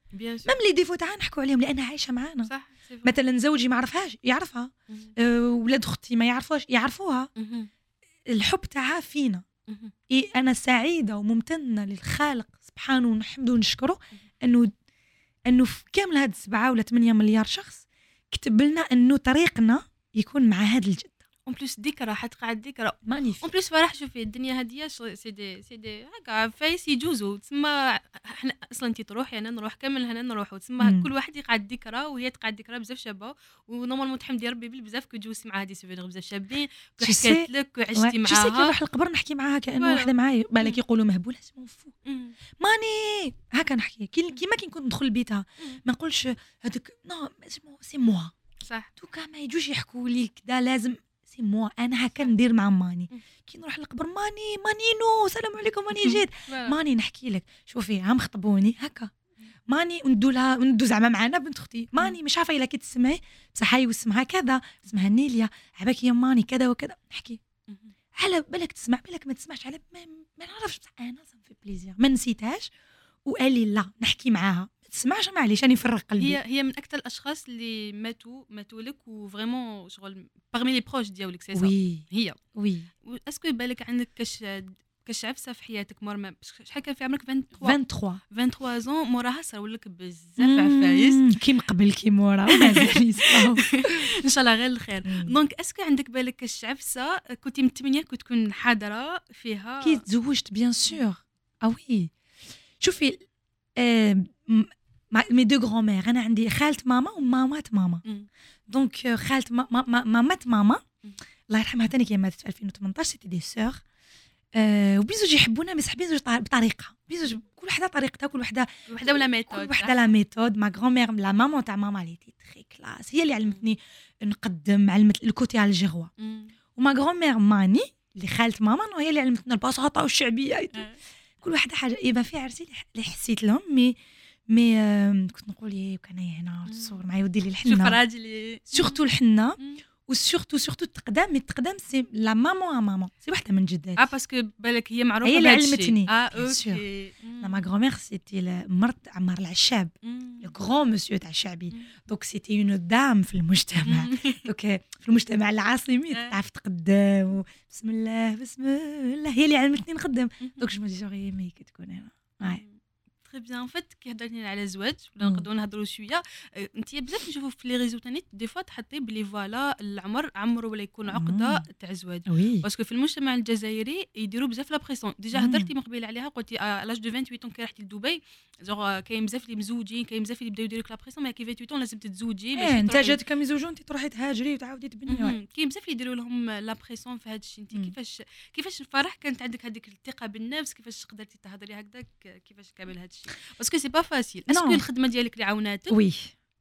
Speaker 1: بيان سور
Speaker 2: ميم لي ديفو تاعنا نحكوا عليهم لانها عايشه معانا.
Speaker 1: صح
Speaker 2: مثلا زوجي ما عرفهاش يعرفها، ولاد اختي ما يعرفوش يعرفوها. الحب تاعها فينا. انا سعيده وممتنه للخالق سبحانه ونحمده ونشكره انه في كامل هاد 7 ولا 8 مليار شخص كتب لنا انه طريقنا يكون مع هاد الجده.
Speaker 1: اون بليس ذكرى حتقعد ذكرى
Speaker 2: مانيفيك.
Speaker 1: اون بليس فرح. شوفي الدنيا هاديه سي دي هكا فايس يجوزوا تسمى. احنا اصلا انت تروحي انا نروح كامل هنا نروحوا تسمى كل واحد يقعد ذكرى وهي تقعد ذكرى بزاف شابه. ونورمالمون تحمدي ربي بزاف كو تجوزي مع هذه سوفينير بزاف شابين حكيت لك وعشتي معاها.
Speaker 2: كي نروح القبر نحكي معاها كانه وحده معايا بالك يقولوا مهبوله اسمه فو ماني هكا نحكي كيما كي نكون ندخل لبيتها ما نقولش هذاك نو اسمه سي موا
Speaker 1: صح.
Speaker 2: دوكا ما يجوش يحكوا لي كذا لازم سي موا انا هكا ندير مع ماني. كي نروح للقبر مانينو سلام عليكم ماني جيت ماني نحكي لك شوفي هم خطبوني هكا ماني وندو زعما معنا بنت اختي ماني مش عارفه الا كي تسمعي بصح هاي واسمها كذا اسمها نيليا عباك يا ماني كذا وكذا نحكي على بالك تسمع بالك ما تسمعش على ما نعرفش بصح انا في بليزير ما نسيتهاش وقال لي لا نحكي معاها ما تسمعش معليش راني نفرق قلبي.
Speaker 1: هي من اكثر الاشخاص اللي ماتوا لك وفريمون شغل باغمي لي بروش ديالك سي
Speaker 2: وي
Speaker 1: هي
Speaker 2: وي.
Speaker 1: اسكو بالك عندك كاش عفسه في حياتك مورا شحال كان في عمرك 23 زون موراها صراو لك بزاف عفايس
Speaker 2: كي قبل كي مورا مازال يصراو
Speaker 1: ان شاء الله غير الخير. دونك اسكو عندك بالك كاش عفسه كنتي متمنيه كنت تكون حاضره فيها
Speaker 2: كي تزوجت بيان سور وي. شوفي مي دو غران مير انا عندي خالة ماما ومامات ماما. دونك خالة مامات ماما الله يرحمها ثاني كي ماتت في 2018 سيتي دي سور وبيزوج يحبونا بس حابين زوج بطريقه بيزوج كل وحده طريقتها كل وحده
Speaker 1: ولا ميثود
Speaker 2: كل وحده لا ميثود. ما غران مير لا مامون تاع ماما اللي تري كلاس هي اللي علمتني نقدم علمت الكوتي على الجغوه. وما غران مير ماني اللي خالة ماما هي اللي علمتنا البساطه والشعبيه كل واحده حاجه. يبقى في عرسي اللي حسيت لهم مي كنت نقول ايه كان هنا تصور معايا ودي لي الحنه
Speaker 1: شوف راجلي
Speaker 2: سورتو الحنه وسورتو التقدام سي لا مامون سي وحده من جداتي
Speaker 1: باسكو بالك هي معروفه
Speaker 2: هي اللي علمتني.
Speaker 1: اوكي
Speaker 2: لا ما غرامير سيتي مرت عمار العشاب لو غران مسيو تاع الشعبي. دونك سيتي اون دام في المجتمع. دونك في المجتمع العاصمي تعرف تقدم بسم الله هي اللي علمتني نقدم. دونك جو مدي جوغي مي كي تكون هنا
Speaker 1: تري بيان. فات كي هضرتي على الزواج ولا نقدروا نهضروا شويه انت بزاف نشوفوا في لي ريزو تاني دي فوا تحطي بلي فوالا العمر عمره ولا يكون عقده تاع الزواج باسكو في المجتمع الجزائري يديروا بزاف لا بريسيون. ديجا هضرتي من قبيل عليها قلتي لاج دو 28 كي رحتي لدبي زوغ كاين بزاف اللي مزوجين كاين بزاف اللي بداو يديروا لك لا بريسيون ما كي 28 لازم تتزوجي باش
Speaker 2: انت جاتك مزوجون انت تروحي تهاجري وتعاودي تبني.
Speaker 1: كاين بزاف اللي يديروا لهم لا بريسيون في هذا الشيء. انت كيفاش الفرح كانت عندك هذيك الثقه بالنفس كيفاش قدرتي تهضري هكذاك كيفاش كامل هذا الشيء باسكو سي با فاسيل. اسكو الخدمه ديالك اللي عاوناتك؟
Speaker 2: وي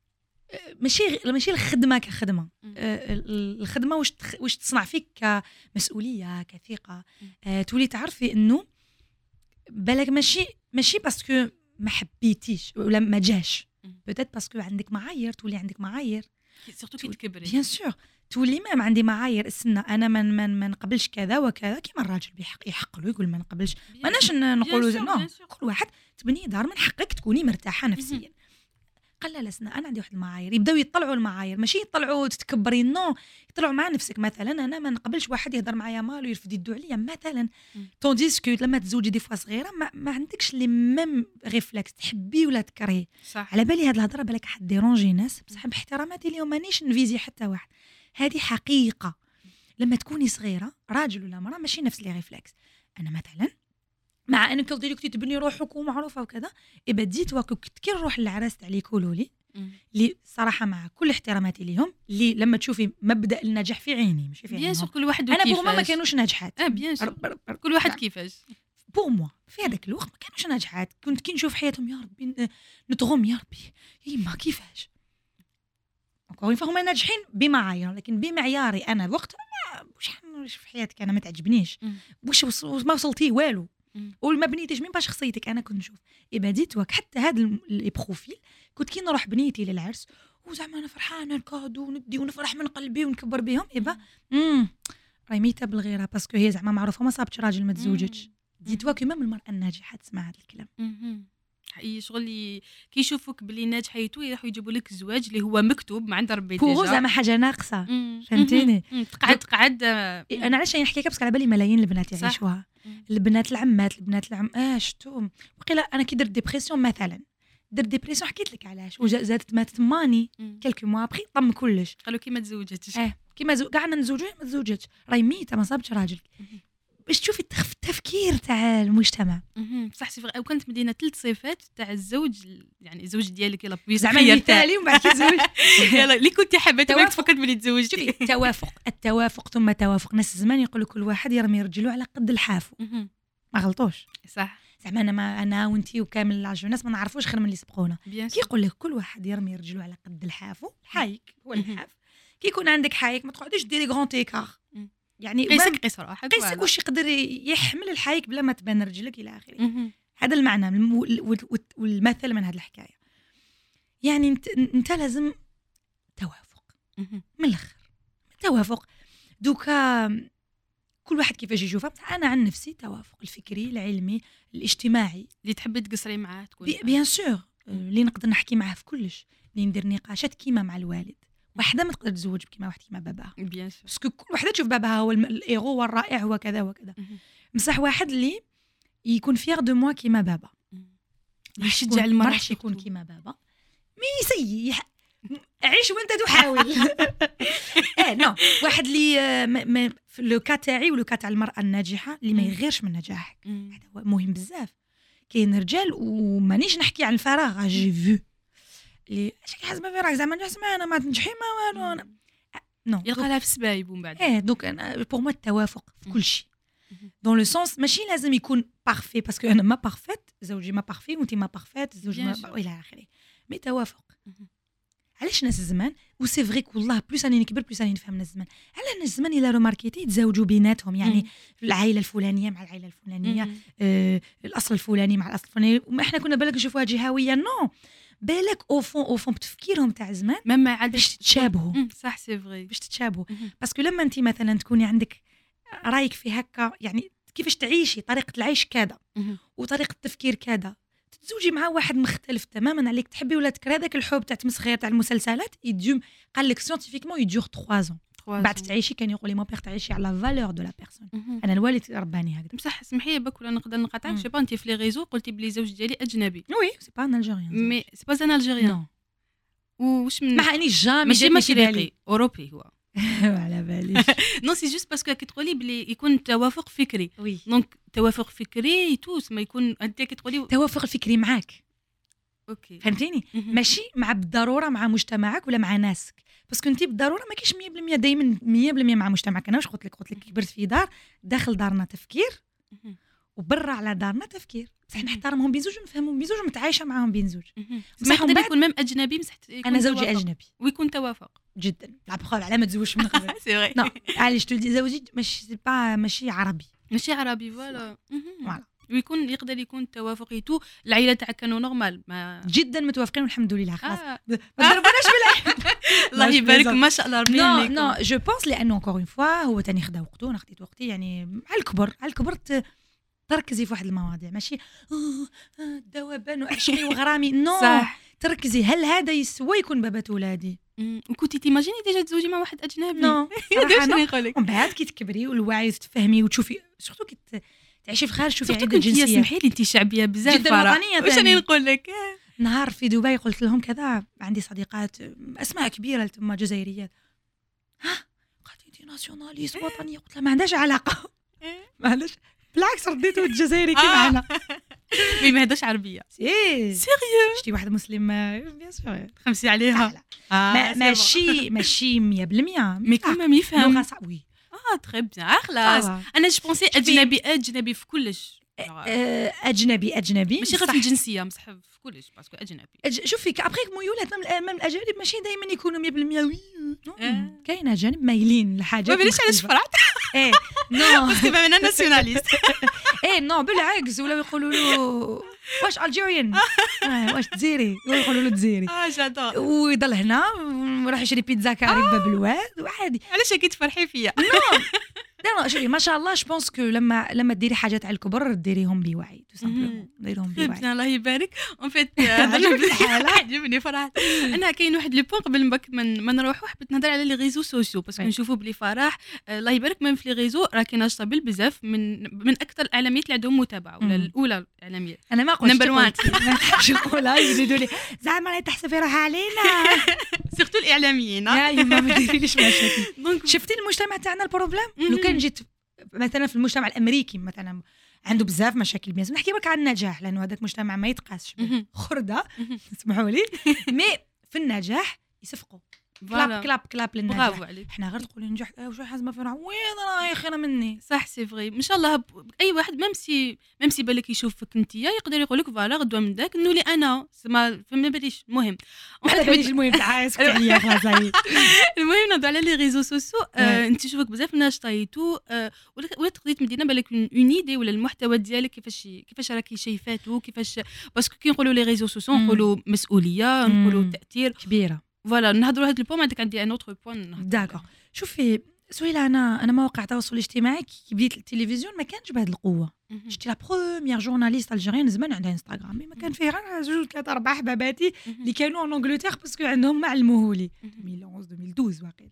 Speaker 2: ماشي الخدمه كخدمه الخدمه واش تصنع فيك كمسؤوليه كثقه. تولي تعرفي انه بالك ماشي باسكو ما حبيتيش ولا ما جاش بوتيت باسكو عندك معايير تولي عندك معايير
Speaker 1: سورتو كي تكبري
Speaker 2: بيان سور تولي ما عندي معايير السنه انا ما نقبلش كذا وكذا كيما الراجل يحق له يقول ما نقبلش ماناش نقولوا نو كل واحد تبني دار من حقك تكوني مرتاحه نفسيا. قال لا سنة انا عندي واحد المعايير يبداو يطلعوا المعايير ماشي يطلعوا تتكبري نو يطلعوا مع نفسك. مثلا انا ما نقبلش واحد يهضر معايا مال ويرفد يدو عليا مثلا تونديسكو لما تزوجي دي فوا صغيره ما عندكش لي ميم ريفلكس تحبي ولا تكرهي. على بالي هاد الهضره بالك حد ديرونجي ناس بصح باحتراماتي اليوم مانيش نفيزي حتى واحد. هذه حقيقه لما تكوني صغيره راجل ولا مراه ماشي نفس لي ريفلكس. انا مثلا مع انك كنتي تبني روحك ومعروفه وكذا بديت وكنت كي نروح للعراس تاع لي يقولوا لي صراحه مع كل احتراماتي ليهم اللي لما تشوفي مبدا النجاح في عيني ماشي في عيني
Speaker 1: بيان سور كل واحد
Speaker 2: انا بور ما كانوش ناجحات
Speaker 1: بيان سور كل واحد كيفاش
Speaker 2: بور موا في هذاك الوقت ما كانوش ناجحات. كنت كي نشوف حياتهم يا ربي نتغم يا ربي يما كيفاش encore une fois هما ناجحين بمعايير لكن بمعياري انا وقت واش في حياتك انا ما تعجبنيش واش ما وصلتي والو وما بنيتيش مين با شخصيتك. انا كنت نشوف بديت حتى هذا لي بروفيل كنت كي نروح بنيتي للعرس وزعما انا فرحانه الكادو وندي ونفرح من قلبي ونكبر بهم راهي ميته بالغيره باسكو هي زعما معروفه ما صابتش راجل ما تزوجتش. ديت واك ميم المراه الناجحه تسمع هذا الكلام
Speaker 1: شغل كي يشوفوك بلي ناجحه يتو يروحوا يجيبوا لك الزواج اللي هو مكتوب ما عند ربي
Speaker 2: بوغو زعما حاجه ناقصه فهمتيني.
Speaker 1: تقعد
Speaker 2: انا علاش نحكي لك باسكو على بالي ملايين البنات يعيشوها، البنات العمات البنات شفتوهم وقيلا انا كي درت ديبرسيون مثلا درت ديبرسيون حكيت لك علاش وزادت ماتت ماني كلكو موا ابخي طم كلش
Speaker 1: قالوا كي ما تزوجتش
Speaker 2: كيما قعدنا نزوجوا ما تزوجتش راهي ميته ما صابتش راجل باش تشوفي التفكير تاع المجتمع.
Speaker 1: صح سي فري. وكانت مدينه 3 صفات تاع الزوج، يعني الزوج ديالك يلا
Speaker 2: زعما مثالي ومن بعد كيتزوج
Speaker 1: يلا اللي كنت حابه ما تفكرت بلي تزوجتي.
Speaker 2: التوافق ثم توافق. ناس الزمان يقولوا كل واحد يرمي رجلو على قد الحافو، ما غلطوش
Speaker 1: صح.
Speaker 2: زعما انا وانتي وكامل العشر ناس ما نعرفوش غير من اللي سبقونا. كي يقول لك كل واحد يرمي رجلو على قد الحافو، الحايك هو الحاف. كي يكون عندك حايك ما تقعديش ديري غون تيكار، يعني
Speaker 1: قيس روحك
Speaker 2: قيس واش يقدر يحمل الحايك بلا ما تبان رجلك الى اخره. هذا المعنى والمثل من هذه الحكايه. يعني انت لازم توافق من الاخر، توافق. دوكا كل واحد كيفاش يشوفها. انا عن نفسي توافق الفكري العلمي الاجتماعي
Speaker 1: اللي تحبي تقصري معاه تكون
Speaker 2: بيان سور اللي نقدر نحكي معاه في كلش، اللي ندير نقاشات كيما مع الوالد. وحده ما تقدر تزوج كيما واحد كيما باباها
Speaker 1: بيان سور،
Speaker 2: باسكو كل وحده تشوف باباها هو الايغو والرائع هو كذا وكذا. بصح واحد اللي يكون فيغ دو موا كيما بابا،
Speaker 1: يشجع
Speaker 2: المرأة، ما راحش يكون كيما بابا، مي سيء عيش وانت تحاول. نو واحد اللي في لو كا تاعي ولو كا تاع المرأة الناجحة اللي ما يغيرش من نجاحك، هذا هو مهم بزاف. كاين رجال ومانيش نحكي عن الفراغ، جي فيو اللي شكي حاسبه في راك زعما نسمع انا ما تنجحي ما والو نو
Speaker 1: يلقى لها في السبايب ومن بعد
Speaker 2: دوك انا بور مو التوافق في كل شيء دون لو سونس ماشي لازم يكون بارفي باسكو انا ما بارفيت، زوجي ما بارفي وانت ما بارفيت، زوجي ما الى اخره، مي توافق. علاش ناس الزمان وسي فري والله بلوس اني نكبر بلوس اني نفهم ناس الزمان، على ناس الزمان الى روماركيتي يتزوجوا بيناتهم، يعني العائله الفلانيه مع العائله الفلانيه، الاصل الفلاني مع الاصل الفلاني. احنا كنا بالك نشوفوها جهويه، نو بالك او فون بتفكيرهم تاع زمان
Speaker 1: ما عاد
Speaker 2: باش تتشابهوا.
Speaker 1: صح سي فري،
Speaker 2: باش تتشابهوا. باسكو لما انت مثلا تكوني عندك رايك في هكا، يعني كيفاش تعيشي، طريقه العيش كذا وطريقه التفكير كذا، تتزوجي مع واحد مختلف تماما عليك، تحبي ولا تكرهي. هذاك الحب تاع تمسخير تاع المسلسلات يدوم، قال لك سيانتيفيكمون يدور 3 ans بعد تعيشي. كان يقول لي مون بيغ تعيشي على فالور دو لا بيرسون. انا الوالد رباني هكذا.
Speaker 1: بصح سمحي لي بك ولا نقدر نقاطعك، جو با انت في لي ريزو قلتي بلي زوج ديالي اجنبي.
Speaker 2: وي سي با ان الجيريان،
Speaker 1: مي سي با ان الجيريان. واش من
Speaker 2: ما اني جامي
Speaker 1: ماشي مشرقي اوروبي هو
Speaker 2: على باليش.
Speaker 1: نو سي جوست باسكو كي تقولي بلي يكون توافق فكري،
Speaker 2: وي
Speaker 1: دونك توافق فكري يتوس ما يكون انت كي تقولي
Speaker 2: توافق الفكري معاك،
Speaker 1: اوكي
Speaker 2: فهمتيني؟ ماشي مع بالضروره مع مجتمعك ولا مع ناسك، باسكو انت بالضروره ما كاينش 100% دائما 100% مع مجتمعك. انا واش قلت لك كبرت في دار، داخل دارنا تفكير وبرا على دارنا تفكير، بصح نحترمهم بين زوج ونفهمهم بين زوج ومتعايشه معاهم بين زوج.
Speaker 1: ما يقدر يكون ميم اجنبي بصح
Speaker 2: انا زوجي اجنبي
Speaker 1: ويكون توافق
Speaker 2: جدا. لا بخول على ما تزوجش من قبل.
Speaker 1: سي فري.
Speaker 2: نو علاش تولي زوجي ماشي عربي،
Speaker 1: ماشي عربي فوالا. ويكون يقدر يكون توافق يتو. العائله تاعك كانوا نورمال ما
Speaker 2: جدا متوافقين والحمد لله. خلاص ما ضربناش بالعين.
Speaker 1: الله يبارك ما شاء الله ربي
Speaker 2: يهنيكم. نو جو بونس لانه انكور اون فوا هو تاني خدا وقته انا خديت وقتي، يعني على الكبر تركزي في واحد المواضيع، ماشي دوبان وعشقي وغرامي. نو
Speaker 1: صح.
Speaker 2: تركزي هل هذا يسوى يكون بابا ولادي.
Speaker 1: وكنتي تيماجيني ديجا تزوجي مع واحد اجنبي؟
Speaker 2: نو
Speaker 1: نقولك
Speaker 2: ومن بعد كي تكبري والوعي تفهمي وتشوفي سورتو كي تعيشي في خارج تشوفي عده
Speaker 1: جنسيات. سمحي لي انت شعبيه بزاف
Speaker 2: جدا وطنيه.
Speaker 1: واش راني نقول لك؟
Speaker 2: نهار في دبي قلت لهم كذا، عندي صديقات اسماء كبيره تما جزائريات، قالت انت ناسيوناليست وطنيه. قلت لها ما عندهاش علاقه، معلش بالعكس رديتو الجزائري كيما انا.
Speaker 1: مي ما هداش عربيه.
Speaker 2: سيريو شتي واحد مسلم بيان سور
Speaker 1: خمسي عليها.
Speaker 2: ماشي 100%
Speaker 1: مي كما يفهم
Speaker 2: لغه صعبه. وي
Speaker 1: تري بيان خلاص. انا جو بونسي اجنبي في كلش.
Speaker 2: اجنبي
Speaker 1: ماشي غير في الجنسيه، بصح في كلش باسكو اجنبي.
Speaker 2: شوفي ابخي ميولات من الاجانب ماشي دائما يكونوا 100% وي. كاين اجانب مايلين لحاجات.
Speaker 1: ما بليش علاش فرحت.
Speaker 2: نو
Speaker 1: باسكو انا ناسيوناليست.
Speaker 2: نو بالعكس، ولا يقولوا له واش الجيريان واش تزيري، يقولوا له تزيري.
Speaker 1: جادور.
Speaker 2: ويضل هنا وراح يشري بيتزا كاري بباب الواد وعادي.
Speaker 1: علاش كي تفرحي فيا؟
Speaker 2: لا شوفي ما شاء الله جو بونس كو لما ديري حاجات على الكبر ديريهم بوعي تو سامبلومون ديريهم بوعي.
Speaker 1: الله يبارك اون فيت عجبني فرح. انا كاين واحد لو بوين قبل ما نروحوا حبيت نهضر على لي ريزو سوسيو باسكو نشوفوا بلي فرح الله يبارك من في لي ريزو راه كاين اشطابل بزاف من اكثر الاعلاميات اللي عندهم متابعه ولا الاولى الاعلاميه.
Speaker 2: انا ما قلت
Speaker 1: نمبر 1
Speaker 2: ما نحبش نقولها يزيدوا لي زعما راهي تحسبي روحها علينا
Speaker 1: سيرتو الاعلاميين.
Speaker 2: لا يما ما ديريليش مشاكل. شفتي المجتمع تاعنا البروبليم لو كان جيت مثلا في المجتمع الامريكي مثلا عنده بزاف مشاكل بيان نحكي برك على النجاح لانه هذاك مجتمع ما يتقاسش خرده اسمحوا لي مي في النجاح يصفقوا كلاب للنجاح. احنا غير تقولي نجحت واش حازمه فرح وين راهي خير مني
Speaker 1: صح سي فري ان شاء الله اي واحد ميمسي بالك يشوفك انت يقدر يقول لك فوالا غدوه من داك نولي انا ما باليش المهم
Speaker 2: المهم تاع اسكت عليا خلاص هي
Speaker 1: المهم نهضر على لي ريزو سوسيو انت تشوفك بزاف ناس طايتو ولا تقدري تمدينا بالك اون ايدي ولا المحتوى ديالك كيفاش راكي شايفاتو كيفاش باسكو كي نقولوا لي ريزو سوسيو نقولوا مسؤوليه نقولوا تاثير
Speaker 2: كبيره
Speaker 1: فوالا نهضروا هذا البوين عندك عندي ان اوتر بوين
Speaker 2: داكور. شوفي سهيله انا مواقع التواصل الاجتماعي كي بديت التلفزيون ما كانش بهذه القوه. شتي لا بروميير جورناليست الجيريان زمان عندها انستغرام ما كان فيه غير 2 3 4 حباباتي اللي كانوا ان انجلتير باسكو عندهم ما علموهولي 2011 2012 واقيلا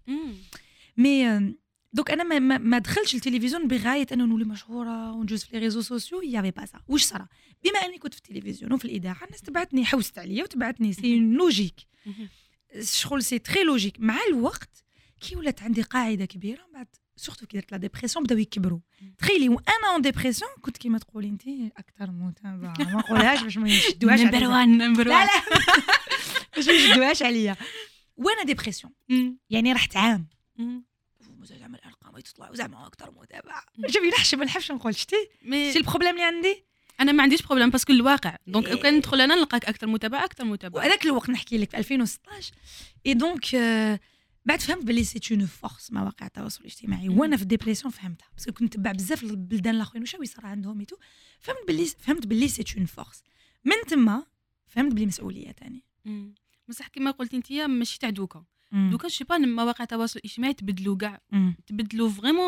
Speaker 2: مي دوك انا ما دخلتش التلفزيون بغايه انه نولي مشهوره ونجوز في لي ريزو سوسيو يافي با سا. واش صرا بما اني كنت في التلفزيون وفي الاذاعه الناس تبعتني حوست عليا وتبعتني سي لوجيك شغل سي تري لوجيك. مع الوقت كي ولات عندي قاعده كبيره بعد سورتو كي درت لا ديبرسيون بداو يكبروا تخيلي وانا اون ديبرسيون كنت كيما تقولي انت اكثر متابعه ما نقولهاش باش ما يشدوهاش
Speaker 1: نمبر 1
Speaker 2: باش ما يشدوهاش عليا وانا ديبرسيون يعني رحت عام زعما الارقام تطلع وزعما اكثر متابعه شوفي نحشم ما نحبش نقول شتي سي البروبليم اللي عندي
Speaker 1: انا ما عنديش بروبليم باسكو الواقع دونك كان ندخل انا نلقاك اكثر متابعه
Speaker 2: وهذاك الوقت نحكي لك في 2016 اي دونك بعد فهمت بلي سي اون فورس مواقع التواصل الاجتماعي وانا في الديبرسيون فهمتها باسكو كنت نتبع بزاف البلدان الاخرين واش يصرى عندهم ايتو فهمت بلي سي اون فورس من تما فهمت بلي مسؤوليه ثاني
Speaker 1: بصح كما قلتي انت ماشي تاع دوكا دوكا شي با مواقع التواصل الاجتماعي تبدلوا كاع تبدلوا فريمون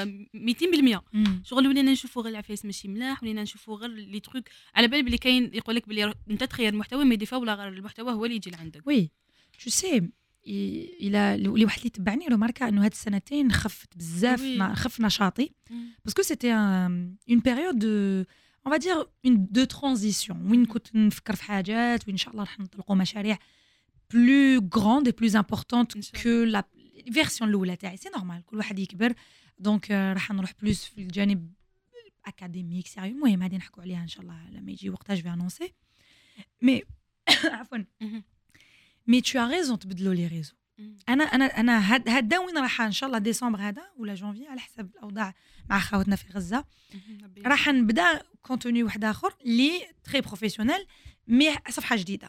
Speaker 1: 200% شغل ولينا نشوفوا غير العفايس ماشي ملاح ولينا نشوفوا غير لي تروك على بال بلي كاين يقول لك بلي انت تخير المحتوى ما ديفا ولا غير المحتوى هو اللي يجي لعندك.
Speaker 2: وي جو سي الى اللي واحد اللي تبعني له ماركه انه هاد السنتين خفت بزاف خف نشاطي باسكو سيتي اون بيريود اون فا دير اون دو ترانزيسيون وين كنت نفكر في حاجات وان شاء الله راح نطلقوا مشاريع plus grande et plus importante que la version الاولى تاعي سي نورمال كل واحد يكبر دونك راح نروح بلوس في الجانب اكاديميك سيريو المهم هذه نحكوا عليها ان شاء الله لما يجي وقتاش في انونسي مي عفوا مي tu as raison تبدلوا لي ريزو انا هدا وين راح ان شاء الله ديسمبر هذا ولا جونفي على حسب الاوضاع مع خاوتنا في غزه راح نبدا كونتوني واحد اخر لي تري بروفيسيونيل مي صفحه جديده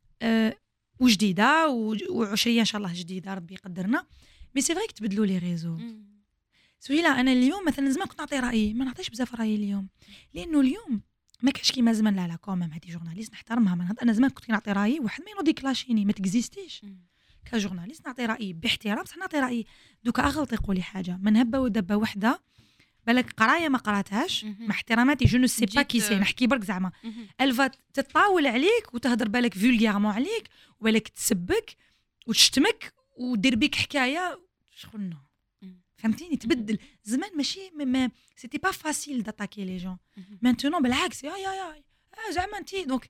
Speaker 2: وجديده وعشريه ان شاء الله جديده ربي يقدرنا مي سي فري تبدلوا لي ريزو سهيله. انا اليوم مثلا زمان كنت نعطي رايي ما نعطيش بزاف رايي اليوم لانه اليوم ما كاش كيما زمان. لا كومام هذه جورناليست نحترمها انا زمان كنت نعطي رايي واحد ما ينوض كلاشيني ما تكزيستيش كجورناليست نعطي رايي باحترام بصح نعطي رايي دوكا اغلط يقولي حاجه من هبه ودبه وحده بالك قرايه ما قراتهاش مع احتراماتي جو نو سي با كي سي نحكي برك زعما الفا تطاول عليك وتهضر بالك فولغيرمون عليك وبالك تسبك وتشتمك ودير بيك حكايه شغلنا فهمتيني تبدل زمان ماشي ما سيتي با فاسيل داتاكي لي جون مانتونون بالعكس يا زعما انتي دونك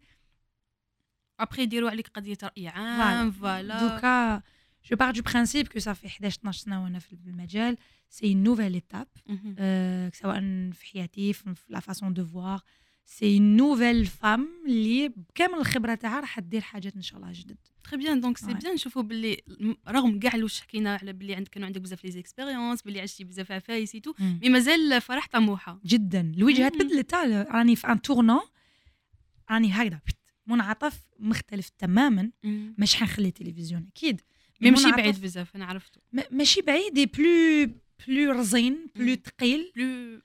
Speaker 1: ابري يديروا عليك قضيه راي عام فوالا
Speaker 2: دوكا جو بار دو برينسيپ كو صافي 11 12 سنه وانا في المجال سي une nouvelle étape سواء في حياتي في لا فاسون دو فوار سي une nouvelle femme اللي بكامل الخبره تاعها راح دير حاجات ان شاء الله جدد
Speaker 1: تري بيان دونك سي بيان نشوفوا باللي رغم كاع واش حكينا على باللي كانوا عندك بزاف لي زيكسبيريونس باللي عشتي بزاف عفايس تو مي مازال فرح طموحه
Speaker 2: جدا الوجهه تبدلت راني في ان تورنون راني هكذا منعطف مختلف تماما مش حنخلي التلفزيون اكيد
Speaker 1: ماشي بعيد بزاف انا عرفته
Speaker 2: ماشي بعيد دي بلو رزين بلو ثقيل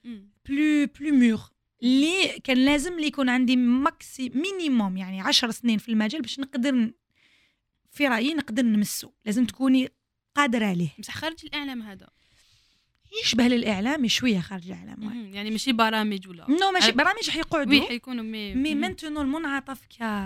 Speaker 2: بلو مور اللي كان لازم اللي يكون عندي ماكسي مينيموم يعني 10 سنين في المجال باش نقدر في رايي نقدر نمسو لازم تكوني قادره عليه
Speaker 1: بصح خارج الاعلام هذا
Speaker 2: يشبه للاعلام شويه خارج الاعلام.
Speaker 1: يعني ماشي برامج ولا
Speaker 2: نو ماشي برامج حيقعدوا
Speaker 1: حيكونوا
Speaker 2: مي مانتونو المنعطف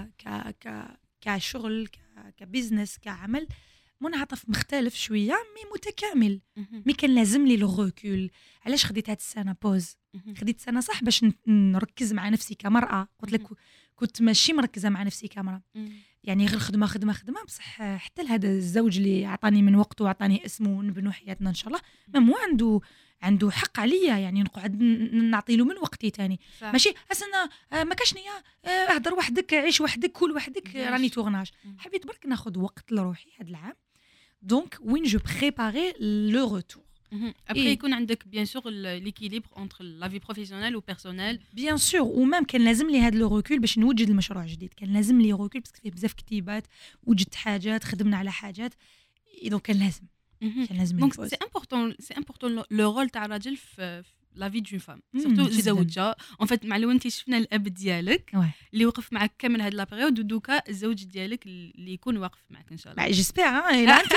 Speaker 2: كشغل كبزنس كعمل منعطف مختلف شويه مي متكامل. مي كان لازم لي لو ريكول. علاش خديت هاد السنه بوز؟ خديت سنه صح باش نركز مع نفسي كمراه. قلت لك كنت ماشي مركزه مع نفسي كمراه، يعني غير خدمه بصح حتى لهذا الزوج اللي عطاني من وقته وعطاني اسمه ونبنوا حياتنا ان شاء الله مو عنده حق عليا، يعني نقعد نعطي له من وقتي تاني. ماشي اصلا ما كاش نيه اهضر وحدك عيش وحدك كل وحدك راني تورناج. حبيت برك ناخذ وقت لروحي هذا العام دونك وين جو بريباري لو روتور.
Speaker 1: Après, يكون عندك bien sûr l'équilibre entre la vie professionnelle ou personnelle.
Speaker 2: Bien sûr, ومام كان لازم لي هذا لو ريكول باش نوجد المشروع جديد. كان لازم لي ريكول باسكو فيه بزاف كتيبات، وجدت حاجات، خدمنا على حاجات، دونك كان لازم.
Speaker 1: Donc c'est important le rôle تاع الراجل في la vie d'une femme. Surtout الزوجة. En fait مع لو انت شفنا الاب ديالك اللي وقف معك كامل هاد لا بيريود، ودوكا الزوج ديالك اللي يكون واقف معك ان شاء الله.
Speaker 2: جيسبيغ لا انت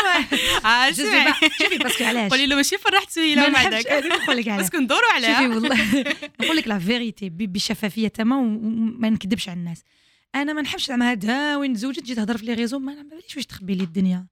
Speaker 2: شوفي باسكو علاش
Speaker 1: قولي له ماشي فرحت سويله
Speaker 2: ما عندك نقول لك علاش
Speaker 1: باسكو ندوروا عليها.
Speaker 2: شوفي والله نقول لك لا فيريتي بشفافيه تمام وما نكذبش على الناس. انا ما نحبش زعما هذا وين تزوجت تجي تهضر في لي ريزو ما باليش واش تخبي لي الدنيا.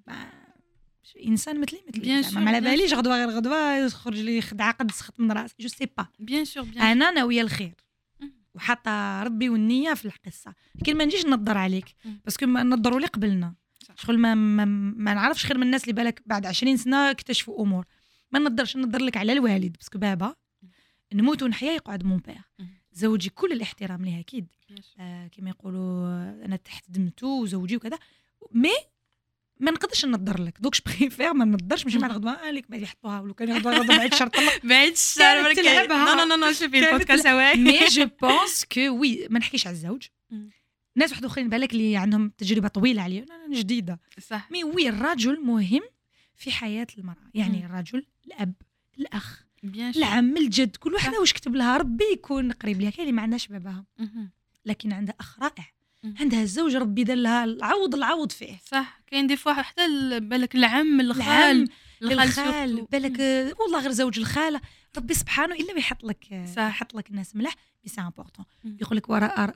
Speaker 2: انسان مثلي ما على باليش غدوه يخرج لي خدعه قد سخط من راسي جو سي با.
Speaker 1: بيان سور
Speaker 2: انا ناويه الخير وحاطه ربي والنيه في القصه، لكن ما نجيش نضر عليك باسكو ما نضروا لي قبلنا شغل ما نعرفش خير من الناس اللي بالك بعد 20 سنه اكتشفوا امور. ما نضرش نضر لك على الوالد باسكو بابا نموت ونحيا يقعد مون بير. زوجي كل الاحترام ليه اكيد كما يقولوا انا تحت دمته وزوجي وكذا مي ما نقدرش نضر لك دوك بريفير ما نضرش ماشي مع الغدوه لك ما يحطوها ولو كان غدوه بعيد شرط الله
Speaker 1: بعيد الشر نو شوفي البودكاست هواي.
Speaker 2: مي جو بونس كو وي ما نحكيش على الزوج. ناس واحد اخرين بالك اللي عندهم تجربه طويله عليا انا جديده
Speaker 1: صح.
Speaker 2: مي وي الرجل مهم في حياه المراه، يعني الرجل الاب الاخ العم الجد كل وحده واش كتب لها ربي يكون قريب ليها. كاين اللي ما عندهاش باباها لكن عندها اخ رائع، عندها الزوج ربي دار لها العوض فيه.
Speaker 1: صح كاين دي فوا حتى بالك العم الخال
Speaker 2: بالك والله غير زوج الخاله ربي سبحانه الا بيحط لك الناس ملاح. بي سي امبورطون يقول لك وراء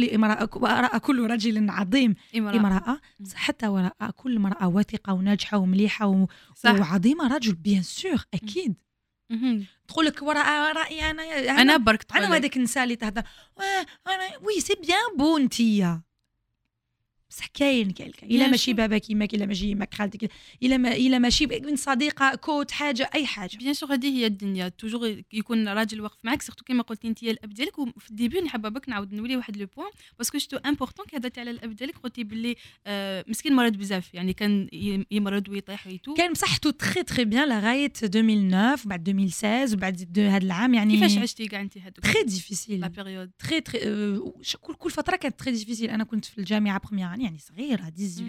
Speaker 2: كل رجل عظيم امراه، حتى وراء كل امراه واثقه وناجحه ومليحه وعظيمه رجل بيان سور اكيد. تقول لك وراء رايي انا
Speaker 1: برك
Speaker 2: انا وهذاك النساء اللي تهضر انا وي سي بيان بو انتيا بصح كاين الا ماشي بابا كيماك الا ماشي يماك خالتك الا ماشي من صديقه كوت حاجه اي حاجه.
Speaker 1: بيان سور هذه هي الدنيا توجور يكون راجل واقف معك سورتو كما قلتي انت الاب ديالك. وفي الديبي نحب بك نعاود نولي واحد لو بوين باسكو شتو امبورطون كي هضرتي على الاب ديالك قلتي باللي مسكين مرض بزاف يعني كان يمرض ويطيح ويتو
Speaker 2: كان بصحته تري بيان لغايه 2009 وبعد 2016 وبعد هذا العام. يعني
Speaker 1: كيفاش عشتي كاع انت هذوك
Speaker 2: تري ديفيسيل
Speaker 1: لا بيريود
Speaker 2: تري كل فتره كانت تري ديفيسيل. انا كنت في الجامعه بروميير يعني صغيره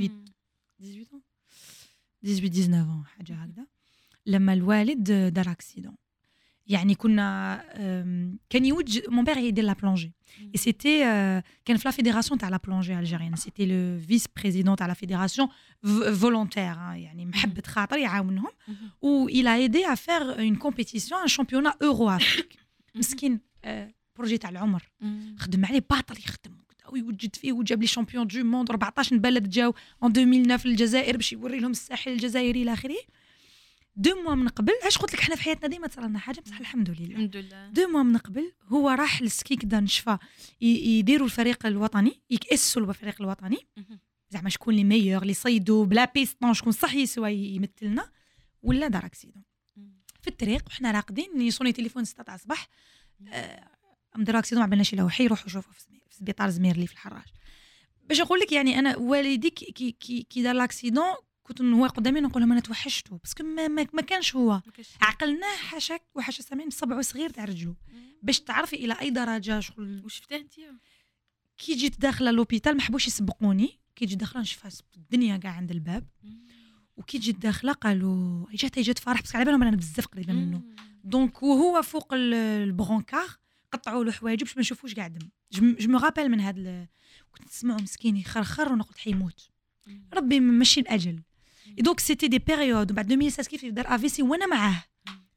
Speaker 2: 18 حاجه هكذا لما الوالد دار اكسيدون. يعني كنا كان يوجد مون بير يدير لا بلونجي اي سيتي كان في لا فيدراسيون تاع لا بلونجي الجيريان سيتي لو فيس بريزيدون تاع لا فيدراسيون فولونتير يعني محبه خاطر يعاونهم و il a aidé à faire une compétition un championnat euro afrique. مسكين بروجي تاع العمر خدم عليه باطل يخدم ويوجد فيه وجاب لي شامبيون دو موند 14 بلد جاو en 2009 في الجزائر باش يوري لهم الساحل الجزائري الى اخره. 2 موا من قبل علاش قلت لك حنا في حياتنا ديما تصرى لنا حاجه بصح الحمد لله 2 موا من قبل هو راح للسكي كدا نشفى يديروا الفريق الوطني يكأسوا الفريق الوطني زعما شكون لي ميور لي صيدوا بلا بيستون شكون صح يسوى يمثلنا ولا دار اكسيدون في الطريق وحنا راقدين يصوني تليفون 6 تاع الصباح مدير اكسيدون ما عملناش لا وحي يروحوا يشوفوا في سبيطار زميرلي في الحراج. باش نقول لك يعني انا والدي كي دار لاكسيدون كنت هو قدامي نقول لهم انا توحشته باسكو ما كانش هو عقلناه حاشاك وحاشا سامعين بصبعه صغير تاع رجله باش تعرفي الى اي درجه شغل.
Speaker 1: وشفتيه انت
Speaker 2: كي جيت داخله لوبيتال ما حبوش يسبقوني كي جيت داخله نشوفها الدنيا كاع عند الباب وكي جيت داخله قالوا جات فرح باسكو على بالهم انا بزاف قريبه منه دونك وهو فوق البرونكار قطعوا له حوايجه باش ما نشوفوش قاع دم. جو مو رابيل من هذا كنت نسمعه مسكين يخرخر ونقول حيموت ربي ماشي الاجل. دونك سيتي دي بيريود بعد 2016 كيف دار افيسي وانا معاه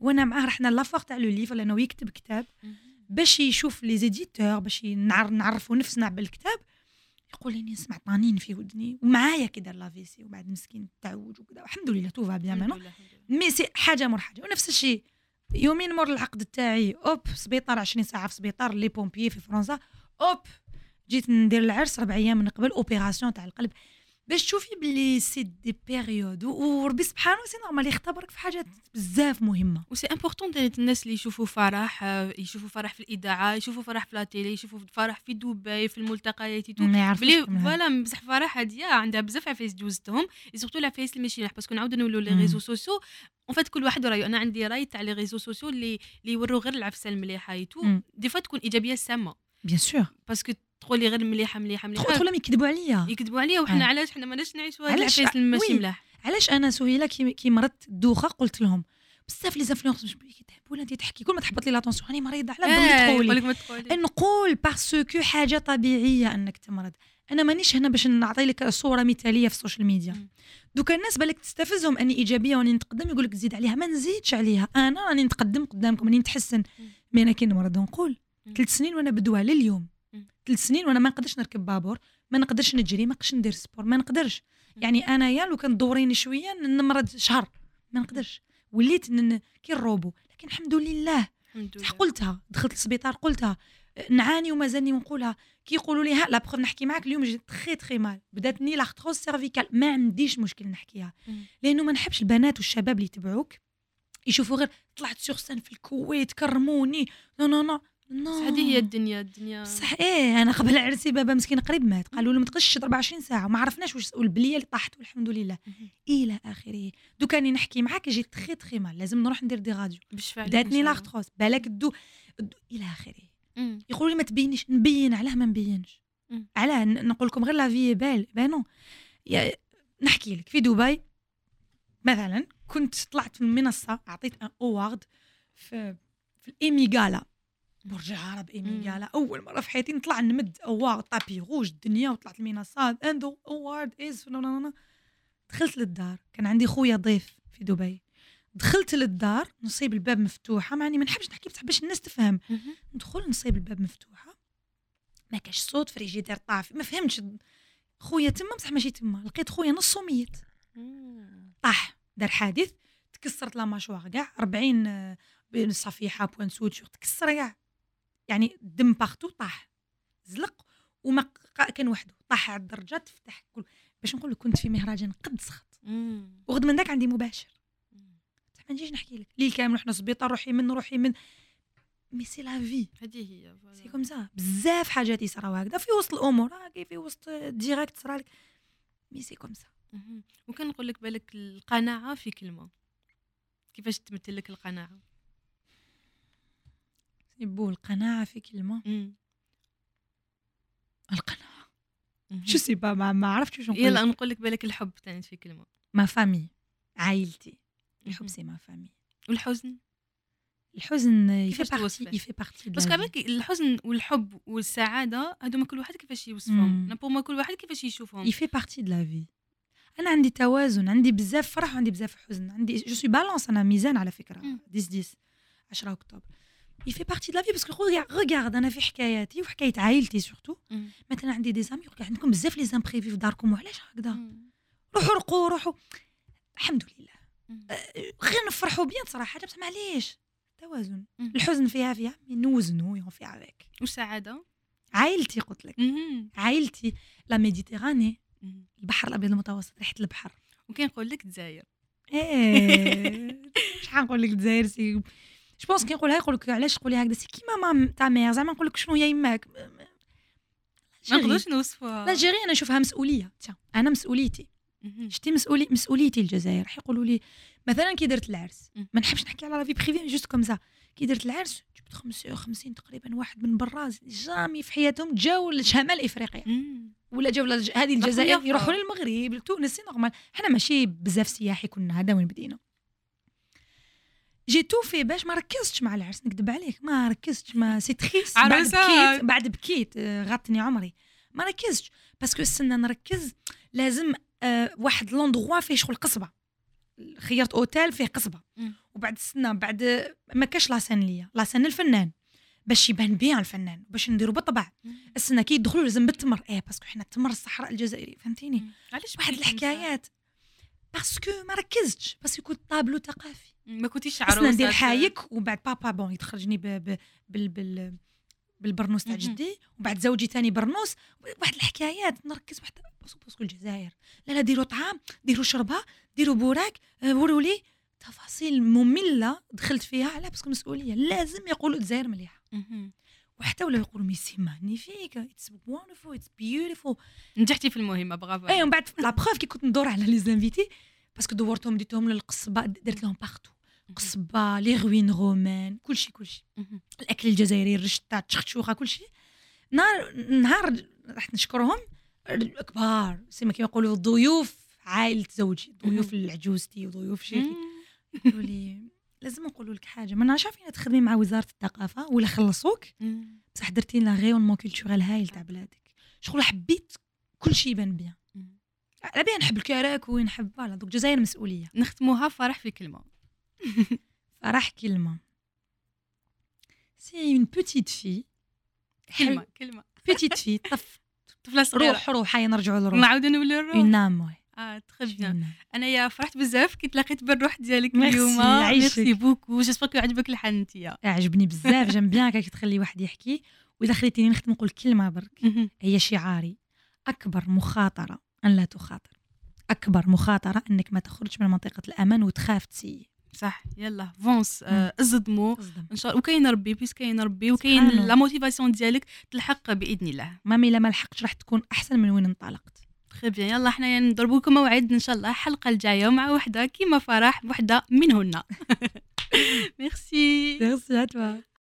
Speaker 2: وانا معاه رحنا لافوار تاع لو ليفر لانه يكتب كتاب باش يشوف لي زيديتور باش نعرفوا نفسنا بالكتاب. يقول لي نسمع طنانين في ودني ومعايا كي دار لافيسي وبعد مسكين تعوج وكذا الحمد لله تو فا بيان مانو مي سي حاجه مور حاجه. ونفس الشيء يومين مور العقد تاعي اوب سبيطار 20 ساعه في سبيطار لي بومبيي في فرنسا اوب جيت ندير العرس 4 ايام من قبل اوبيراسيون تاع القلب باش تشوفي بلي سي دي بيريود وربي سبحانه سي نورمال يختبرك في حاجات بزاف مهمه.
Speaker 1: وسي امبورطون الناس اللي يشوفوا فرح في الاذاعه يشوفوا فرح في لا تيلي يشوفوا فرح في دبي في الملتقيات بلي فوالا بصح فرح هاديه عندها بزاف عفايس دوزتهم سورتو العفايس اللي ماشي باش نعاودو نولوا لي ريزو سوسيو اون فات كل واحد رايه. انا عندي راي تاع لي ريزو سوسيو اللي يوروا غير العفسه المليحه ايتو دي فوا تكون ايجابيه سامه
Speaker 2: بيان سور
Speaker 1: باسكو تقولي غير مليحه
Speaker 2: تقول يكذبوا عليا
Speaker 1: وحنا علاش حنا ماناش نعيشوا هاد العفايس الماشي ملاح.
Speaker 2: علاش انا سهيله كي مرضت الدوخه قلت لهم بزاف لي زانفلونس مش يتعبوا انت تحكي كل ما تحبط لي لاتونسيون راني مريضه على بالك تقولي نقول باسكو حاجه طبيعيه انك تمرض. انا مانيش هنا باش نعطي لك صوره مثاليه في السوشيال ميديا. دوكا الناس بالك تستفزهم اني ايجابيه واني نتقدم يقول لك تزيد عليها ما نزيدش عليها انا راني نتقدم قدامكم راني نتحسن. مي انا كي نمرض نقول 3 سنين وانا بدوها لليوم 3 سنين وانا ما نقدرش نركب بابور ما نقدرش نجري ما نقدرش ندير سبور ما نقدرش يعني انايا لو كان دوريني شويه نمرض شهر ما نقدرش وليت كي الروبو. لكن الحمد لله قلتها دخلت السبيطار قلتها نعاني ومازالني ونقولها كي يقولوا لي ها لا بروف نحكي معاك اليوم جيت تري مال بداتني لاختروز سيرفيكال ما عنديش مشكل نحكيها لانه ما نحبش البنات والشباب اللي يتبعوك يشوفوا غير طلعت سور سان في الكويت كرموني نو
Speaker 1: هذه هي الدنيا
Speaker 2: صح. انا قبل عرسي بابا مسكين قريب مات قالوا له ما تقدش 24 ساعه وما عرفناش واش والبليه اللي طاحت والحمد لله الى اخره. دوك راني نحكي معاك جيت تري مال لازم نروح ندير دي راديو بداتني لاختروس بالك الى اخره. يقولوا لي ما تبينيش نبين علاه ما نبينش علاه نقول لكم غير لا في بانو. نحكي لك في دبي مثلا كنت طلعت من المنصه اعطيت ان اوارد في الايمي غالا برج عرب ايمي غالا اول مره في حياتي نطلع نمد اوارد طابي روج الدنيا وطلعت المنصات اندو اوارد از دخلت للدار كان عندي خويا ضيف في دبي دخلت للدار نصيب الباب مفتوحه معني ما نحبش نحكي بصح باش الناس تفهم ندخل نصيب الباب مفتوحه ما كاش صوت فريجيدير طافي ما فهمتش خويا تما بصح ماشي تما لقيت خويا نصو ميت طاح دار حادث تكسرت لا ماشوار كاع 40 صفيحه بوان سوتشور تكسر كاع يعني الدم بارتو طاح زلق وما كان وحده طاح على الدرجات تفتح كل باش نقول لك كنت في مهرجان قد سخط وغد من داك عندي مباشر ما نجيش نحكي لك ليل كامل رحنا سبيطار روحي من مي سي لا في
Speaker 1: هذه هي
Speaker 2: سي كوم سا بزاف حاجات يصراو هكذا في وسط الامور في وسط ديريكت صرالك مي سي كوم سا.
Speaker 1: وكان نقول لك بالك القناعه في كلمه كيفاش تمثل لك القناعه
Speaker 2: يبو القناعه في كلمه القناعه شو سي با ما عرفتش واش نقول.
Speaker 1: يلا نقول لك بالك الحب تاعي في كلمه
Speaker 2: ما فامي عائلتي الحب سي ما فامي.
Speaker 1: والحزن
Speaker 2: يفي بارتي
Speaker 1: بس كابك الحزن والحب والسعاده هذوما كل واحد كيفاش يوصفهم بوما كل واحد كيفاش يشوفهم
Speaker 2: يفي بارتي د لا في. انا عندي توازن عندي بزاف فرح وعندي بزاف حزن عندي جو سوي بالانس انا ميزان على فكره 10 اكتوبر يفي بارتي د لا في باسكو ريغارد انا في حكاياتي وحكايه عائلتي سورتو مثلا عندي دي زامي عندكم بزاف لي زامبريفي في داركم وعلاش هكذا روحوا الحمد لله غير نفرحوا بيان صراحه بصح معليش توازن الحزن فيها نوزنوا يونفي افيك.
Speaker 1: والسعاده
Speaker 2: عائلتي قلت لك عائلتي لا ميديتيراني البحر الابيض المتوسط ريحه البحر.
Speaker 1: وكاين نقول لك الجزائر
Speaker 2: شحال نقول لك الجزائر سي جو بونس كي نقولها يقول لك علاش تقولي هكذا سي كيما مام تاع مير زعما نقول لك شنو هي يماك
Speaker 1: ما نقدرش نوصفها.
Speaker 2: لا جيري انا نشوفها مسؤوليه انا مسؤوليتي شتي مسؤوليتي الجزائر راح يقولوا لي مثلا كي درت العرس ما نحبش نحكي على لا في بريفي جوست كوم سا كي درت العرس جبت 55 تقريبا واحد من برا جامي في حياتهم جاوا لشمال افريقيا ولا جاوا هذه الجزائر يروحوا للمغرب تونس نورمال حنا ماشي بزاف سياحي كنا هذا وين بدينا جيتو في باش ما ركزتش مع العرس نكذب عليك ما ركزتش ما سي تريس بعد بكيت غطني عمري ما ركزتش باسكو السنه نركز لازم واحد لوندغوا فيه شغل قصبه خيرت اوتيل فيه قصبه وبعد السنه بعد ما كاش لاسين ليا لاسين الفنان باش يبان بيان الفنان باش نديرو بالطبع السنه كي يدخلوا لازم بالتمر باسكو حنا التمر الصحراء الجزائري فهمتيني
Speaker 1: علاش
Speaker 2: واحد الحكايات باسكو ما ركزتش باسكو كنت طابلو ثقافي
Speaker 1: ما كنتيش
Speaker 2: عروسه
Speaker 1: عروسه
Speaker 2: ندير حايك وبعد بابا بون يتخرجني بالبرنوس تاع جدي وبعد زوجي تاني برنوس واحد الحكايات نركز واحد باسكو الجزائر لا ديروا طعام ديروا شربه ديروا بوراك وروا لي تفاصيل ممله دخلت فيها على باسكو مسؤوليه لازم يقولوا الجزائر مليحه وحتى ولا يقولوا ميسي مانيفيك اتس وونderful اتس بيوتيفول
Speaker 1: نجحتي في المهمه برافو
Speaker 2: ومن بعد لا بروف كي كنت ندور على لي زانفيتي باسكو دورتهم ديتهم للقصبه درت لهم بارتو قصبه لي روين رومان كلشي الاكل الجزائري الرشطه التشخشوخه كلشي نهار راح نشكرهم الكبار سيما كيما يقولوا الضيوف عائله زوجي ضيوف العجوزتي وضيوف شيخي يقولوا لي لازم نقولوا لك حاجه ما نعرفش فين تخدمي مع وزاره الثقافه ولا خلصوك بصح درتي لنا غيون كولتورال هايل تاع بلادك شغل حبيت كلشي يبان بيان على بيان نحب الكراك ونحب فوالا دوك الجزائر مسؤوليه
Speaker 1: نختموها فرح في كلمه
Speaker 2: فرح كلمه سي اون بوتيت في
Speaker 1: كلمه
Speaker 2: بوتيت في
Speaker 1: طفله صغيره
Speaker 2: روح هيا نرجعوا للروح
Speaker 1: نعاودوا نولوا الروح
Speaker 2: اون نام
Speaker 1: تري بيان انا يا فرحت بزاف كي تلاقيت بالروح ديالك
Speaker 2: ميرسي،
Speaker 1: اليوم
Speaker 2: يعيشك.
Speaker 1: ميرسي بوكو جيسبر كو عجبك الحن نتيا
Speaker 2: عجبني بزاف جام بيان كي تخلي واحد يحكي واذا خليتيني نختم نقول كلمه برك هي شعاري اكبر مخاطره ان لا تخاطر اكبر مخاطره انك ما تخرج من منطقه الامان وتخاف تسيي
Speaker 1: صح يلا فونس ازدموا ان شاء الله وكاين ربي بيس كاين ربي وكاين
Speaker 2: سبحانه.
Speaker 1: لا موتيفاسيون ديالك تلحق باذن الله
Speaker 2: مامي لا ما لحقتش راح تكون احسن من وين انطلقت
Speaker 1: تري بيان يلا حنايا نضربوا لكم موعد ان شاء الله الحلقه الجايه مع وحده كيما فرح وحده منهن ميرسي
Speaker 2: ميرسي ا توا